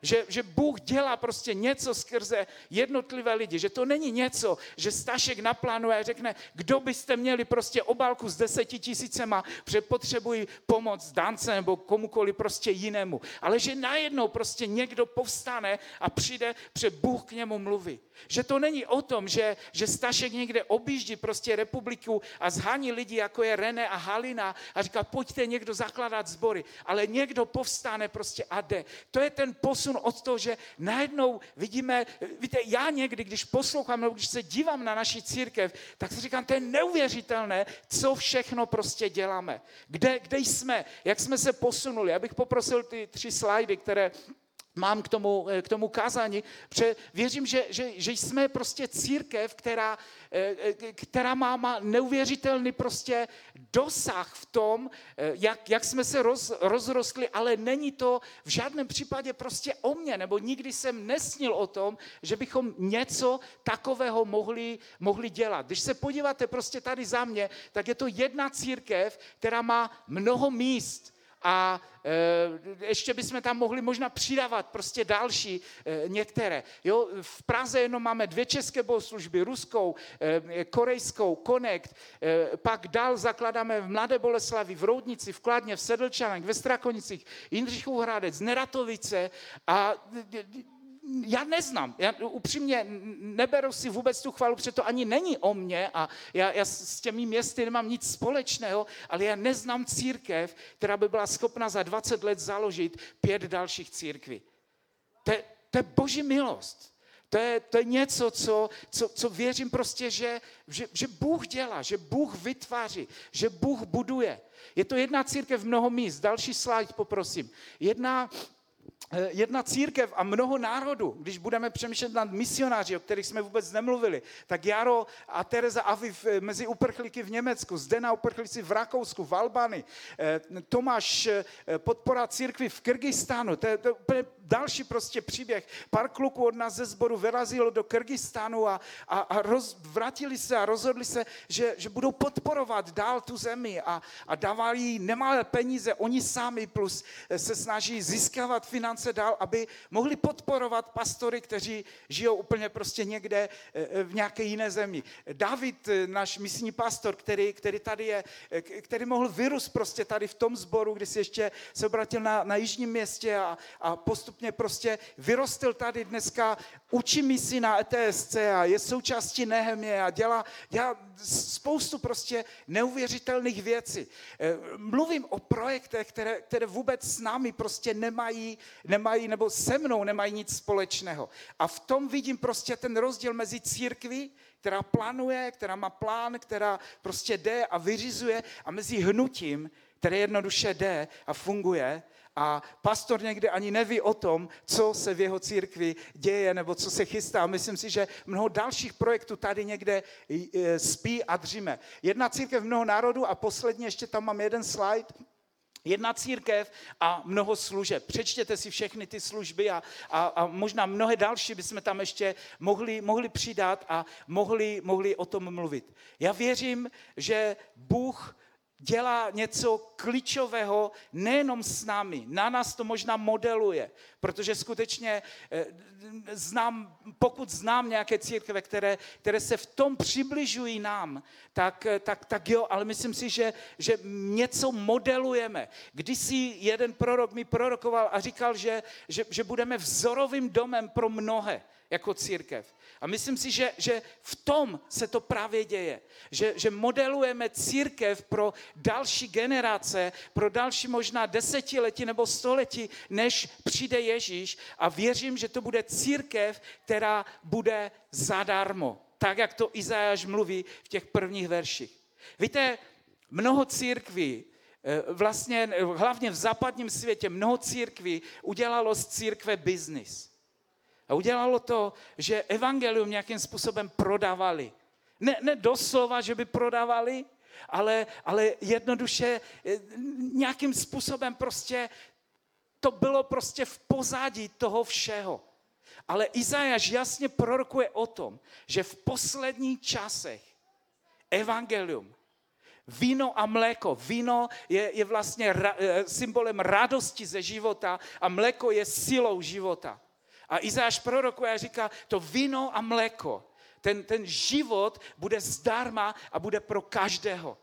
Že, že Bůh dělá prostě něco skrze jednotlivé lidi, že to není něco, že Stašek naplánuje a řekne, kdo byste měli prostě obálku s deseti tisícema, protože potřebují pomoc Dance nebo komukoliv prostě jinému. Ale že najednou prostě někdo povstane a přijde, protože Bůh k němu mluví. Že to není o tom, že, že Stašek někde objíždí prostě republiku a zhání lidi, jako je René a Halina a říká, pojďte někdo zakládat sbory, ale někdo povstane prostě a jde. To je ten posun od toho, že najednou vidíme, víte, já někdy, když poslouchám, nebo když se dívám na naši církev, tak si říkám, to je neuvěřitelné, co všechno prostě děláme. Kde, kde jsme, jak jsme se posunuli. Já bych poprosil ty tři slajdy, které mám k tomu, k tomu kázání, protože věřím, že, že, že jsme prostě církev, která, která má, má neuvěřitelný prostě dosah v tom, jak, jak jsme se roz, rozrostli, ale není to v žádném případě prostě o mně, nebo nikdy jsem nesnil o tom, že bychom něco takového mohli, mohli dělat. Když se podíváte prostě tady za mě, tak je to jedna církev, která má mnoho míst. A e, ještě bychom tam mohli možná přidávat prostě další e, některé. Jo, v Praze jenom máme dvě české bohoslužby, ruskou, e, korejskou, Connect, e, pak dál zakládáme v Mladé Boleslavi, v Roudnici, v Kladně, v Sedlčanech, ve Strakonicích, Jindřichův Hradec, Neratovice a já neznám, já upřímně neberu si vůbec tu chválu, protože to ani není o mně a já, já s těmi městy nemám nic společného, ale já neznám církev, která by byla schopna za dvacet let založit pět dalších církví. To je, to je boží milost. To je, to je něco, co, co, co věřím prostě, že, že, že Bůh dělá, že Bůh vytváří, že Bůh buduje. Je to jedna církev, mnoho míst. Další slide poprosím. Jedna Jedna církev a mnoho národů, když budeme přemýšlet nad misionáři, o kterých jsme vůbec nemluvili, tak Jaro a Tereza Aviv mezi uprchlíky v Německu, Zdena uprchlíci v Rakousku, v Albánii, Tomáš podpora církvi v Kyrgyzstánu, to je, to je úplně další prostě příběh. Pár kluků od nás ze sboru vyrazilo do Kyrgyzstánu a, a, a roz, vrátili se a rozhodli se, že, že budou podporovat dál tu zemi a, a dávali nemalé peníze, oni sami plus se snaží získávat finance dál, aby mohli podporovat pastory, kteří žijou úplně prostě někde v nějaké jiné zemi. David, náš misijní pastor, který, který tady je, který mohl vyrůst prostě tady v tom sboru, kdy si ještě se obratil na, na jižním městě a, a postupně prostě vyrostl tady dneska, učí misi na E T S C a je součástí Nehemie a dělá, dělá spoustu prostě neuvěřitelných věcí. Mluvím o projektech, které, které vůbec s námi prostě nemají, nemají, nebo se mnou nemají nic společného. A v tom vidím prostě ten rozdíl mezi církví, která plánuje, která má plán, která prostě jde a vyřizuje, a mezi hnutím, které jednoduše jde a funguje. A pastor někdy ani neví o tom, co se v jeho církvi děje nebo co se chystá. Myslím si, že mnoho dalších projektů tady někde spí a dříme. Jedna církev, mnoho národů a posledně ještě tam mám jeden slide. Jedna církev a mnoho služeb. Přečtěte si všechny ty služby a, a, a možná mnohé další bychom tam ještě mohli, mohli přidat a mohli, mohli o tom mluvit. Já věřím, že Bůh dělá něco klíčového nejenom s námi, na nás to možná modeluje, protože skutečně znám, pokud znám nějaké církve, které, které se v tom přibližují nám, tak, tak, tak jo, ale myslím si, že, že něco modelujeme. Kdysi jeden prorok mi prorokoval a říkal, že, že, že budeme vzorovým domem pro mnohé jako církev. A myslím si, že, že v tom se to právě děje. Že, že modelujeme církev pro další generace, pro další možná desetiletí nebo století, než přijde Ježíš. A věřím, že to bude církev, která bude zadarmo. Tak, jak to Izajáš mluví v těch prvních verších. Víte, mnoho církví, vlastně hlavně v západním světě, mnoho církví udělalo z církve biznis. A udělalo to, že evangelium nějakým způsobem prodávali. Ne, ne doslova, že by prodávali, ale, ale jednoduše nějakým způsobem prostě to bylo prostě v pozadí toho všeho. Ale Izajáš jasně prorokuje o tom, že v posledních časech evangelium Víno a mléko. Víno je, je vlastně ra, symbolem radosti ze života a mléko je silou života. A Izáš prorokuje a říká, to víno a mléko, ten, ten život bude zdarma a bude pro každého.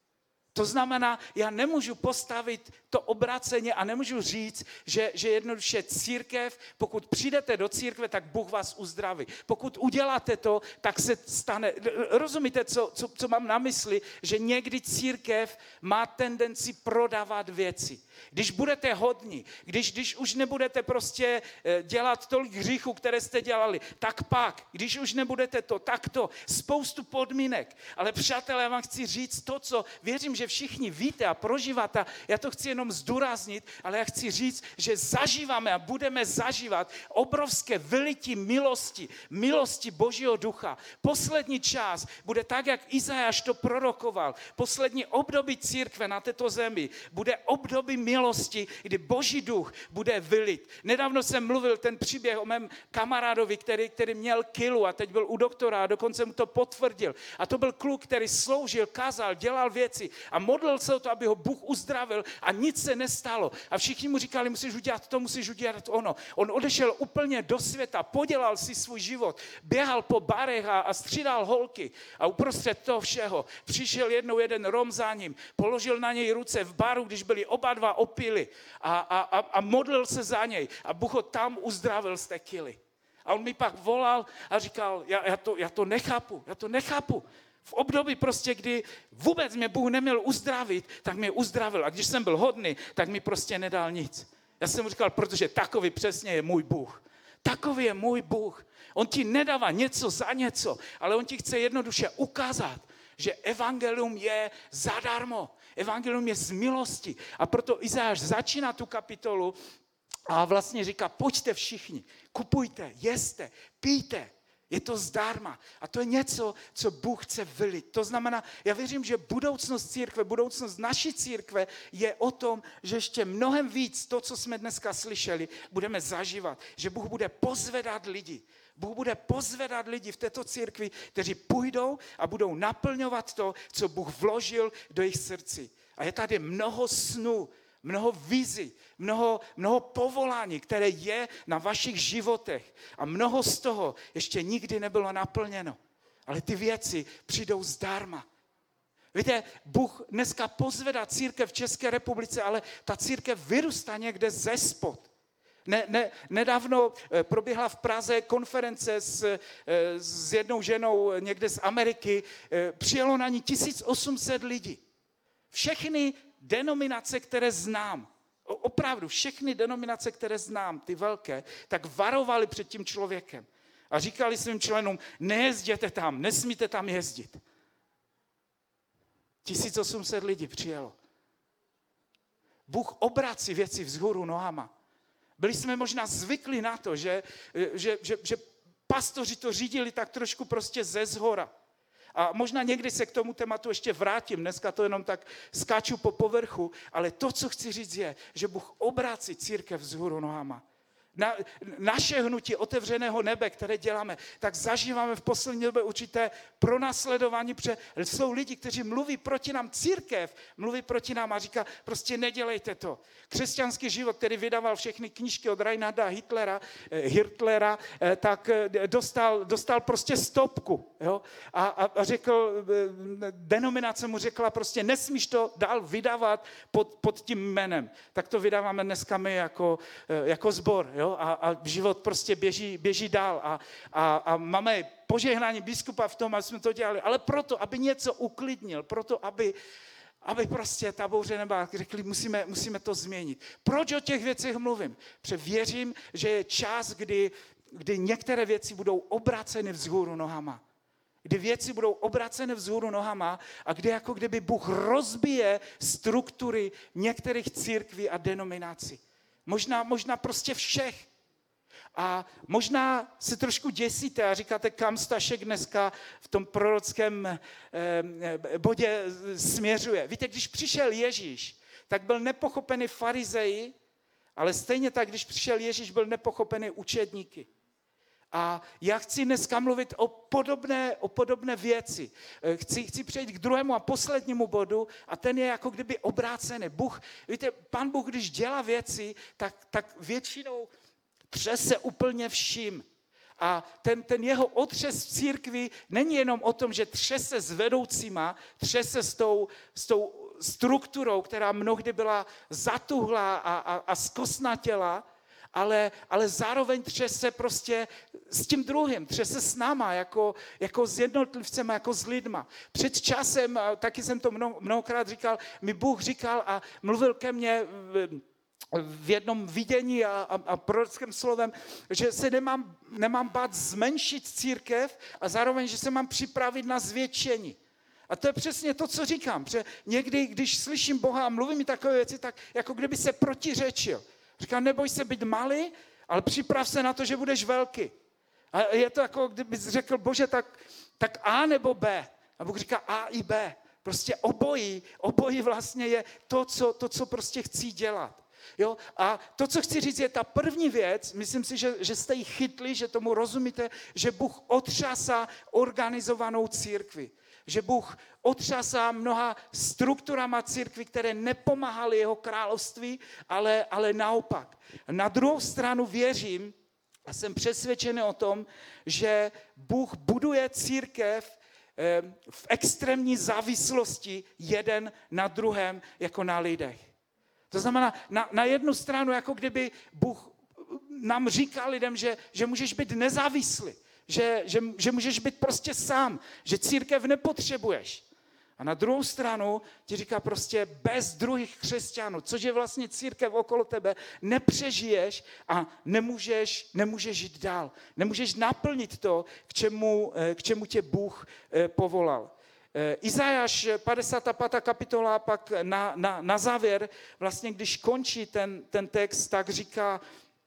To znamená, já nemůžu postavit to obráceně a nemůžu říct, že, že jednoduše církev, pokud přijdete do církve, tak Bůh vás uzdraví. Pokud uděláte to, tak se stane. Rozumíte, co, co, co mám na mysli? Že někdy církev má tendenci prodávat věci. Když budete hodní, když, když už nebudete prostě dělat tolik hříchů, které jste dělali, tak pak, když už nebudete to, tak to, spoustu podmínek. Ale přátelé, já vám chci říct to, co věřím, že všichni víte a prožíváte, já to chci jenom zdůraznit, ale já chci říct, že zažíváme a budeme zažívat obrovské vylití milosti, milosti Božího ducha. Poslední čas bude tak, jak Izajáš to prorokoval. Poslední období církve na této zemi bude období milosti, kdy Boží duch bude vylit. Nedávno jsem mluvil ten příběh o mém kamarádovi, který, který měl kilu a teď byl u doktora a dokonce mu to potvrdil. A to byl kluk, který sloužil, kázal, dělal věci a modlil se o to, aby ho Bůh uzdravil a nic se nestalo. A všichni mu říkali, musíš udělat to, musíš udělat ono. On odešel úplně do světa, podělal si svůj život, běhal po barech a, a střídal holky. A uprostřed toho všeho přišel jednou jeden Rom za ním, položil na něj ruce v baru, když byli oba dva opili a, a, a, a modlil se za něj. A Bůh ho tam uzdravil z té kily. A on mi pak volal a říkal, já, já, to, já to nechápu, já to nechápu. V období prostě, kdy vůbec mě Bůh neměl uzdravit, tak mě uzdravil. A když jsem byl hodný, tak mi prostě nedal nic. Já jsem mu říkal, protože takový přesně je můj Bůh. Takový je můj Bůh. On ti nedává něco za něco, ale on ti chce jednoduše ukázat, že evangelium je zadarmo. Evangelium je z milosti. A proto Izajáš začíná tu kapitolu a vlastně říká, pojďte všichni, kupujte, jeste, pijte. Je to zdarma. A to je něco, co Bůh chce vylit. To znamená, já věřím, že budoucnost církve, budoucnost naší církve je o tom, že ještě mnohem víc to, co jsme dneska slyšeli, budeme zažívat. Že Bůh bude pozvedat lidi. Bůh bude pozvedat lidi v této církvi, kteří půjdou a budou naplňovat to, co Bůh vložil do jejich srdci. A je tady mnoho snů, mnoho vizí, mnoho, mnoho povolání, které je na vašich životech. A mnoho z toho ještě nikdy nebylo naplněno. Ale ty věci přijdou zdarma. Víte, Bůh dneska pozvedá církev v České republice, ale ta církev vyrůstá někde ze spod. Ne, ne, nedávno proběhla v Praze konference s, s jednou ženou někde z Ameriky. Přijelo na ní tisíc osm set lidí. Všechny denominace, které znám, opravdu všechny denominace, které znám, ty velké, tak varovali před tím člověkem. A říkali svým členům, nejezděte tam, nesmíte tam jezdit. tisíc osm set lidí přijelo. Bůh obrací věci vzhůru nohama. Byli jsme možná zvyklí na to, že, že, že, že pastoři to řídili tak trošku prostě ze zhora. A možná někdy se k tomu tématu ještě vrátím, dneska to jenom tak skáču po povrchu, ale to, co chci říct je, že Bůh obrací církev vzhůru nohama. Na, naše hnutí otevřeného nebe, které děláme, tak zažíváme v poslední době určité pronásledování, protože jsou lidi, kteří mluví proti nám, církev mluví proti nám a říká, prostě nedělejte to. Křesťanský život, který vydával všechny knížky od Reinharda Hitlera, Hirtlera, tak dostal, dostal prostě stopku. Jo? A, a, a řekl, denominace mu řekla prostě, nesmíš to dál vydávat pod, pod tím jménem. Tak to vydáváme dneska my jako, jako sbor. Jo? A, a život prostě běží, běží dál a, a, a máme požehnání biskupa v tom, aby jsme to dělali, ale proto, aby něco uklidnil, proto, aby, aby prostě ta bouře nebyla, řekli, musíme, musíme to změnit. Proč o těch věcech mluvím? Protože věřím, že je čas, kdy, kdy některé věci budou obraceny vzhůru nohama. Kdy věci budou obraceny vzhůru nohama a kdy jako kdyby Bůh rozbije struktury některých církví a denominací. Možná, možná prostě všech. A možná se trošku děsíte a říkáte, kam Stašek dneska v tom prorockém eh, bodě směřuje. Víte, když přišel Ježíš, tak byl nepochopený farizeji, ale stejně tak, když přišel Ježíš, byl nepochopený učedníky. A já chci dneska mluvit o podobné, o podobné věci. Chci, chci přejít k druhému a poslednímu bodu a ten je jako kdyby obrácený. Bůh, víte, Pán Bůh, když dělá věci, tak, tak většinou třese úplně vším. A ten, ten jeho otřes v církvi není jenom o tom, že třese s vedoucíma, třese s tou, s tou strukturou, která mnohdy byla zatuhlá a, a, a zkosnatěla, ale, ale zároveň třese prostě s tím druhým, třese s náma, jako, jako s jednotlivcem, jako s lidma. Před časem, taky jsem to mnoho, mnohokrát říkal, mi Bůh říkal a mluvil ke mně v, v jednom vidění a, a, a prorockém slovem, že se nemám, nemám bát zmenšit církev a zároveň, že se mám připravit na zvětšení. A to je přesně to, co říkám, že někdy, když slyším Boha a mluví mi takové věci, tak jako kdyby se protiřečil. Říkám, neboj se být malý, ale připrav se na to, že budeš velký. A je to jako, kdyby řekl, Bože, tak, tak A nebo B. A Bůh říká A i B. Prostě obojí, obojí vlastně je to, co, to, co prostě chci dělat. Jo? A to, co chci říct, je ta první věc, myslím si, že, že jste ji chytli, že tomu rozumíte, že Bůh otřásá organizovanou církvi. Že Bůh otřásá mnoha strukturama církví, které nepomáhaly jeho království, ale, ale naopak. Na druhou stranu věřím a jsem přesvědčený o tom, že Bůh buduje církev v extrémní závislosti jeden na druhém, jako na lidech. To znamená, na, na jednu stranu, jako kdyby Bůh nám říká lidem, že, že můžeš být nezávislý. Že, že, že můžeš být prostě sám, že církev nepotřebuješ. A na druhou stranu ti říká prostě bez druhých křesťanů, což je vlastně církev okolo tebe, nepřežiješ a nemůžeš, nemůžeš jít dál. Nemůžeš naplnit to, k čemu, k čemu tě Bůh povolal. Izajáš padesátá pátá kapitola pak na, na, na závěr, vlastně když končí ten, ten text, tak říká,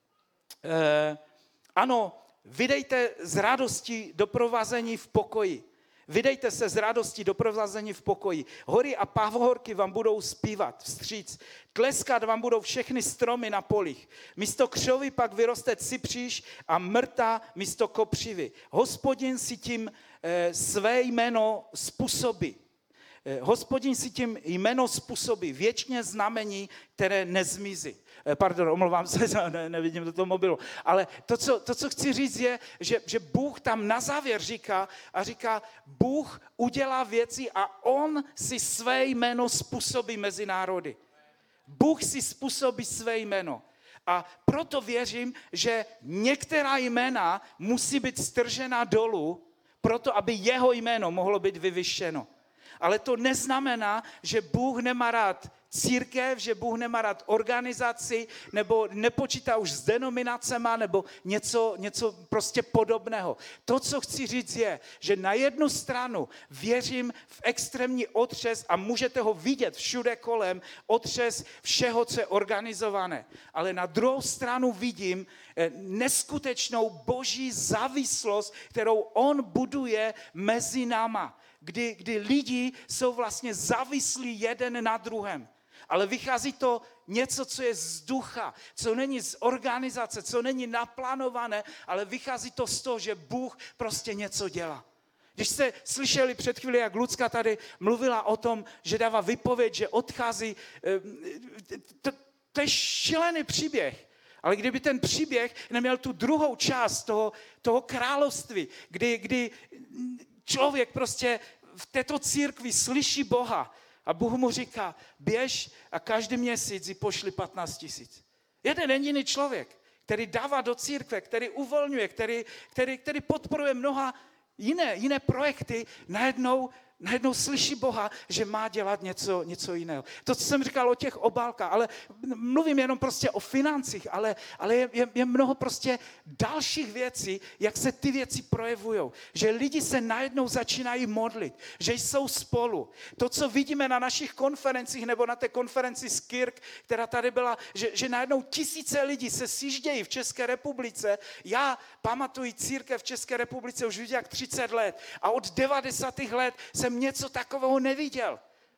eh, ano, vydejte z radosti doprovázení v pokoji. Vydejte se z radosti doprovázení v pokoji. Hory a pahorky vám budou zpívat vstříc. Tleskat vám budou všechny stromy na polích. Místo křovy pak vyroste cypříš a mrta místo kopřivy. Hospodin si tím e, své jméno způsobí. E, Hospodin si tím jméno způsobí věčně znamení, které nezmizí. Pardon, omlouvám se, ne, nevidím do toho mobilu. Ale to co, to, co chci říct, je, že, že Bůh tam na závěr říká a říká, Bůh udělá věci a on si své jméno způsobí mezi národy. Bůh si způsobí své jméno. A proto věřím, že některá jména musí být stržena dolů, proto aby jeho jméno mohlo být vyvyšeno. Ale to neznamená, že Bůh nemá rád církev, že Bůh nemá rád organizaci, nebo nepočítá už s denominacema, nebo něco, něco prostě podobného. To, co chci říct, je, že na jednu stranu věřím v extrémní otřes a můžete ho vidět všude kolem, otřes všeho, co je organizované. Ale na druhou stranu vidím neskutečnou boží závislost, kterou on buduje mezi náma. Kdy, kdy lidi jsou vlastně závislí jeden na druhém. Ale vychází to něco, co je z ducha, co není z organizace, co není naplánované, ale vychází to z toho, že Bůh prostě něco dělá. Když jste slyšeli před chvíli, jak Lucka tady mluvila o tom, že dává výpověď, že odchází, to, to je šílený příběh. Ale kdyby ten příběh neměl tu druhou část toho, toho království, kdy, kdy člověk prostě v této církvi slyší Boha a Bůh mu říká, běž a každý měsíc ji pošli patnáct tisíc. Jeden jediný člověk, který dává do církve, který uvolňuje, který, který, který podporuje mnoha jiné, jiné projekty, najednou Najednou slyší Boha, že má dělat něco, něco jiného. To, co jsem říkal o těch obálkách, ale mluvím jenom prostě o financích, ale, ale je, je, je mnoho prostě dalších věcí, jak se ty věci projevujou. Že lidi se najednou začínají modlit, že jsou spolu. To, co vidíme na našich konferencích nebo na té konferenci z Kirk, která tady byla, že, že najednou tisíce lidí se sjíždějí v České republice. Já pamatuji církev v České republice už víc jak třicet let a od devadesátých let jsem něco takového neviděl.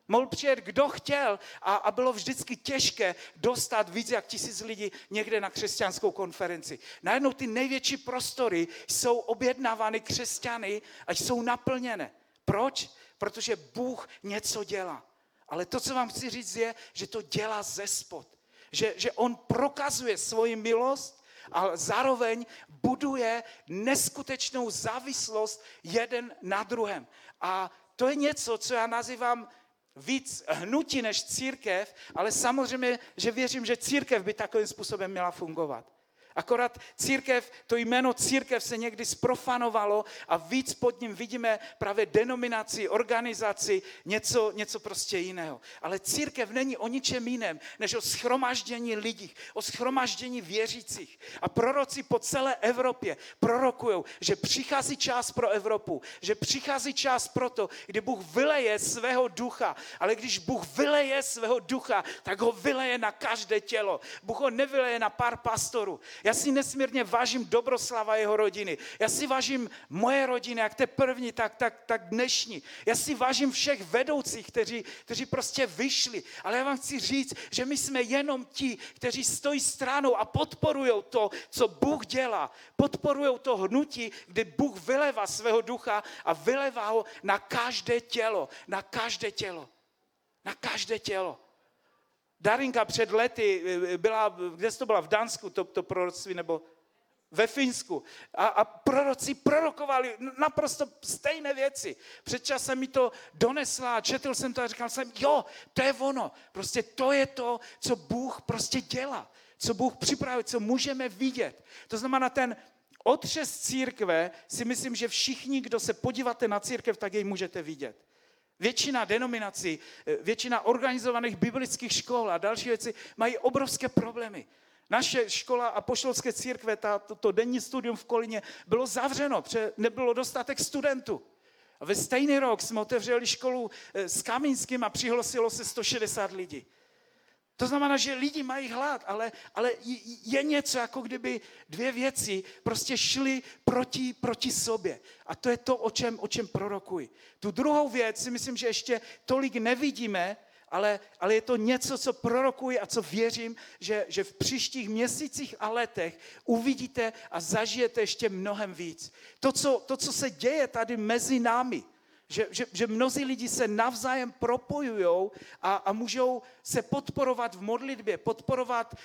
Mohl přijet kdo chtěl a, a bylo vždycky těžké dostat víc jak tisíc lidí někde na křesťanskou konferenci. Najednou ty největší prostory jsou objednávány křesťany a jsou naplněné. Proč? Protože Bůh něco dělá. Ale to, co vám chci říct, je, že to dělá zespod. Že, že on prokazuje svoji milost a zároveň buduje neskutečnou závislost jeden na druhém. A to je něco, co já nazývám víc hnutí než církev, ale samozřejmě, že věřím, že církev by takovým způsobem měla fungovat. Akorát církev, to jméno církev se někdy zprofanovalo a víc pod ním vidíme právě denominaci, organizaci, něco, něco prostě jiného. Ale církev není o ničem jiném, než o shromaždění lidí, o shromaždění věřících. A proroci po celé Evropě prorokujou, že přichází čas pro Evropu, že přichází čas pro to, kdy Bůh vyleje svého ducha, ale když Bůh vyleje svého ducha, tak ho vyleje na každé tělo. Bůh ho nevyleje na pár pastorů. Já si nesmírně vážím Dobroslava a jeho rodiny. Já si vážím moje rodiny, jak té první, tak, tak, tak dnešní. Já si vážím všech vedoucích, kteří, kteří prostě vyšli. Ale já vám chci říct, že my jsme jenom ti, kteří stojí stranou a podporují to, co Bůh dělá. Podporují to hnutí, kdy Bůh vylevá svého ducha a vylevá ho na každé tělo. Na každé tělo. Na každé tělo. Darinka před lety byla, kde to byla, v Dánsku, to, to proroctví, nebo ve Finsku. A, a proroci prorokovali naprosto stejné věci. Před časem mi to donesla, četl jsem to a říkal jsem, jo, to je ono. Prostě to je to, co Bůh prostě dělá. Co Bůh připravuje, co můžeme vidět. To znamená, ten otřes církve, si myslím, že všichni, kdo se podíváte na církev, tak jej můžete vidět. Většina denominací, většina organizovaných biblických škol a další věci mají obrovské problémy. Naše škola apoštolské církve, ta, to, to denní studium v Kolíně, bylo zavřeno, protože nebylo dostatek studentů. A ve stejný rok jsme otevřeli školu s Kamínským a přihlásilo se sto šedesát lidí. To znamená, že lidi mají hlad, ale, ale je něco, jako kdyby dvě věci prostě šly proti, proti sobě. A to je to, o čem, o čem prorokuji. Tu druhou věc si myslím, že ještě tolik nevidíme, ale, ale je to něco, co prorokuji a co věřím, že, že v příštích měsících a letech uvidíte a zažijete ještě mnohem víc. To, co, to, co se děje tady mezi námi, Že, že, že mnozí lidi se navzájem propojujou a, a můžou se podporovat v modlitbě, podporovat e,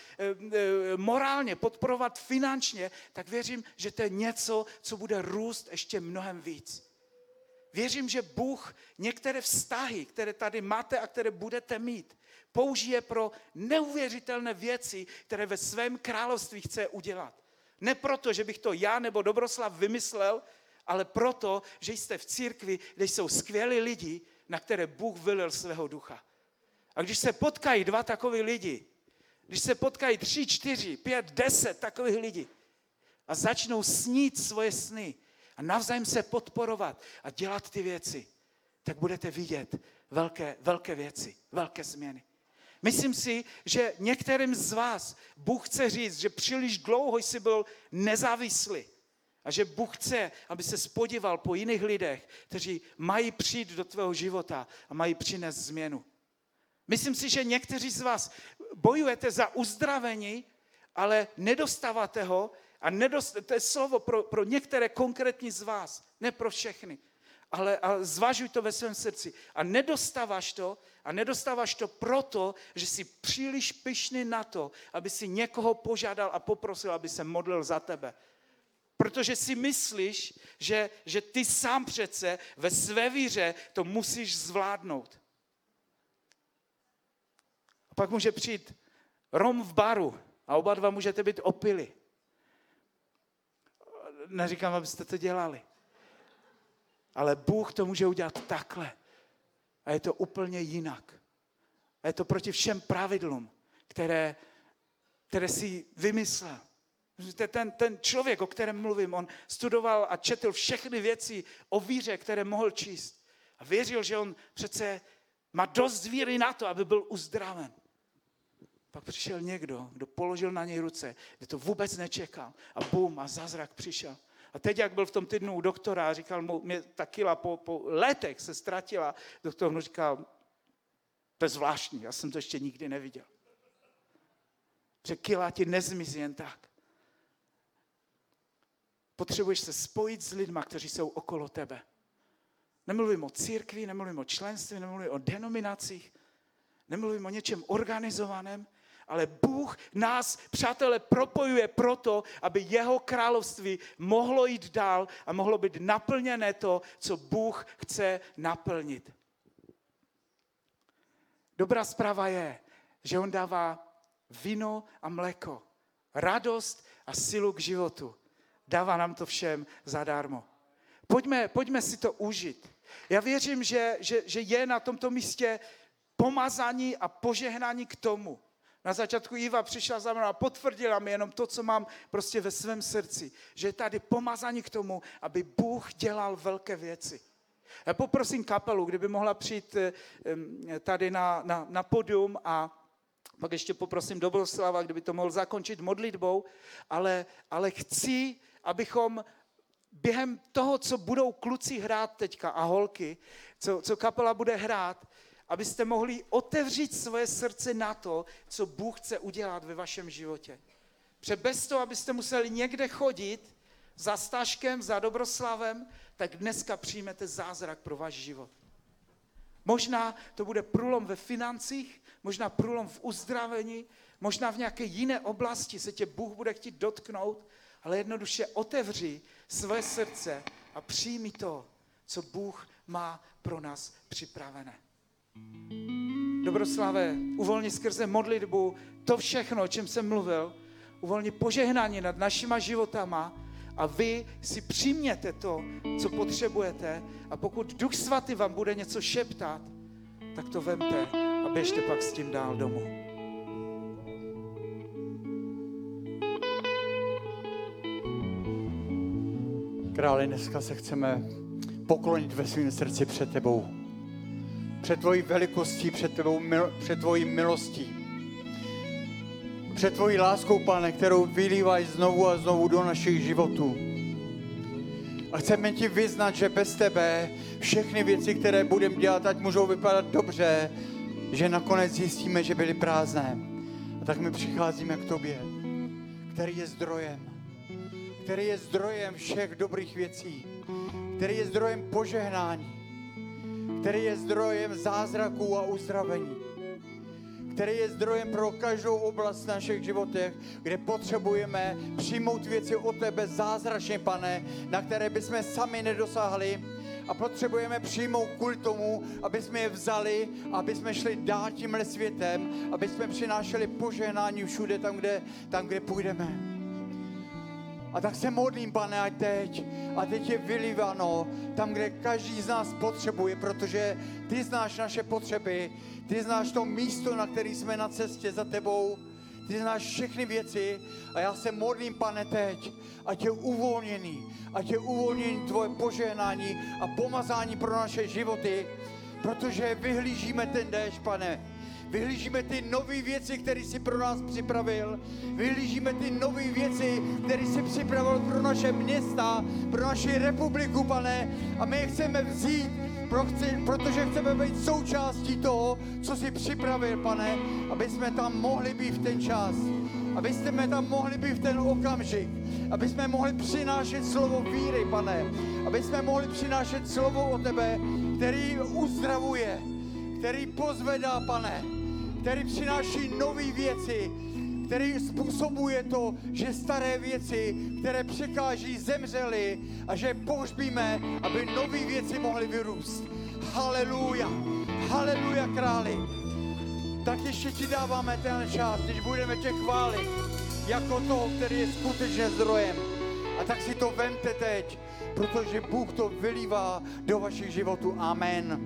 e, morálně, podporovat finančně, tak věřím, že to je něco, co bude růst ještě mnohem víc. Věřím, že Bůh některé vztahy, které tady máte a které budete mít, použije pro neuvěřitelné věci, které ve svém království chce udělat. Ne proto, že bych to já nebo Dobroslav vymyslel, ale proto, že jste v církvi, kde jsou skvělí lidi, na které Bůh vylil svého ducha. A když se potkají dva takoví lidi, když se potkají tři, čtyři, pět, deset takových lidí a začnou snít svoje sny a navzájem se podporovat a dělat ty věci, tak budete vidět velké, velké věci, velké změny. Myslím si, že některým z vás Bůh chce říct, že příliš dlouho jsi byl nezávislý. A že Bůh chce, aby se spodíval po jiných lidech, kteří mají přijít do tvého života a mají přinést změnu. Myslím si, že někteří z vás bojujete za uzdravení, ale nedostáváte ho a nedost, to je slovo pro, pro některé konkrétní z vás, ne pro všechny, ale, ale zvažuj to ve svém srdci. A nedostáváš to a nedostáváš to proto, že jsi příliš pyšný na to, aby si někoho požádal a poprosil, aby se modlil za tebe. Protože si myslíš, že, že ty sám přece ve své víře to musíš zvládnout. A pak může přijít rom v baru a oba dva můžete být opili. Neříkám, abyste to dělali. Ale Bůh to může udělat takhle. A je to úplně jinak. A je to proti všem pravidlům, které, které si vymyslel. Ten, ten člověk, o kterém mluvím, on studoval a četl všechny věci o víře, které mohl číst. A věřil, že on přece má dost víry na to, aby byl uzdraven. Pak přišel někdo, kdo položil na něj ruce, kde to vůbec nečekal. A bum, a zázrak přišel. A teď, jak byl v tom týdnu u doktora a říkal mu, mě ta kila po, po letech se ztratila, doktor mu říkal, To je zvláštní, já jsem to ještě nikdy neviděl. Že kila ti nezmizí jen tak. Potřebuješ se spojit s lidma, kteří jsou okolo tebe. Nemluvím o církvi, nemluvím o členství, nemluvím o denominacích, nemluvím o něčem organizovaném, ale Bůh nás, přátelé, propojuje proto, aby jeho království mohlo jít dál a mohlo být naplněné to, co Bůh chce naplnit. Dobrá zpráva je, že on dává víno a mléko, radost a sílu k životu. Dává nám to všem zadarmo. Pojďme, pojďme si to užít. Já věřím, že, že, že je na tomto místě pomazání a požehnání k tomu. Na začátku Iva přišla za mnou a potvrdila mi jenom to, co mám prostě ve svém srdci. Že je tady pomazání k tomu, aby Bůh dělal velké věci. Já poprosím kapelu, kdyby mohla přijít tady na, na, na podium a pak ještě poprosím Dobroslava, kdyby to mohl zakončit modlitbou, ale, ale chci, abychom během toho, co budou kluci hrát teďka a holky, co, co kapela bude hrát, abyste mohli otevřít svoje srdce na to, co Bůh chce udělat ve vašem životě. Protože bez toho, abyste museli někde chodit za Staškem, za Dobroslavem, tak dneska přijmete zázrak pro váš život. Možná to bude průlom ve financích, možná průlom v uzdravení, možná v nějaké jiné oblasti se tě Bůh bude chtít dotknout, ale jednoduše otevři své srdce a přijmi to, co Bůh má pro nás připravené. Dobroslave, uvolni skrze modlitbu to všechno, o čem jsem mluvil, uvolni požehnání nad našima životama a vy si přijměte to, co potřebujete a pokud Duch Svatý vám bude něco šeptat, tak to vemte a běžte pak s tím dál domů. Králi, dneska se chceme poklonit ve svém srdci před tebou. Před tvojí velikostí, před, tebou, před tvojí milostí. Před tvojí láskou, Pane, kterou vylívají znovu a znovu do našich životů. A chceme ti vyznat, že bez tebe všechny věci, které budeme dělat, ať můžou vypadat dobře, že nakonec zjistíme, že byly prázdné. A tak my přicházíme k tobě, který je zdrojem. Který je zdrojem všech dobrých věcí. Který je zdrojem požehnání. Který je zdrojem zázraků a uzdravení. Který je zdrojem pro každou oblast v našich životech, kde potřebujeme přijmout věci od tebe zázračně, Pane, na které bychom sami nedosáhli a potřebujeme přijmout kvůli tomu, aby jsme je vzali, aby jsme šli dál tímhle světem, aby jsme přinášeli požehnání všude tam, kde, tam, kde půjdeme. A tak se modlím, Pane, ať teď, a teď je vylíváno tam, kde každý z nás potřebuje, protože ty znáš naše potřeby, ty znáš to místo, na který jsme na cestě za tebou, ty znáš všechny věci a já se modlím, Pane, teď, ať je uvolněný, ať je uvolněný tvoje požehnání a pomazání pro naše životy, protože vyhlížíme ten déšť, Pane. Vyhlížíme ty nové věci, které jsi pro nás připravil. Vyhlížíme ty nové věci, které jsi připravil pro naše města, pro naši republiku, Pane. A my je chceme vzít, protože chceme být součástí toho, co jsi připravil, Pane, aby jsme tam mohli být v ten čas. Aby jsme tam mohli být v ten okamžik. Aby jsme mohli přinášet slovo víry, Pane. Aby jsme mohli přinášet slovo o tebe, který uzdravuje, který pozvedá, Pane, který přináší nové věci, který způsobuje to, že staré věci, které překáží, zemřely a že pohřbíme, aby nové věci mohly vyrůst. Haleluja, haleluja, králi. Tak ještě ti dáváme ten čas, když budeme tě chválit jako toho, který je skutečně zdrojem. A tak si to vemte teď, protože Bůh to vylívá do vašich životů. Amen.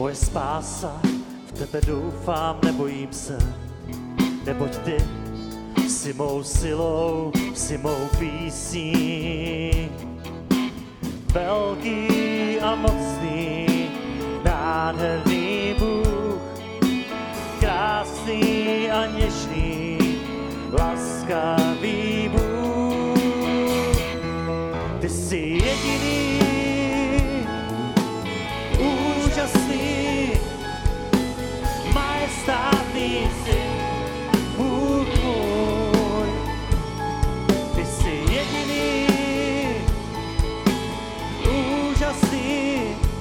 Moje spása, v tebe doufám, nebojím se, neboť ty jsi mou silou, jsi mou písní. Velký a mocný, nádherný Bůh, krásný a něžný, laskavý Bůh. Ty jsi jediný, úžasný, majestátný jsi, Bůh můj. Ty jsi jediný, úžasný,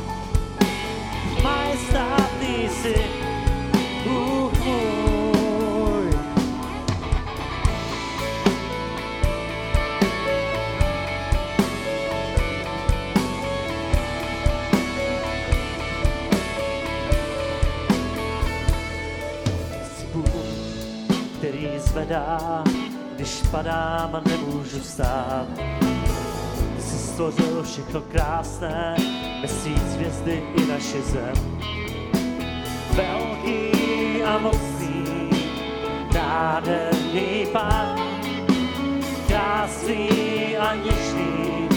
majestátný jsi, Bůh můj. Jsi Bůh, který zvedá, když padám a nemůžu vstát. Ty jsi stvořil všechno krásné, měsíc, hvězdy i naši zem. Velký a mocný, nádherný Pán, krásný a něžný,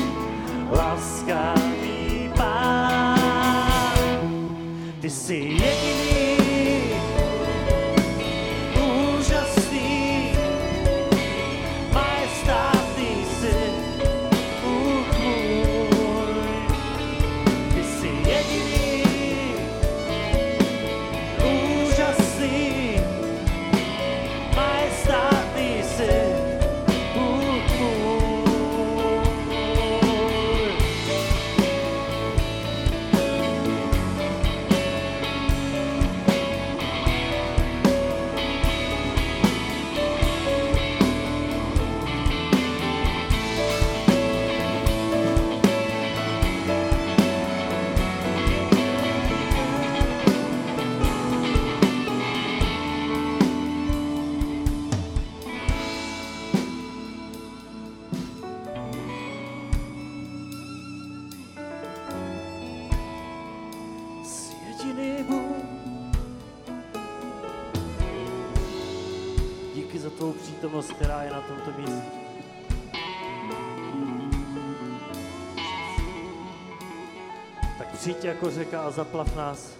laskavý Pán. Ty jsi jediný, úžasný, majestátný jsi, Bůh můj. Ty jsi jediný, úžasný, majestátný jsi, Bůh můj. Jsi jediný Bůh. Díky za tvou přítomnost, která je na tomto místě. Tak přijď jako řeka a zaplav nás,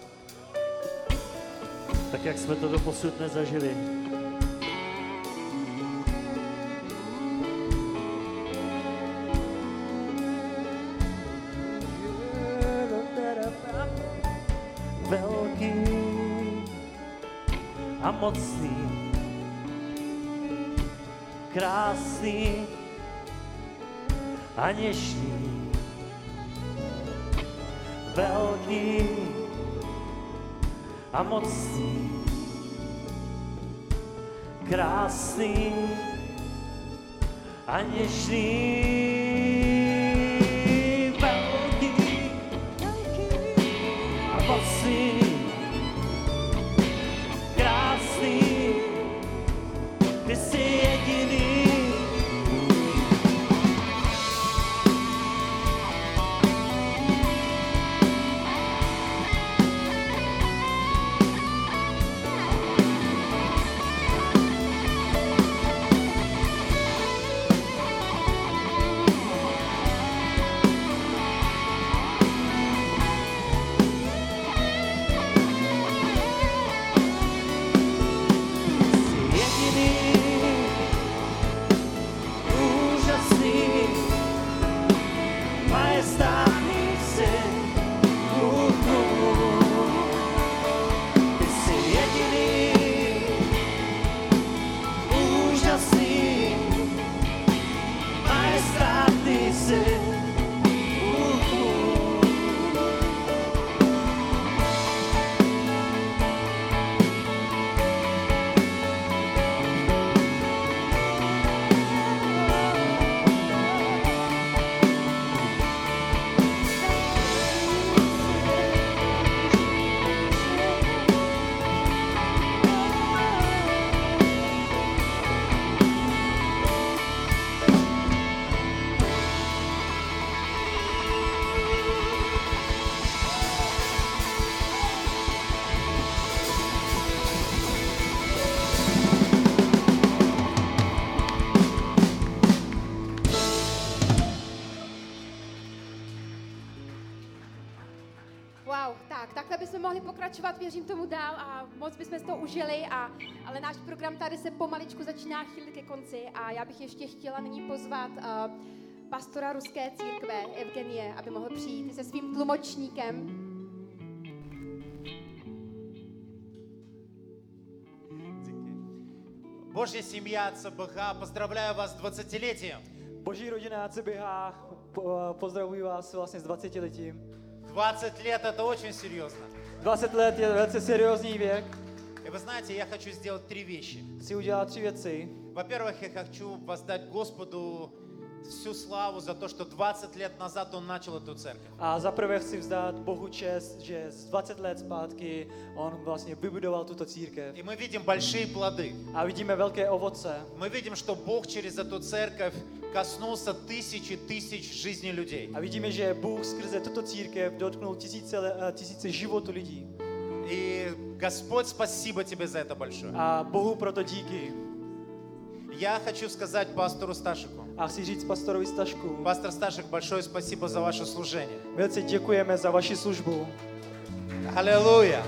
tak jak jsme to doposud nezažili. Velký a mocný, krásný a něžný. Velký a mocný, krásný a něžný. Velký a mocný, krásný, ty jsi jediný. Tak, takhle bychom mohli pokračovat, věřím tomu dál a moc bychom z toho užili, a, ale náš program tady se pomaličku začíná chýlit ke konci a já bych ještě chtěla nyní pozvat uh, pastora ruské církve Evgenie, aby mohl přijít se svým tlumočníkem. Божья семья ЦБХ, поздравляю вас с двадцатилетием. Boží rodina C B H, po- pozdravuji vás vlastně s dvacetiletím. двадцать лет это очень серьезно. dvacet let je velice seriózní věk. И вы знаете, я хочу сделать три вещи. Chci udělat tři věci. Во-первых, я хочу воздать Господу всю славу за то, что двадцать лет назад Он начал эту церковь. A za prvé chci vzdát Bohu čest, že z dvacet let zpátky on vlastně vybudoval tuto církev. И мы видим большие плоды. A vidíme velké ovoce. Мы видим, что Бог через эту церковь коснулся тысячи тысяч жизней людей. A vidíme, že Bůh skrze tuto církev dotknul tisíce, le- tisíce životů lidí. И Господь, спасибо Тебе за это большое. A Bohu proto díky. Я хочу сказать пастору Сташику. A chci říct pastorovi Stašku. Пастор Сташик, большое спасибо за ваше служение. Velice děkujeme za vaši službu. Аллилуйя!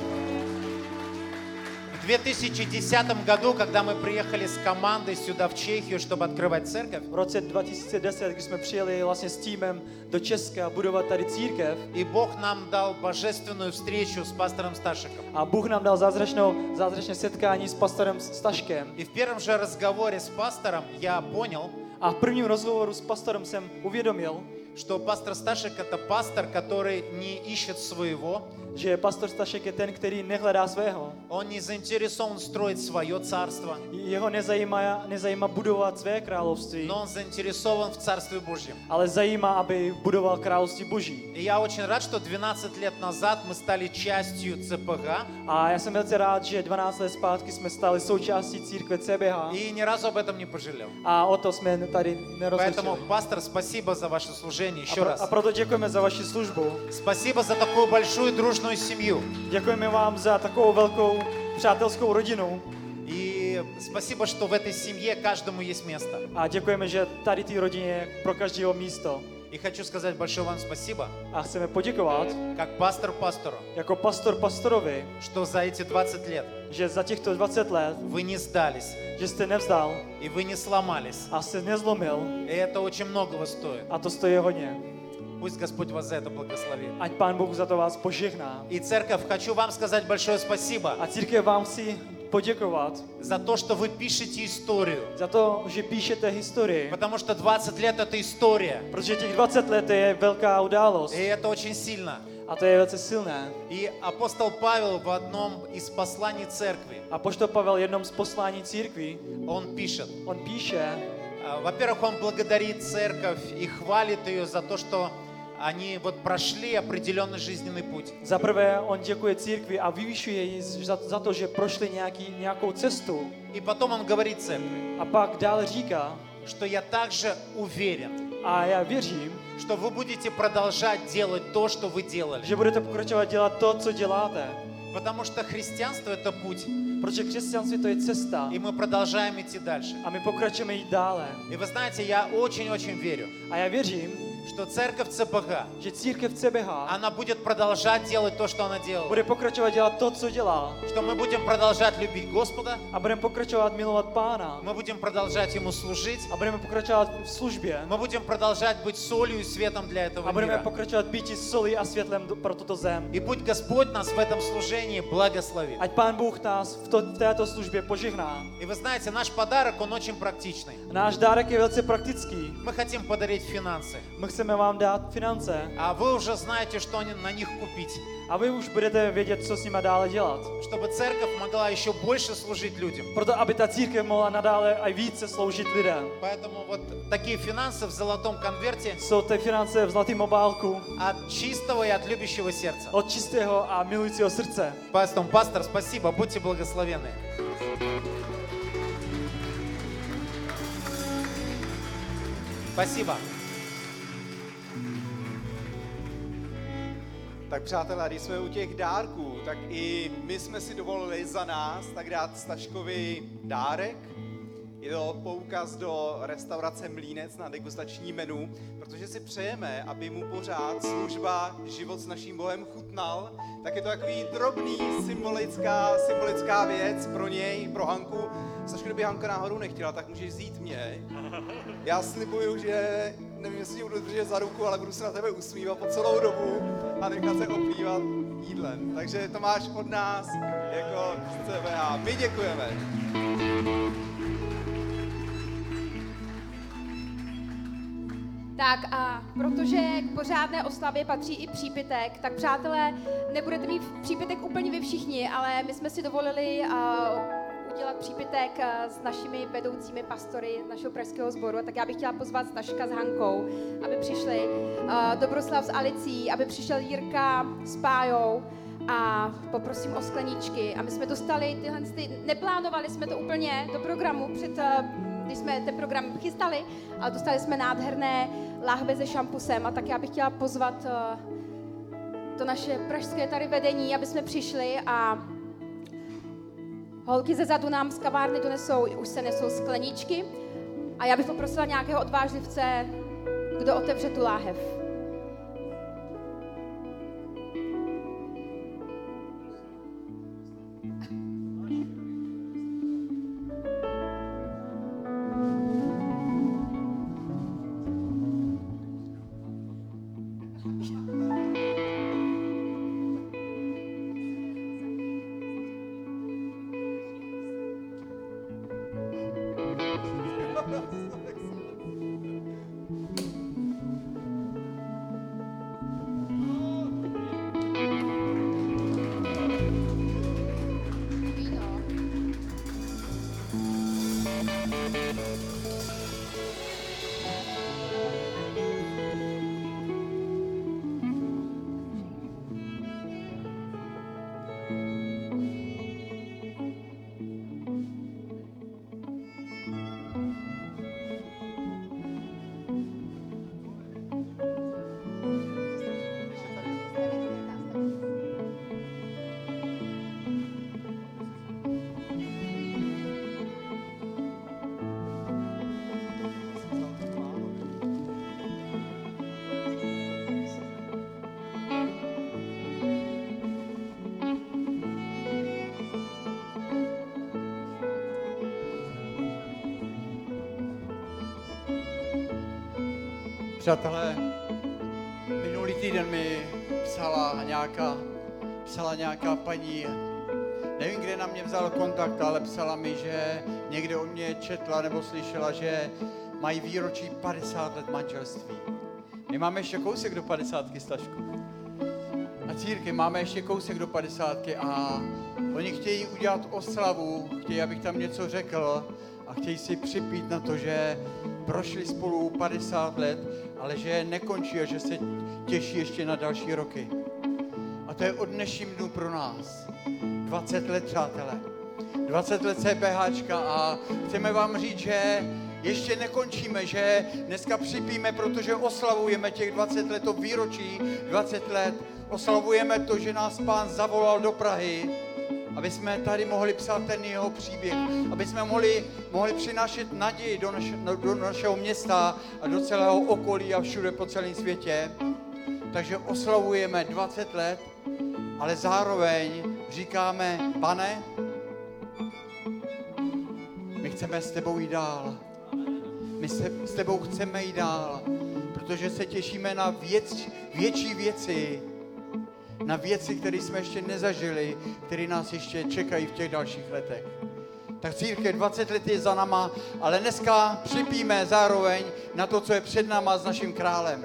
В две тысячи десятом году, когда мы приехали с командой сюда, в Чехию, чтобы открывать церковь, V roce dva tisíce deset, když jsme přijeli vlastně s týmem do Česka budovat tady církev, и Бог нам дал божественную встречу с пастором Сташиком. a Bůh nám dal zázračnou, zázračné setkání s pastorem Staškem. И в первом же разговоре с пастором я понял, A v prvním rozhovoru s pastorem jsem uvědomil, что пастор Сташик это пастор, который не ищет своего, že pastor Stašek je ten, který nehledá svého. он не заинтересован строить свое царство, Jeho nezajímá, nezajímá budovat své království, но он заинтересован в Царстве Божьем. ale zajímá, aby budoval království Boží. И я очень рад, что двенадцать лет назад мы стали частью ЦПХ, A já jsem velice rád, že dvanáct let zpátky jsme stali součástí církve C B H и ни разу об этом не пожалел. a o to jsme tady Поэтому, nerozlišili. пастор, спасибо за ваше служение еще A, pro, раз. a proto děkujeme za vaši službu. Спасибо за такую большую дружную семью. Děkujeme vám za takovou velkou přátelskou rodinu. И спасибо, что в этой семье каждому есть место. A děkujeme, že tady té rodině je pro každého místo. И хочу сказать большое вам спасибо, A chceme poděkovat как пастор пастору, jako pastor pastorovi, что за эти двадцать лет že za těchto dvacet let, вы не сдались, že jste nevzdal и вы не сломались. a jste nezlomil. И это очень многого stoит. A to stojí hodně. Пусть Господь вас за это благословит. Ať Pán Bůh za to vás požehná. И церковь, хочу вам сказать большое спасибо A církev vám chci poděkovat за то, что вы пишете историю. za to, že píšete historii. Потому что двадцать лет это история. Protože těch dvacet let je velká událost. И это очень сильно. A to je velice silné. И апостол Павел в одном из посланий церкви, A poštol Pavel jednom z poslání církví, он пишет, on píše, а, во-первых, он благодарит церковь и хвалит ее за то, что они вот pрошли определенный жизненный путь. za prvé on děkuje církvi a vyvyšuje ji za, za to, že prošli nějaký, nějakou cestu. И потом он говорит церкви, A pak dál říká, что я также уверен, a já věřím, что вы будете продолжать делать то, что вы делали. že budete pokračovat dělat to, co děláte. Потому что христианство это путь. Protože křesťanství to je cesta. И мы продолжаем идти дальше. A my pokračujeme jít dále. И вы знаете, я очень-очень верю, A já věřím, что церковь ЦПХ, že církev C B H она будет продолжать делать то, что она делала. bude pokračovat dělat to, co dělá. Что мы будем продолжать любить Господа, A budeme pokračovat milovat Pána. мы будем продолжать Ему служить, A budeme pokračovat v službě. мы будем продолжать быть солью и светом для этого A budeme мира. pokračovat být solí a světlem do- pro tuto zem. И пусть Господь нас в этом служении благословит. Ať Pán Bůh nás v, to, v této službě požehná. И вы знаете, наш подарок, он очень практичный. Náš dárek je velice praktický. Мы хотим подарить финансы. My chceme vám dát finance. А вы уже знаете, что они- на них купить. A vy už budete vědět, co s nima dále dělat. Чтобы церковь могла еще больше служить людям. Proto, aby ta církev mohla nadále a více sloužit lidem. Поэтому вот такие финансы в золотом конверте Jsou ty finance v zlatém obálku от чистого и от любящего сердца. od čistého a milujícího srdce. Пастор, пастор, спасибо, будьте благословенны. Спасибо. Tak přátelé, když jsme u těch dárků, tak i my jsme si dovolili za nás tak dát Staškovi dárek. Je to poukaz do restaurace Mlýnec na degustační menu, protože si přejeme, aby mu pořád služba Život s naším Bohem chutnal, tak je to takový drobný symbolická, symbolická věc pro něj, pro Hanku. Sašku, kdyby Hanka náhodou nechtěla, tak můžeš vzít mě. Já slibuju, že nevím, jestli tě budu držet za ruku, ale budu se na tebe usmívat po celou dobu a nechat se oplývat jídlem. Takže to máš od nás jako z C B H. My děkujeme. Tak a protože k pořádné oslavě patří i přípitek, tak přátelé, nebudete mít přípitek úplně vy všichni, ale my jsme si dovolili uh, udělat přípitek uh, s našimi vedoucími pastory našeho pražského sboru, tak já bych chtěla pozvat Staška s Hankou, aby přišli, uh, Dobroslav s Alicí, aby přišel Jirka s Pájou a poprosím o skleničky. A my jsme dostali tyhle, ty, neplánovali jsme to úplně do programu před uh, když jsme ten program chystali, ale dostali jsme nádherné láhve se šampusem a tak já bych chtěla pozvat uh, to naše pražské tady vedení, aby jsme přišli a holky ze zadu nám z kavárny donesou, už se nesou skleničky a já bych poprosila nějakého odvážlivce, kdo otevře tu láhev. Přátelé, minulý týden mi psala nějaká, psala nějaká paní, nevím, kde na mě vzal kontakt, ale psala mi, že někde o mě četla nebo slyšela, že mají výročí padesát let manželství. My máme ještě kousek do padesátky, Stašku. A círky, máme ještě kousek do padesátky a oni chtějí udělat oslavu, chtějí, abych tam něco řekl a chtějí si připít na to, že prošli spolu padesát let, ale že nekončí a že se těší ještě na další roky. A to je od dnešním dnu pro nás. dvacet let, přátelé. dvacet let CPHčka a chceme vám říct, že ještě nekončíme, že dneska připíme, protože oslavujeme těch dvacet let, to výročí dvacet let. Oslavujeme to, že nás Pán zavolal do Prahy, aby jsme tady mohli psát ten jeho příběh, aby jsme mohli, mohli přinášet naději do, naš, do našeho města a do celého okolí a všude po celém světě. Takže oslavujeme dvacet let, ale zároveň říkáme, Pane, my chceme s tebou jít dál. My se, s tebou chceme jít dál, protože se těšíme na věc, větší věci, na věci, které jsme ještě nezažili, které nás ještě čekají v těch dalších letech. Tak církev dvacet let je za náma, ale dneska připíme zároveň na to, co je před náma s naším králem.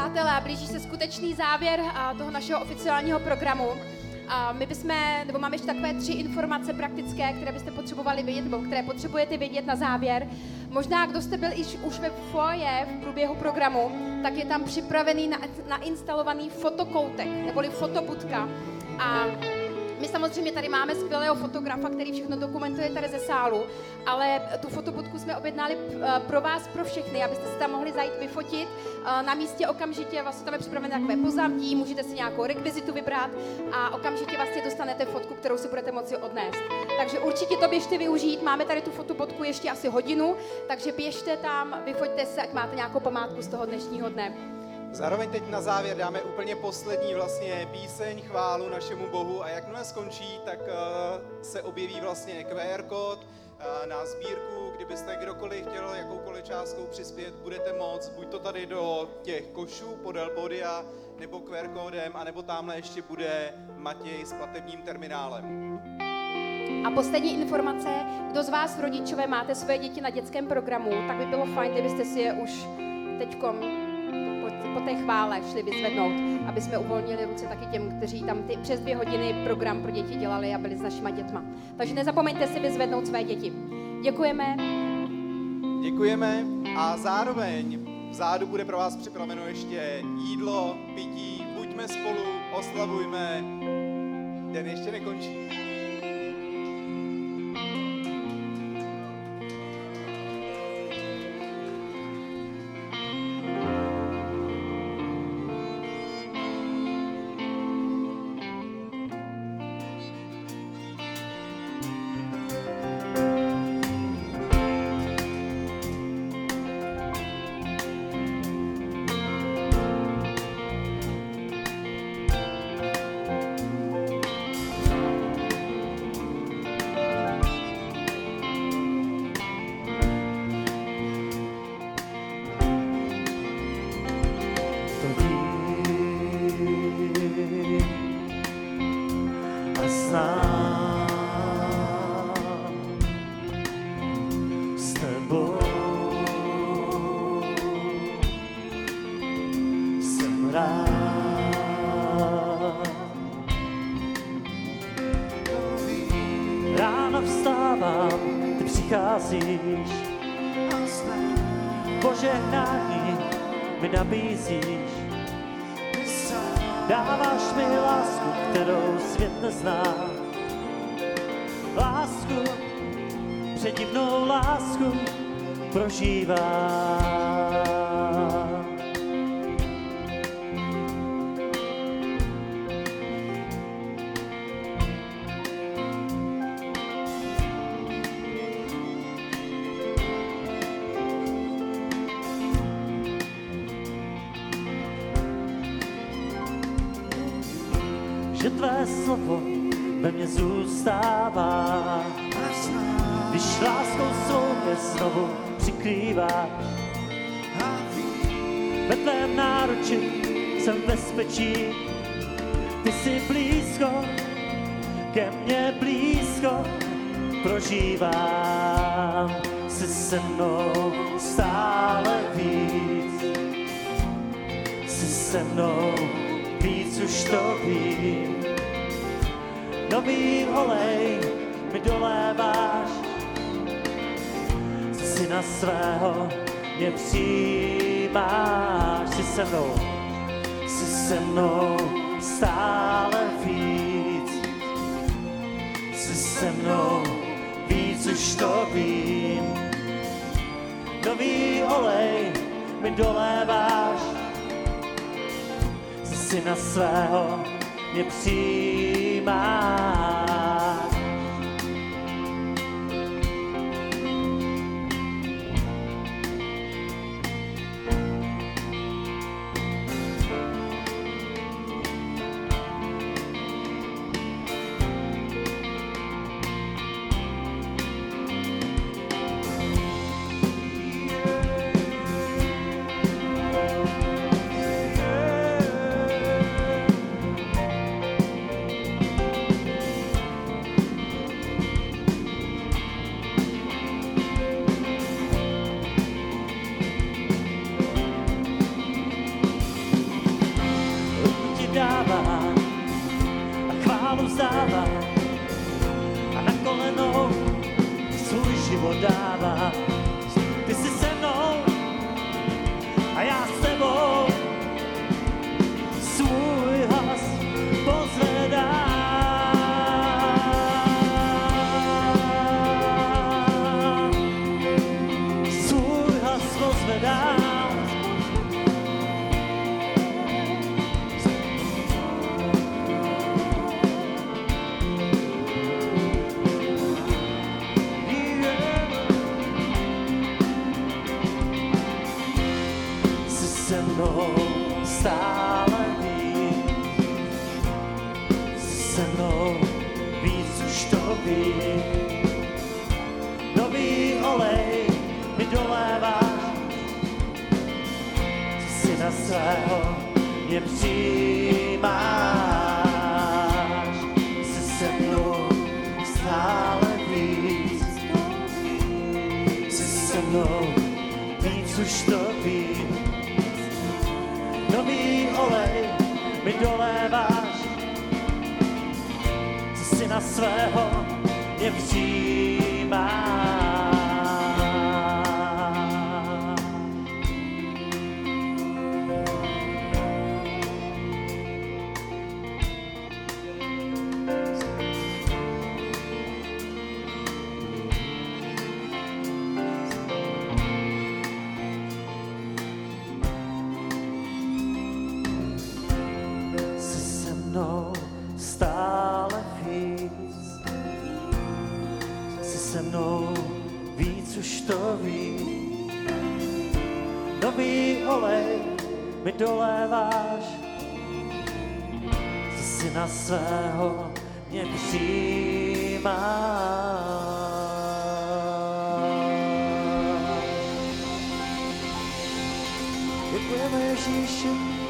přátelé, blíží se skutečný závěr a, toho našeho oficiálního programu. A my bychom, nebo máme ještě takové tři informace praktické, které byste potřebovali vědět, nebo které potřebujete vědět na závěr. Možná, kdo jste byl již už ve foje v průběhu programu, tak je tam připravený na, nainstalovaný fotokoutek, neboli fotobudka. A my samozřejmě tady máme skvělého fotografa, který všechno dokumentuje tady ze sálu, ale tu fotobudku jsme objednali pro vás, pro všechny, abyste si tam mohli zajít vyfotit. Na místě okamžitě vlastně tam je připravené takové pozadí, můžete si nějakou rekvizitu vybrat a okamžitě vlastně dostanete fotku, kterou si budete moci odnést. Takže určitě to běžte využít, máme tady tu fotobudku ještě asi hodinu, takže běžte tam, vyfoťte se, ať máte nějakou památku z toho dnešního dne. Zároveň teď na závěr dáme úplně poslední vlastně píseň, chválu našemu Bohu a jakmile skončí, tak uh, se objeví vlastně Q R kód uh, na sbírku, kdybyste kdokoliv chtěl jakoukoliv částkou přispět, budete moct, buď to tady do těch košů podél pódia, nebo Q R kódem, anebo tamhle ještě bude Matěj s platebním terminálem. A poslední informace, kdo z vás rodičové máte své děti na dětském programu, tak by bylo fajn, kdybyste si je už teďkom po té chvále šli vyzvednout, aby jsme uvolnili ruce taky těm, kteří tam ty přes dvě hodiny program pro děti dělali a byli s našima dětma. Takže nezapomeňte si vyzvednout své děti. Děkujeme. Děkujeme a zároveň vzadu bude pro vás připraveno ještě jídlo, pití, buďme spolu, oslavujme, den ještě nekončí. Ráno vstávám, ty přicházíš, požehnání mi nabízíš. Dáváš mi lásku, kterou svět nezná. Lásku, předivnou lásku prožívám. Že tvé slovo ve mně zůstává, když láskou svou mě znovu přikrývá. Ve tvém náruči jsem v bezpečí, ty jsi blízko, ke mně blízko prožívám. Jsi se mnou stále víc, jsi se mnou víc už to vím. Nový olej mi doléváš, syna svého mě přijímáš. Jsi se mnou, jsi se mnou stále víc, jsi se mnou víc už to vím. Nový olej mi doléváš, syna svého mě přijímáš. vstává a na kolenou svůj život dává. Ty jsi se mnou a já s tebou, svůj hlas pozvedám. Svůj hlas pozvedám. Se mnou stále víc, se mnou víc už to ví. Nový olej mi doléváš, si na svého mě přijímáš. Se se mnou stále víc, se mnou víc už to ví. Nový olej mi doléváš, co si na svého mě přijímáš. Stále víc, jsi se mnou víc už to ví. Nový olej mi doléváš, co si na svého mě přijímáš. Děkujeme Ježíši.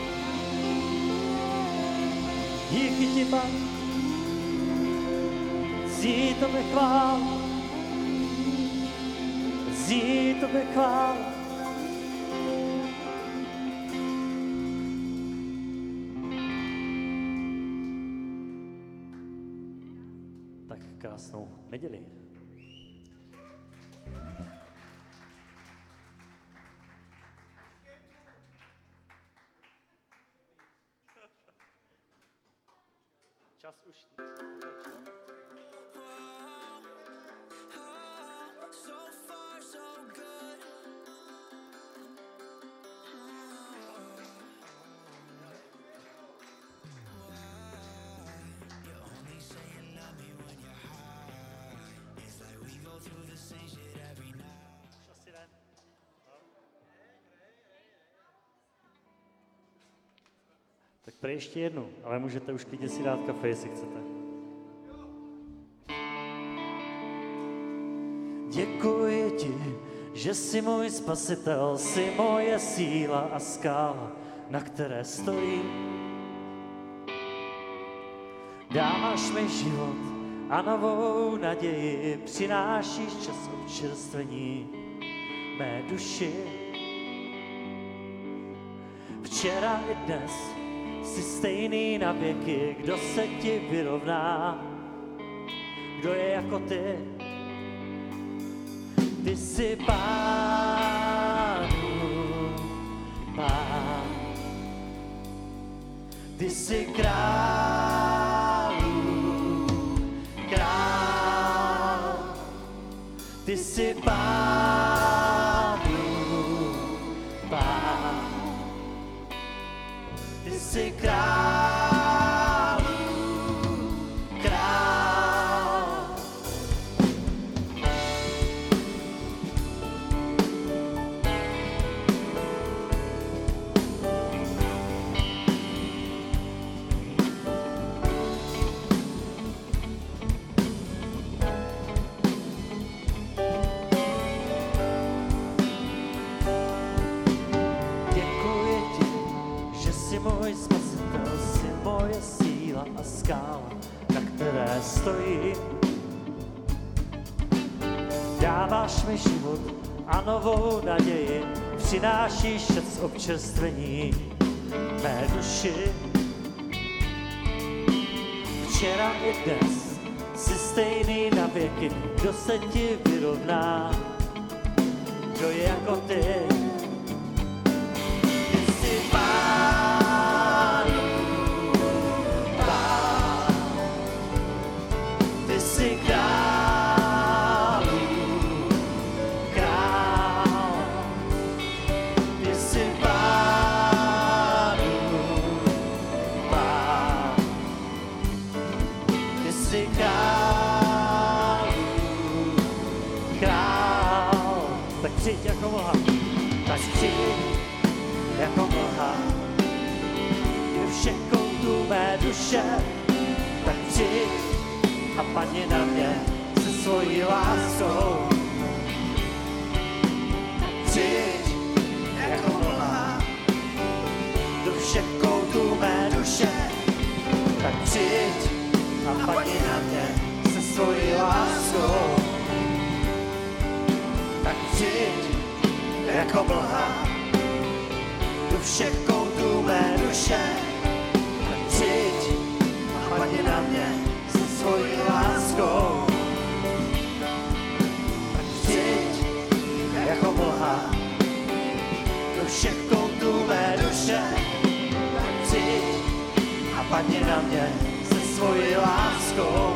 Díky ti, Pán, zí tobě chvál, zí tobě chvál. Tak krásnou neděli. Čas už. Tak pro ještě jednu, ale můžete už klidně si dát kafe, jestli chcete. Děkuji ti, že jsi můj spasitel, jsi moje síla a skála, na které stojí. Dáváš mi život a novou naději, přinášíš čas občerstvení mé duši. Včera i dnes jsi stejný na věky, kdo se ti vyrovná, kdo je jako ty. Ty jsi Pánu, Pán. Ty jsi Králu, Král. Ty jsi Pánu, Pán. Ty jsi Králu, Král. Můj spasitel, jsi moje síla a skála, na které stojím. Dáváš mi život a novou naději, přinášíš čas občerstvení mé duši. včera i dnes, jsi stejný na věky, kdo se ti vyrovná, kdo je jako ty. Ty jsi pánů pán, ty jsi králů král, ty jsi pánů pán, ty jsi králů král. Tak přijď jako mlha, tak přijď jako mlha, do všech koutů mé duše, tak přijď a padni na mě se svojí láskou. Přijď jako mlha, do všech koutů mé duše, tak přijď a padni na mě se svojí láskou. Tak přijď jako mlha, do všech koutů mé duše, tak přijď a padni na mě se svojí láskou. Tak přijď jako mlha, do všech koutů mé duše, tak přijď a padni na mě se svojí láskou.